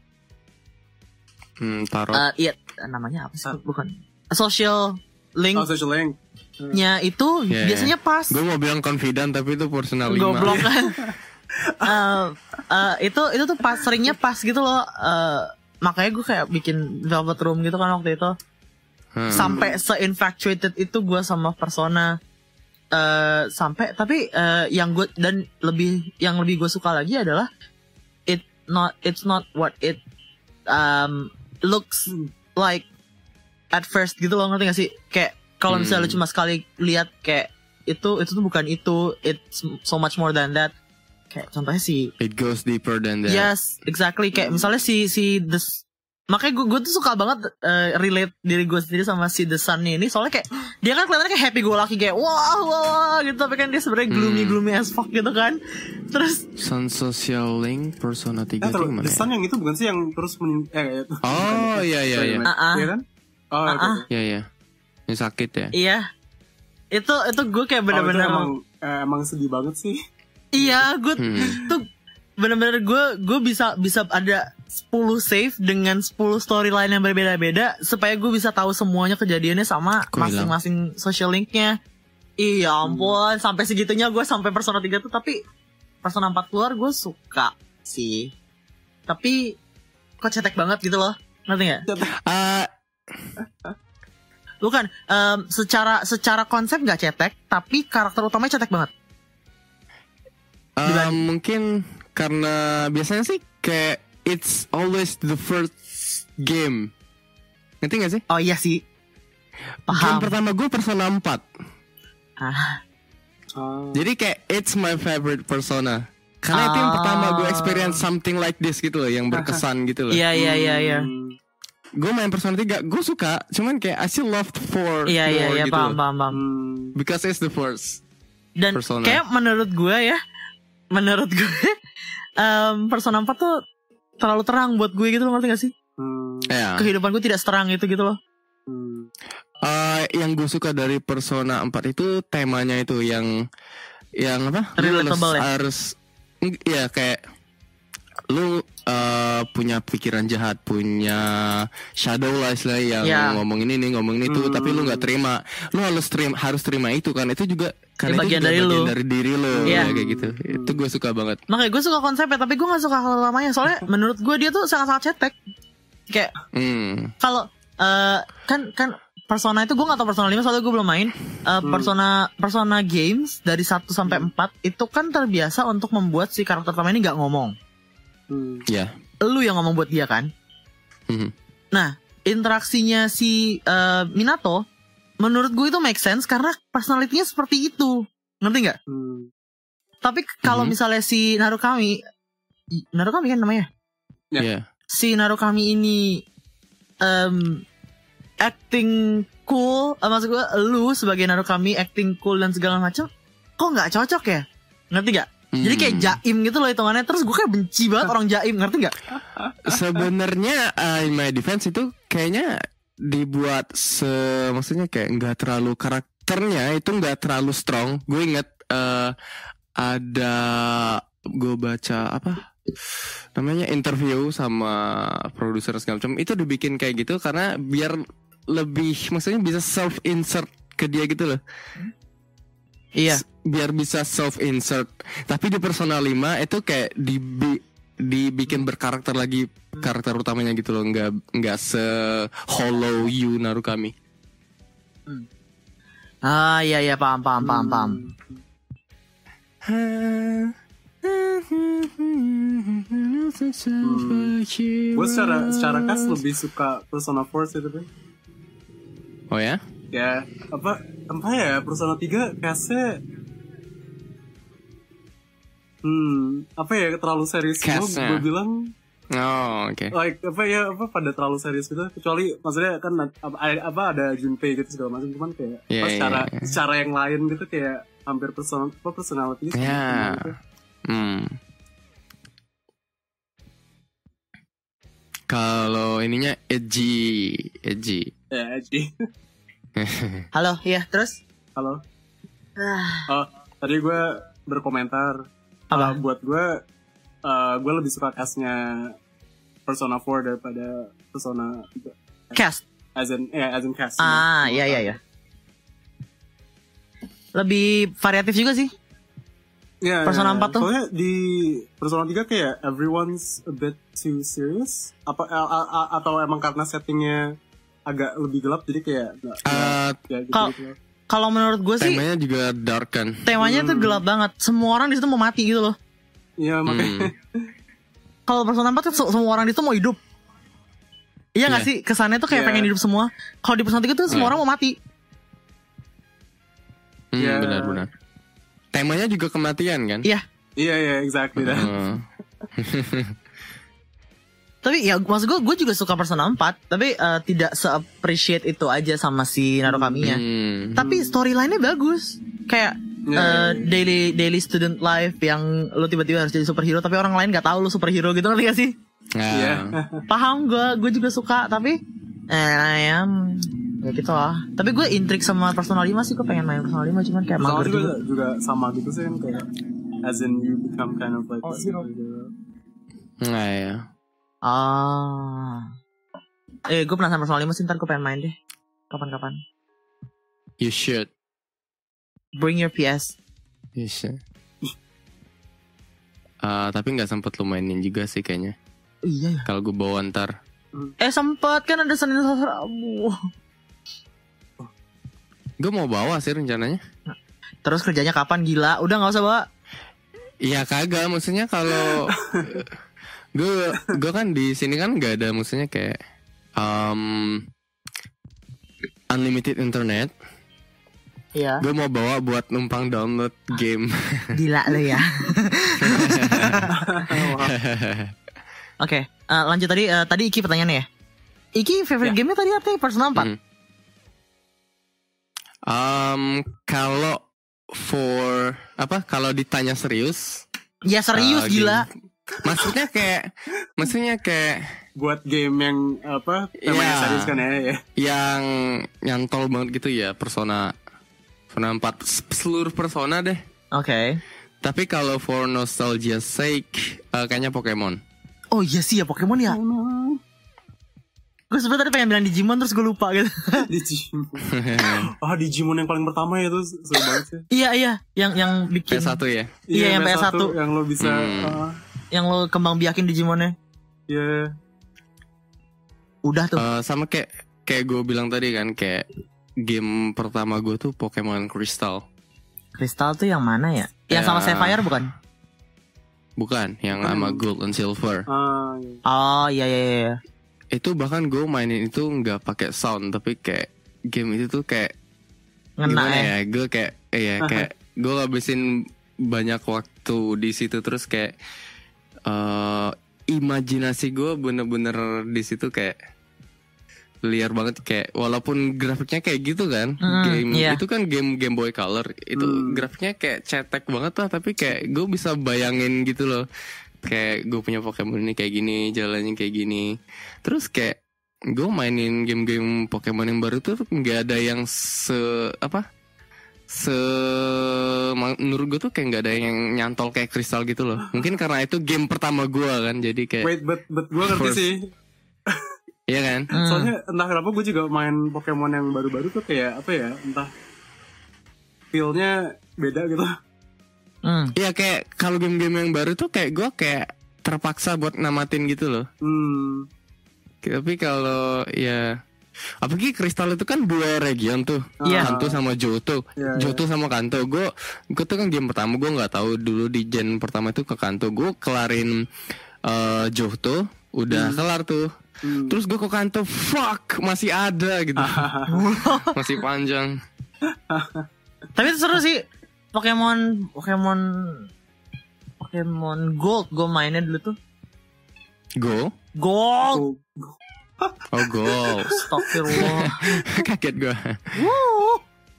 Hmm, tarot. Uh, iya, namanya apa sih? Bukan. Social link Oh, social link. nya itu Yeah. biasanya pas. Gue mau bilang confident tapi itu personal lima. Goblok kan. uh, uh, itu itu tuh pas seringnya pas gitu loh. Uh, makanya gue kayak bikin Velvet Room gitu kan waktu itu. Hmm. Sampai se-infatuated itu gue sama Persona. Uh, sampai tapi uh, yang gue dan lebih yang lebih gue suka lagi adalah it not it's not what it um, looks like at first gitu loh, ngerti gak sih? Kayak kalau misalnya Hmm. lu cuma sekali lihat kayak itu itu tuh bukan itu, it's so much more than that. Kayak contohnya si It goes deeper than that. yes exactly kayak misalnya si si the makanya gue gue tuh suka banget uh, relate diri gue sendiri sama si The Sun ini, soalnya kayak dia kan kelihatannya kayak happy go lucky kayak wah wah, wah gitu, tapi kan dia sebenarnya gloomy Hmm. gloomy as fuck gitu kan. Terus Sun Social Link Persona Eh, tiga itu terus gimana The ya? Sun yang itu bukan sih yang terus men eh itu. Oh iya iya iya. Ah-ah. Iya kan? Oh, Ah-ah. itu. Iya iya. Yang sakit ya. iya itu itu gue kayak Oh, itu bener-bener emang eh, emang sedih banget sih. iya gue Hmm. tuh bener-bener gue gue bisa bisa ada sepuluh save dengan sepuluh storyline yang berbeda-beda supaya gue bisa tahu semuanya kejadiannya sama Kok hilang? masing-masing social linknya. Iya ampun, sampai segitunya gue sampai Persona tiga tuh, tapi Persona empat keluar gue suka sih. Tapi kok cetek banget gitu loh, ngerti nggak? Ah, Bukan, em, secara secara konsep nggak cetek, tapi karakter utamanya cetek banget. ah, Diban- mungkin karena biasanya sih kayak it's always the first game. Ngerti gak sih? Oh iya sih, Game paham. pertama gue Persona empat. Ah, Oh. Jadi kayak it's my favorite Persona. Karena itu yang Ah. pertama gue experience something like this gitu loh, yang berkesan gitu loh. iya iya iya iya. Hmm. Gue main Persona tiga, gue suka, cuman kayak I still love four Iya iya more iya gitu paham loh. paham paham. Hmm. Because it's the first. Dan Persona. kayak menurut gue ya, menurut gue em, Persona empat tuh terlalu terang buat gue gitu loh, ngerti gak sih? Hmm. Ya. Kehidupan gue tidak seterang itu gitu loh. Hmm. Eh, yang gue suka dari Persona empat itu temanya itu yang yang apa? Lu harus, Relatable ya? harus ya kayak lu eh, punya pikiran jahat, punya shadow lah istilahnya yang Ya. ngomong ini nih, ngomong itu, Hmm. tapi lu nggak terima. Lu harus terima, harus terima itu kan. Itu juga Ya, karena itu bagian juga dari bagian lu. dari diri lu Iya. ya, kayak gitu. Itu gue suka banget. Makanya gue suka konsepnya, tapi gue gak suka hal lamanya. Soalnya menurut gue dia tuh sangat-sangat cetek. Kayak Hmm. kalau eh, kan kan Persona itu gue gak tau Persona lima soalnya gue belum main. Eh, Persona Persona games dari satu sampai empat itu kan terbiasa untuk membuat si karakter utama ini gak ngomong. Hmm. Ya. Lu yang ngomong buat dia kan. Mhm. Nah, interaksinya si eh, Minato menurut gue itu make sense karena personality-nya seperti itu. Ngerti nggak? Hmm. Tapi kalau Mhm. misalnya si Narukami i- Narukami kan namanya. Ya. Ya. Si Narukami ini em, acting cool, eh, maksud gue lu sebagai Narukami acting cool dan segala macam, kok nggak cocok ya? Ngerti nggak? Jadi kayak Hmm. jaim gitu loh hitungannya. Terus gue kayak benci banget orang jaim, ngerti nggak? Sebenarnya uh, in my defense itu kayaknya dibuat se maksudnya kayak nggak terlalu karakternya itu nggak terlalu strong. Gue inget uh, ada gue baca apa namanya interview sama produser segala macam, itu dibikin kayak gitu karena biar lebih maksudnya bisa self insert ke dia gitu loh. Iya. Biar bisa self insert. Tapi di Persona lima itu kayak dibi dibikin berkarakter lagi karakter utamanya gitu loh, nggak nggak se hollow you Narukami. Ah iya iya paham paham paham paham. Hah. Hmm. Gue secara secara khas lebih suka Persona four sih tapi. Oh ya? Ya apa apa ya Persona tiga khasnya. Hmm apa ya terlalu serius semua Khasnya. gue bilang. Oh, oke. Like apa ya apa pada terlalu serius gitu kecuali maksudnya kan apa ada, apa ada Junpei gitu segala macam cuman kayak Yeah, apa, yeah, secara yeah. secara yang lain gitu kayak hampir personal apa personality sama Ya. semua gitu. Hmm. Kalau ininya edgy, edgy. Ya jadi Halo, iya, terus? halo Ah, oh tadi gue berkomentar Apa? uh, buat gue uh, gue lebih suka castnya Persona four daripada Persona tiga cast. as in ya as in cast Ah, iya iya iya. Lebih variatif juga sih. Ya, Persona ya, empat tuh. soalnya di Persona tiga kayak everyone's a bit too serious apa a- a- a- atau emang karena settingnya agak lebih gelap jadi kayak nggak Uh, nggak- ya gitu, kal- gitu. Kalau menurut gue sih temanya juga dark kan. temanya tuh Hmm. gelap banget. Semua orang di situ mau mati gitu loh. Iya makanya Hmm. Kalau Persona empat tuh se- semua orang di situ mau hidup. Iya nggak Iya. sih? Kesannya tuh kayak Iya. pengen hidup semua. Kalau di Persona tiga tuh semua Iya. orang mau mati. Hmm, Ya. benar-benar. Temanya juga kematian kan? Iya. iya iya exactly that. Hmm. Tapi ya maksud gue, gue juga suka Persona empat. Tapi eh, tidak se-appreciate itu aja sama si Narukami-nya. Hmm. Tapi storyline-nya bagus. Kayak Iya, eh, iya, iya. daily daily student life yang lo tiba-tiba harus jadi superhero tapi orang lain nggak tahu lo superhero gitu, ngerti gak sih? Nah, Iya. Paham gue, gue juga suka tapi eh ya, ya gitu lah. Tapi gue intrik sama Persona lima sih, gue pengen main Persona lima cuman kayak Persona mager juga, juga. juga sama gitu sih kan kayak as in you become kind of like Oh, this zero. gitu. nah ya. Ah, eh gue penasaran Persona lima sih, ntar gue pengen main deh. Kapan-kapan. You should. Bring your P S. You should. Ah, tapi nggak sempet lu mainin juga sih kayaknya. Iya ya. Kalau gue bawa ntar. Eh sempet kan ada Senin Selasa Rabu. Gue mau bawa sih rencananya. Terus kerjanya kapan, gila? Udah nggak usah bawa. Iya kagak, maksudnya kalau gue gue kan di sini kan nggak ada, maksudnya kayak um, unlimited internet. Iya. Gue mau bawa buat numpang download game. Gila lo ya. Oke, eh, lanjut tadi. eh, tadi Iki pertanyaannya ya. Iki favorite Ya. game-nya tadi apa ya? Persona empat. Hmm. Um, kalau for apa? Kalau ditanya serius, Ya serius, uh, gila. game- maksudnya kayak, maksudnya kayak Buat game yang apa temanya Iya. serius kan ya, ya. yang nyantol banget gitu ya, Persona, Persona empat, S- seluruh Persona deh. Oke. Tapi kalau for nostalgia sake, uh, kayaknya Pokemon. Oh iya sih ya, Pokemon ya. Gue sebenernya tadi pengen bilang Digimon terus gue lupa gitu. Digimon. Ah Digimon yang paling pertama ya tuh seru banget sih. Iya iya, yang yang P bikin, S satu ya. Iya, yang P S satu. yang lo bisa Hmm. ah, yang lo kembang biakin Digimonnya. ya Udah tuh. Uh, sama kayak kayak gue bilang tadi kan, kayak game pertama gue tuh Pokemon Crystal. Crystal tuh yang mana ya? Yang sama Ya. Sapphire bukan? Bukan, yang Bukan sama yang- Gold and Silver. ah, ya. Oh iya iya iya. Itu bahkan gue mainin itu nggak pakai sound, tapi kayak game itu tuh kayak Ngena gimana ya. ya? Gue kayak, iya kayak gue ngabisin banyak waktu di situ, terus kayak eh imajinasi gue bener-bener di situ kayak liar banget, kayak walaupun grafiknya kayak gitu kan, Hmm, game iya. itu kan game Game Boy Color, itu Hmm. grafiknya kayak cetek banget lah, tapi kayak gue bisa bayangin gitu loh, kayak gue punya Pokemon ini kayak gini, jalannya kayak gini, terus kayak gue mainin game-game Pokemon yang baru tuh nggak ada yang se apa se menurut gue tuh kayak nggak ada yang nyantol kayak Crystal gitu loh, mungkin karena itu game pertama gue kan, jadi kayak Wait, but but gue ngerti First. sih. iya kan. Hmm. Soalnya entah kenapa gue juga main Pokemon yang baru-baru tuh kayak apa ya, entah feel-nya beda gitu. Hmm. Iya, kayak kalau game-game yang baru tuh kayak gue kayak terpaksa buat namatin gitu loh. Hmm. Tapi kalau ya Apalagi Kristal itu kan dua region tuh, Iya. Kanto sama Johto. Iya, iya. Johto sama Kanto. Gue gue tuh kan game pertama gue nggak tahu dulu di gen pertama itu ke Kanto. Gue kelarin uh, Johto, udah kelar tuh. Hmm. Terus gue ke Kanto, fuck masih ada gitu, masih panjang. Tapi itu seru sih. Pokemon Pokemon Pokemon Gold gue mainnya dulu tuh. Go, Gold. Oh, oh goal. Astagfirullah. Kaget gue. Wuh.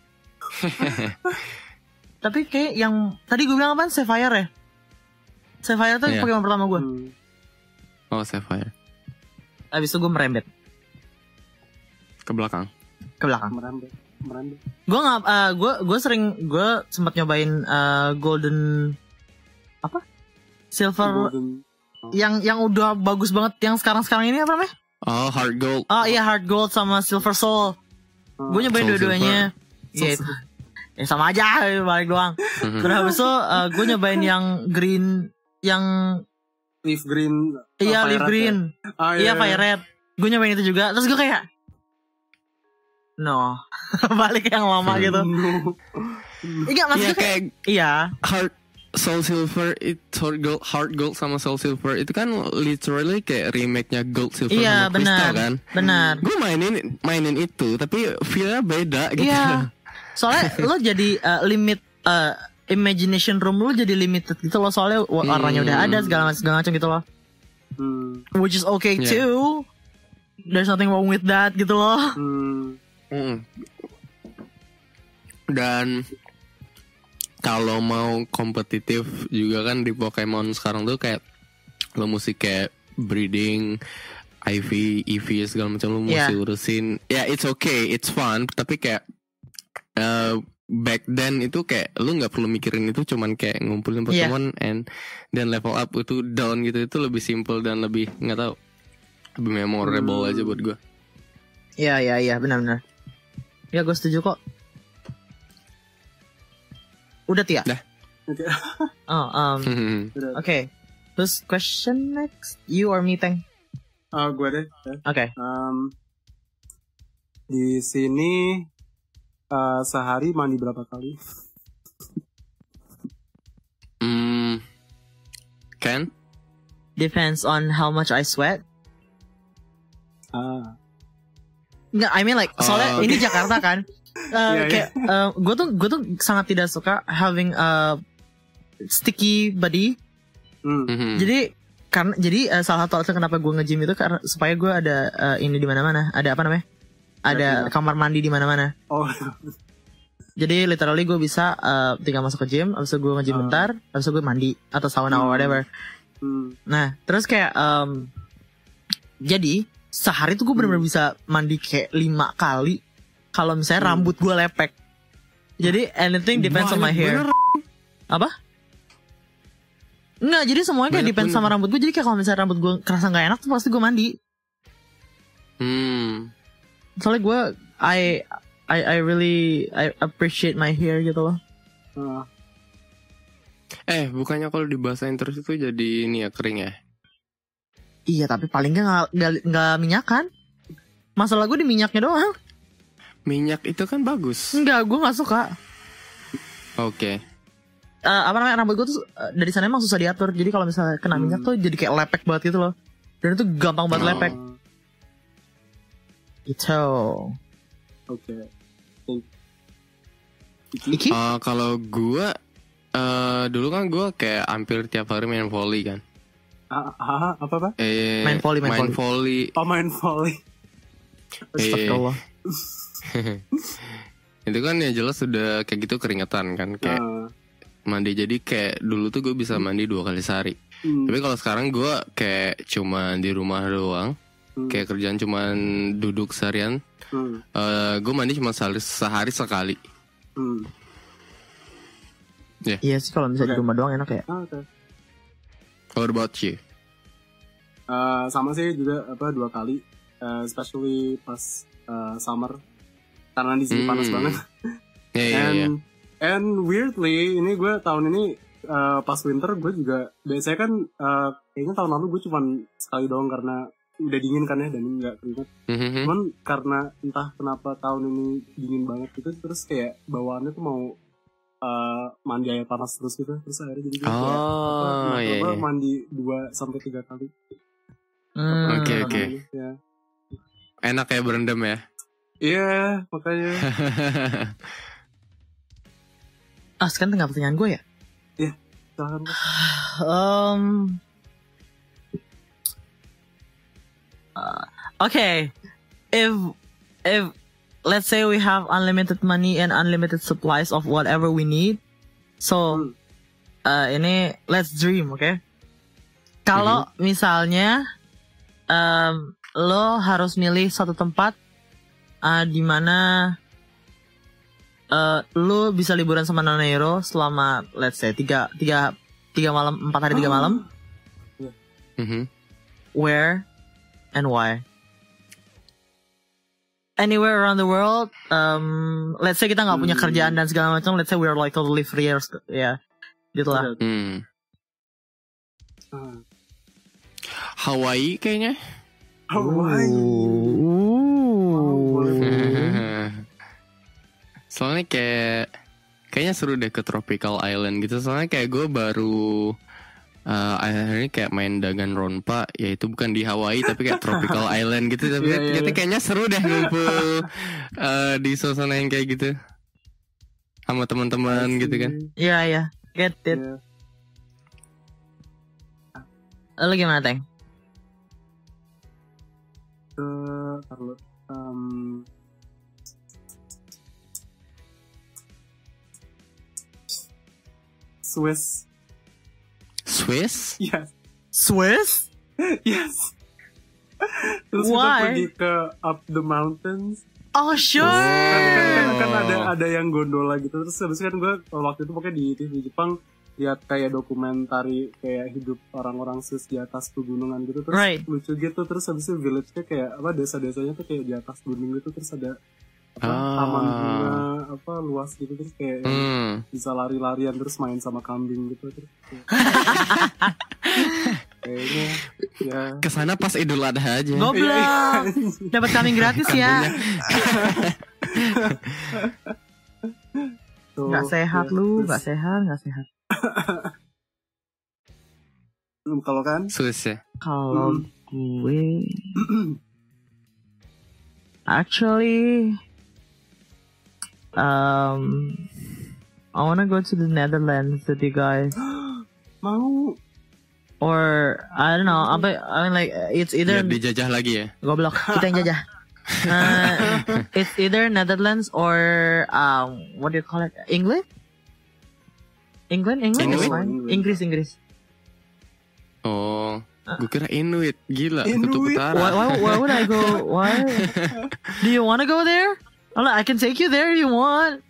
Tapi kayak yang tadi gue bilang apa? Sapphire ya? Sapphire tuh Iya. Pokemon pertama gue. hmm. Oh Sapphire Abis itu gue merembet ke belakang. ke belakang. merambet, merambet. Gue nggak, uh, gue gue sering gue sempat nyobain uh, golden apa? Silver Golden. yang yang udah bagus banget yang sekarang sekarang ini apa namanya? Oh Heart Gold. Oh iya Heart Gold sama Silver Soul. Gue nyobain Soul dua-duanya. Iya itu. Ya sama aja balik doang. Terus habis itu uh, gue nyobain yang green yang Leaf green. iya oh, leaf Fire Red green. ya? Ah, Iya Fire Red. Gue nyobain itu juga. Terus gue kayak no balik ke yang lama Hmm. gitu. Iya Iya maksudnya kayak kayak iya. Heart Soul Silver itu Heart Gold, Heart Gold sama Soul Silver itu kan literally kayak remake-nya Gold Silver Iya sama Crystal benar. kan. Benar. Gue mainin mainin itu tapi feel-nya beda gitu. Iya. Soalnya lo jadi uh, limit uh, imagination room lo jadi limited gitu loh, soalnya wa- warnanya udah ada segala macam segala macam gitu loh. Hmm. Which is okay Yeah. too. There's nothing wrong with that gitu loh. Hmm. Mm. Dan kalau mau kompetitif juga kan di Pokemon sekarang tuh kayak lo mesti kayak breeding, I V, E V segala macam lo mesti Yeah. urusin. Ya yeah, it's okay, it's fun. Tapi kayak uh, back then itu kayak lo nggak perlu mikirin itu, cuman kayak ngumpulin Yeah. Pokemon and dan level up itu down gitu, itu lebih simple dan lebih nggak tahu lebih memorable Hmm. aja buat gue. Iya iya iya benar-benar. Ya gue setuju kok. Udah Tia. Dah. Oke. Oh um Udah. oke. Terus question next, you or me Teng? Ah, gue deh. ya. Oke. Um, di sini uh, sehari mandi berapa kali? Hmm, Ken? Depends on how much I sweat. Ah, Nggak, I mean like soalnya Oh, ini Jakarta kan. Uh, Iya, iya. kayak gue tuh gue tuh sangat tidak suka having a sticky body. hmm. Mhm. Jadi karena jadi uh, salah satu alasan kenapa gue nge-gym itu karena supaya gue ada uh, ini di mana-mana, ada apa namanya? Ada Ada kamar mandi di mana-mana. Oh, Jadi literally gue bisa uh, tinggal masuk ke gym, abis itu gue nge-gym Ah. bentar, abis itu gue mandi atau sauna or Hmm. whatever. hmm. Nah, terus kayak um, jadi sehari tuh gue Hmm. bener-bener bisa mandi kayak lima kali kalau misalnya Hmm. rambut gue lepek. Jadi anything depends on my Banyak hair. bener. Apa? Enggak, jadi semuanya kayak Banyak depends bener. sama rambut gue. Jadi kayak kalau misalnya rambut gue kerasa nggak enak tuh pasti gue mandi. Hmm. Soalnya gue I I I really I appreciate my hair gitu loh. Ah, Eh, bukannya kalau dibasahin terus itu jadi ini ya kering ya? Iya, tapi paling nggak nggak nggak minyak kan? Masalah gue di minyaknya doang. Minyak itu kan bagus. Enggak, gue nggak suka. Oke. Eh, apa namanya, rambut gue tuh eh, dari sana emang susah diatur. Jadi kalau misalnya kena Hmm. minyak tuh jadi kayak lepek banget gitu loh. Dan itu gampang banget Oh. lepek. Gitu. Oke. Thank- Iki? Eh, kalau gua eh dulu kan gua kayak hampir tiap hari main volley kan. Ah, ah, apa apa? Eh, Main volley, main volley. Oh, main volley. Astagfirullah. Itu kan ya jelas sudah kayak gitu keringetan kan, kayak Ah, mandi. Jadi kayak dulu tuh gue bisa mandi dua kali sehari. hmm, Tapi kalau sekarang gue kayak cuma di rumah doang, hmm, kayak kerjaan cuma duduk seharian. hmm, Eh gue mandi cuma sehari, sehari sekali. hmm. Iya sih kalau misalnya Oke. di rumah doang enak ya. Ah, oke. What about you? Eh, sama sih juga apa dua kali, Eh, especially pas eh, summer karena di sini Hmm. panas banget. Ya ya and ya. and weirdly ini gue tahun ini eh, pas winter gue juga biasanya kan eh, kayaknya tahun lalu gue cuman sekali doang karena udah dingin kan ya dan nggak keringet. Mhm. Cuman karena entah kenapa tahun ini dingin banget gitu, terus kayak bawaannya tuh mau uh, mandi air panas terus gitu, terus akhirnya jadi kayak Oh, apa, iya, apa, iya. mandi dua sampai tiga kali. Hmm. Oke, oke. Ya. Enak ya berendam ya. Iya, makanya. Ah, sekarang tinggal pertanyaan gue ya. Silakan. Um, uh, okay, if if let's say we have unlimited money and unlimited supplies of whatever we need, so Hmm. uh, ini let's dream, okay? Kalau misalnya um, lo harus milih satu tempat uh, di mana uh, lo bisa liburan sama Nona Hero selama let's say tiga tiga tiga malam empat hari tiga malam. Mhm. Where and why? Anywhere around the world. Um, let's say kita nggak punya Hmm. kerjaan dan segala macam. Let's say we're like totally free, or, ya, gitulah. Hmm. Hmm. Hawaii kayaknya. Hawaii. Ooh. Soalnya kayak kayaknya seru deh ke tropical island gitu. Soalnya kayak gue baru uh, akhir-akhir ini kayak main Danganronpa, yaitu bukan di Hawaii tapi kayak tropical island gitu. Tapi Iya, iya, kita iya. kayaknya seru deh ngumpul uh, di suasana yang kayak gitu sama teman-teman gitu kan. Iya, iya. Get it. Iya. Lo gimana, Teng? Eh, Taruh. Um, Swiss. Swiss? Yes. Swiss? Yes. Terus Why? kita pergi ke up the mountains. Oh, sure. Kan, kan, kan, kan ada ada yang gondola gitu. Terus habis kan gue waktu itu pokoknya di T V Jepang lihat kayak dokumentari kayak hidup orang-orang Swiss di atas pegunungan gitu. Terus Right. lucu gitu. Terus habis itu village-nya kayak apa, desa-desanya tuh kayak di atas gunung gitu. Terus ada apa, Ah. taman bunga apa luas gitu. Terus kayak Hmm. bisa lari-larian terus main sama kambing gitu. Terus kayak- kayaknya ya. Kesana pas Idul Adha aja. Goblok. Iya, iya. Dapat kambing gratis ya. Tuh, Gak sehat ya. lu, Terus, gak sehat, gak sehat. hmm, kalau kan Swiss ya. Kalau gue actually um I wanna go to the Netherlands with you guys, mau or I don't know. Apa I mean like it's either Biar dijajah lagi ya. goblok kita yang jajah. Uh, it's either Netherlands or um what do you call it? England? England, England, Inuit? is fine. Inggris, Inggris. Oh, gue kira Inuit. Gila, Inuit? kutub utara. Why, why, why would I go? Why? Do you want to go there? Oh, I can take you there if you want.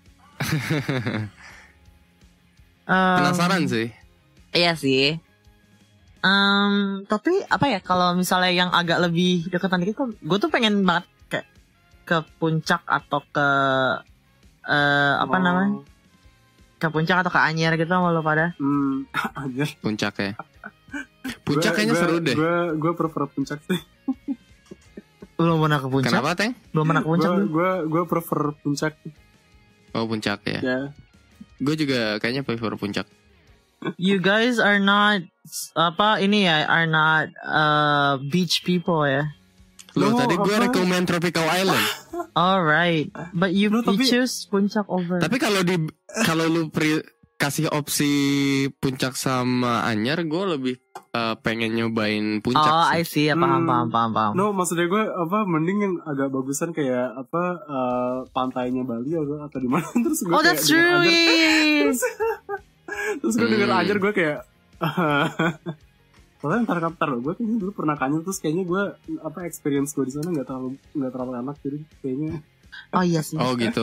Um, Penasaran sih. Iya sih. Um, tapi apa ya kalau misalnya yang agak lebih deketan dikit, gue tuh pengen banget kayak ke puncak atau ke eh apa mau- namanya? Ke puncak atau ke Anyer gitu sama lo pada. Hmm, anjir. Puncak ya. Puncak kayaknya Gua- seru deh. Gue gue prefer puncak sih. Belum pernah ke puncak? Kenapa, Teng? Belum pernah ke puncak. Gue belum? gue gue prefer puncak Oh, puncak ya. ya. Gue juga kayaknya prefer puncak. You guys are not apa ini ya, are not uh, beach people ya. Loh, No, tadi gue apa? rekomen Tropical Island. Alright, but you, No, you tapi- choose puncak over. Tapi kalau di kalau lu pri, kasih opsi puncak sama Anyar, gue lebih uh, pengen nyobain puncak Oh, sih. I see. Ya, paham, Hmm. paham, paham, paham. No, maksudnya gue apa mending yang agak bagusan kayak apa eh, pantainya Bali atau atau di mana terus gue Oh, kayak that's denger true. Anjar- yeah. terus, terus gue denger Hmm. ajar gue kayak soalnya ntar ntar loh gue kayaknya dulu pernah kanyut terus kayaknya gue apa experience gue di sana nggak terlalu nggak terlalu enak jadi kayaknya Oh iya sih. Oh gitu.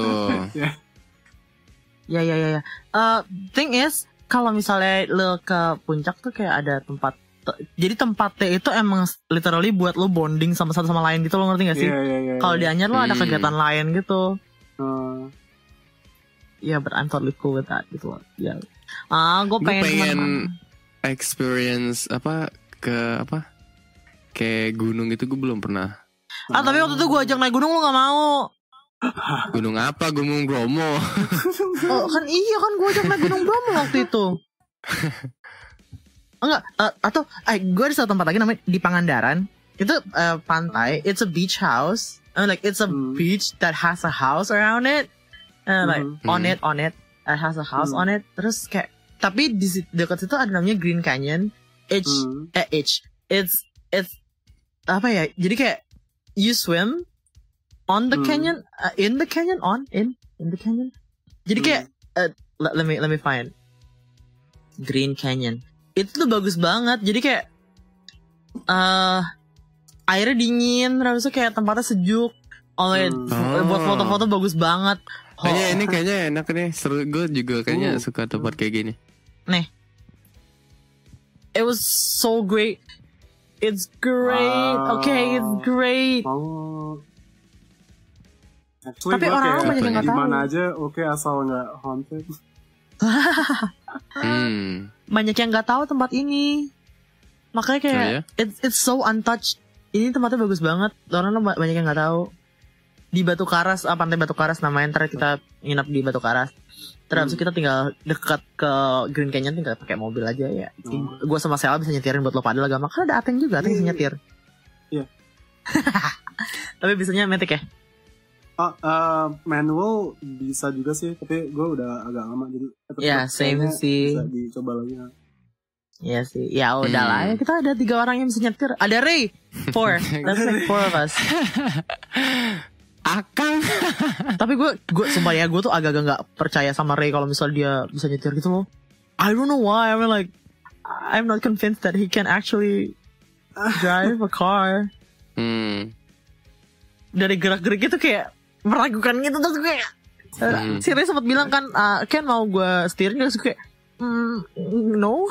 Ya, ya, ya, ya. Uh, thing is, kalau misalnya lo ke puncak tuh kayak ada tempat. te- Jadi tempatnya itu emang literally buat lo bonding sama satu sama lain gitu, lo ngerti gak sih? Iya, iya, iya, Kalau di iya. Anyer lo ada Hmm. kegiatan lain gitu. Eh, Ya, but I'm totally cool with that gitu loh. Ya. Ah, gue Gue pengen, pengen kemana-mana. experience apa ke apa kayak gunung itu gue belum pernah. Ah tapi waktu itu gue ajak naik gunung lu gak mau. Gunung apa? Gunung Bromo. Oh kan iya kan gue ajak naik gunung Bromo waktu itu. Enggak, uh, atau eh, gue ada satu tempat lagi namanya di Pangandaran. Itu uh, pantai, it's a beach house. I mean, like it's a Hmm. beach that has a house around it. Uh, like Hmm. on Hmm. it, on it, it has a house Hmm. on it. Terus kayak tapi di sit- dekat situ ada namanya Green Canyon. H Hmm. eh H. It's it's apa ya? Jadi kayak you swim on the Hmm. canyon, uh, in the canyon, on in in the canyon. Jadi kayak uh, let, let me let me find Green Canyon. Itu tuh bagus banget. Jadi kayak uh, airnya dingin, terus tuh kayak tempatnya sejuk. Oh, Hmm. buat foto-foto bagus banget. Oh, Kayaknya ini kayaknya enak nih. Seru, gue juga kayaknya Uh. suka tempat kayak gini. it was so great. It's great. Wow. Okay, it's great. Oh. Actually, Tapi gue orang-orang kayak banyak yang nggak di tahu. mana aja oke asal nggak haunted. Hmm. Banyak yang nggak tahu tempat ini. Makanya kayak Oh, iya? it's it's so untouched. Ini tempatnya bagus banget. Orang banyak yang nggak tahu. Di Batu Karas, ah, pantai Batu Karas namanya. Ntar kita nginap di Batu Karas. Terus habis itu kita tinggal dekat ke Green Canyon, tinggal pakai mobil aja ya. Hmm. Gue sama Sela bisa nyetirin buat lo pada lah gampang. Kan ada Ateng juga, Ateng bisa nyetir. Iya. Tapi bisanya metik ya. Ah, eh, manual bisa juga sih, tapi gue udah agak lama jadi. tapi Ya, tetap same kayaknya sih. Bisa dicoba lagi. Iya sih. Ya udah lah Hmm. ya, kita ada tiga orang yang bisa nyetir. Ada Ray, four. That's like four of us. Akang. Tapi gue, gue sumpah ya, gue tuh agak-agak nggak percaya sama Ray kalau misal dia bisa nyetir gitu loh. I don't know why. I mean like, I'm not convinced that he can actually drive a car. Hmm. Dari gerak-gerik itu kayak meragukan gitu terus gue kayak. Hmm. Si Ray sempat bilang kan, ah, Ken mau gue steering terus gue kayak, mm, no,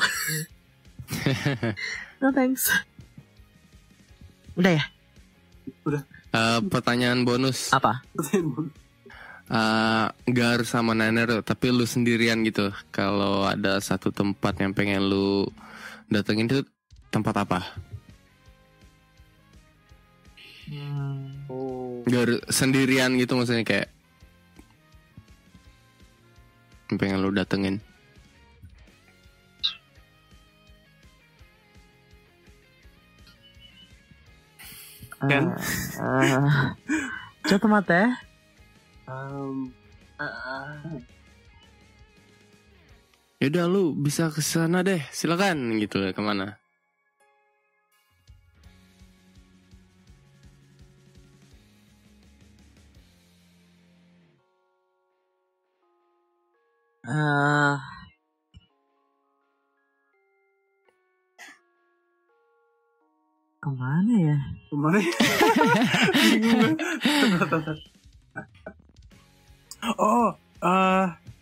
no thanks. Udah ya? Eh, pertanyaan bonus. Apa? Eh, Gak harus sama Nanero, tapi lu sendirian gitu. Kalau ada satu tempat yang pengen lu datengin itu tempat apa? Oh. Gak harus sendirian gitu maksudnya kayak yang pengen lu datengin. Ken? Uh, coba tempat ya. Um, Yaudah lu bisa ke sana deh, silakan gitu. Kemana? Uh, kemana ya? Kemana ya? Bingung gue. Oh, eh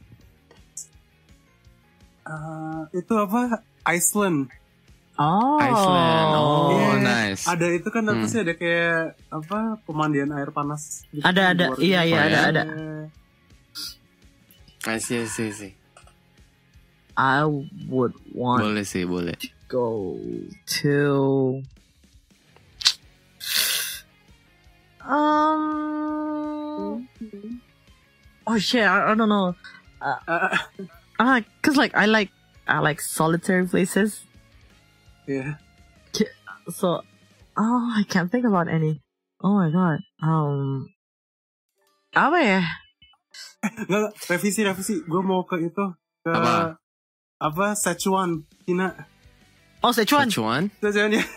eh, itu apa? Iceland. Oh, Iceland. Oh, Iya. nice. Ada itu kan apa Hmm. sih, ada kayak apa pemandian air panas gitu. Ada, di ada. luar Iya, gitu. iya, Oh, ada, ya? ada. I see, I see, I see. I would want Boleh sih, boleh. to go to. Um. Oh shit! I, I don't know. Uh, uh, cause like I like I like solitary places. Iya. So, oh, I can't think about any. Oh my god. Um, apa ya? Enggak, revisi revisi. Gue mau ke itu ke Apa? apa Sichuan, Cina. Oh, Sichuan. Sichuan? Sichuan ya.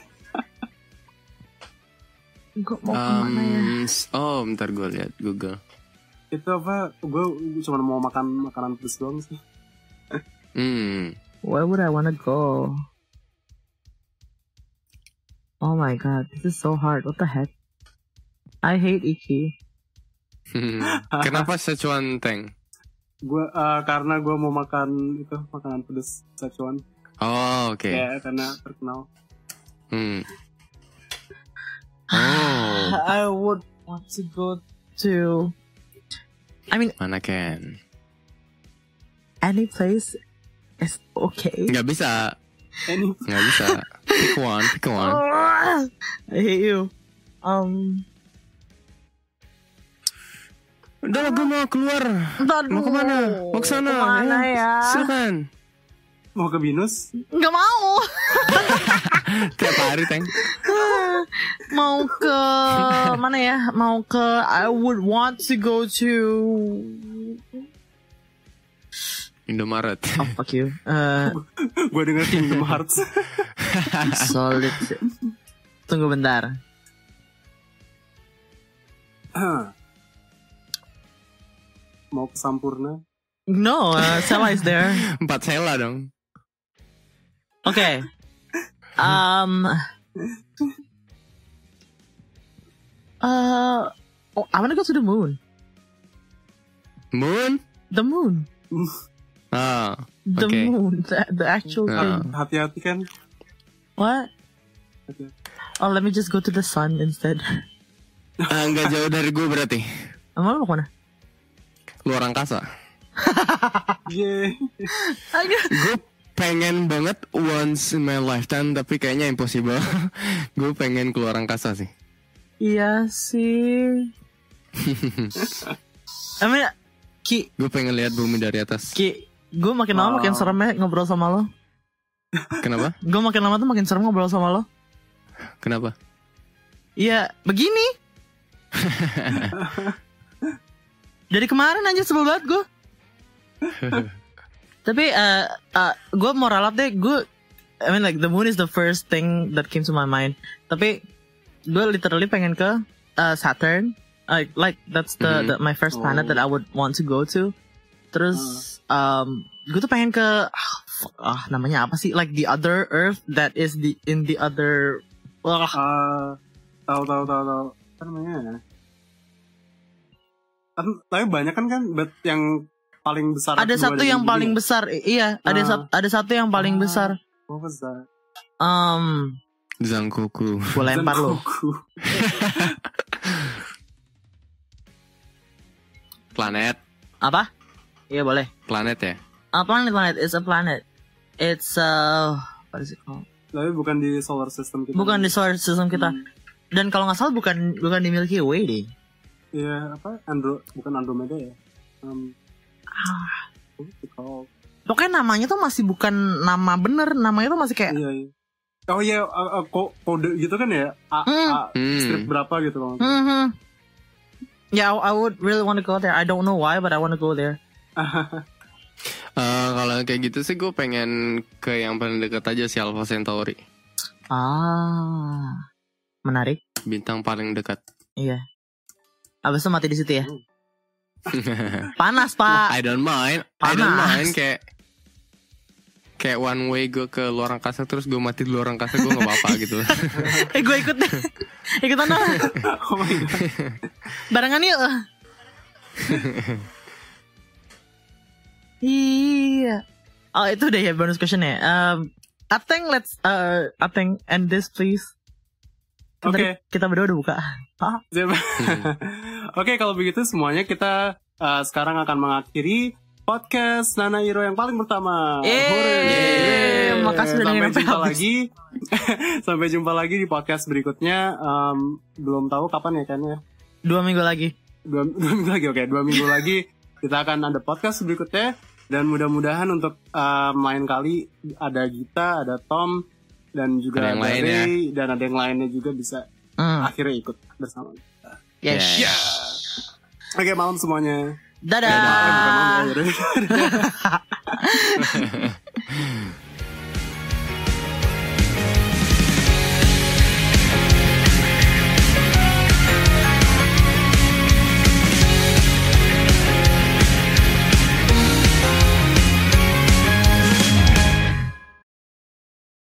Gue mau kemana ya? Um, s- oh, bentar gue lihat Google. Itu apa? Gue cuma mau makan makanan pedas doang sih. Hmm. Where would I wanna go? Oh my god, this is so hard. What the heck? I hate Ichi. Kenapa Sichuan, Teng? Gue eh, karena gue mau makan itu makanan pedas Sichuan. Oh, oke. Ya karena terkenal. Hmm. Oh, I would want to go to. I mean, mana Ken? any place is okay. Nggak bisa, Ini nggak bisa. Pick one, pick one. Oh, Ah, I hate you. Um, Udah gue mau keluar. Ntar Mau dulu. kemana? Mau kesana? Kemana Eh, ya? Silakan. Mau ke Binus? Nggak mau. Tiap hari Teng. Mau ke mana ya? Mau ke I would want to go to Indomaret. Oh fuck you. Uh, Gue denger Kingdom Hearts. solid. Tunggu bentar. Mau ke Sampurna? No, uh, Sela is there. Empat sela dong. Okay. Um. Uh. Oh, I want to go to the moon. Moon? The moon. Ah, The Okay. moon. The, the actual Ah. thing. Hati-hati kan. What? Hati-hati. Oh, let me just go to the sun instead. ah, nggak jauh dari gue berarti. Emang lo mau kemana? Luar angkasa. Yeah. Gue pengen banget once in my lifetime, tapi kayaknya impossible. Gue pengen keluar angkasa sih. Iya sih. I mean, Ki, Gue pengen lihat bumi dari atas. Ki, gue makin lama Oh. makin serem ya ngobrol sama lo. Kenapa? Gue makin lama tuh makin serem ngobrol sama lo. Kenapa? Iya, begini. Dari kemarin aja sebel banget gue. Tapi uh, uh, gue mau ralat deh. Gue, I mean like the moon is the first thing that came to my mind. Tapi gue literally pengen ke uh, Saturn. Like, like that's the, Mhm. the my first planet Oh. that I would want to go to. Terus, um, gue tuh pengen ke ah, fuck, ah namanya apa sih? Like the other Earth that is the in the other. Wah, Ah, tahu tahu tahu tahu. Apa namanya? Kan, tapi banyak kan kan, but yang paling besar. ada kedua satu dari yang dunia. paling besar. I- Iya, ada Ah. sat- ada satu yang paling Ah. besar. What was that? Um, Zangkoku. gue lempar lo. Zangoku. Planet. Apa? Iya boleh. Planet ya? A planet, planet. It's a planet. It's uh, what is it called? Tapi bukan di solar system kita. Bukan di solar system kita. Hmm. Dan kalau nggak salah bukan bukan di Milky Way deh. Iya, apa? Andro, bukan Andromeda ya? Um, Ah, what's it called? pokoknya namanya tuh masih bukan nama bener. Namanya tuh masih kayak. Iya, iya. Oh iya, uh, uh, ko- kode gitu kan ya? A, Hmm. A Hmm. strip berapa gitu loh. Hmm. Yeah, I, I would really want to go there. I don't know why, but I want to go there. Eh, kalau kayak gitu sih gue pengen ke yang paling dekat aja si Alpha Centauri. Ah, menarik. Bintang paling dekat. Iya. Abis itu mati di situ ya. Panas pak. I don't mind. I don't Panas. mind kayak kayak one way gue ke luar angkasa terus gue mati di luar angkasa gue nggak apa-apa gitu. Eh gue ikut deh. Ikutan dong. Oh my god. Barengan yuk. Iya. Oh itu udah ya bonus question ya. Um, I think let's uh, I think end this please. Kan Oke. tadi kita berdua udah buka. Hah? Siap. Oke, kalau begitu semuanya kita uh, sekarang akan mengakhiri podcast Nana Hiro yang paling pertama. Yeay. Hore. Makasih udah Sampai dengerin sampai jumpa habis. lagi. Sampai jumpa lagi di podcast berikutnya. Um, belum tahu kapan ya kan ya. Dua minggu lagi. Dua, dua minggu lagi, oke. Dua minggu lagi kita akan ada podcast berikutnya. Dan mudah-mudahan untuk uh, main kali ada Gita, ada Tom, dan juga Ada yang ada lain Ray, dan ada yang lainnya juga bisa Hmm. akhirnya ikut bersama kita. Yes. Yeah. Oke, malam semuanya. Dadah. Eh, bukan malam ya.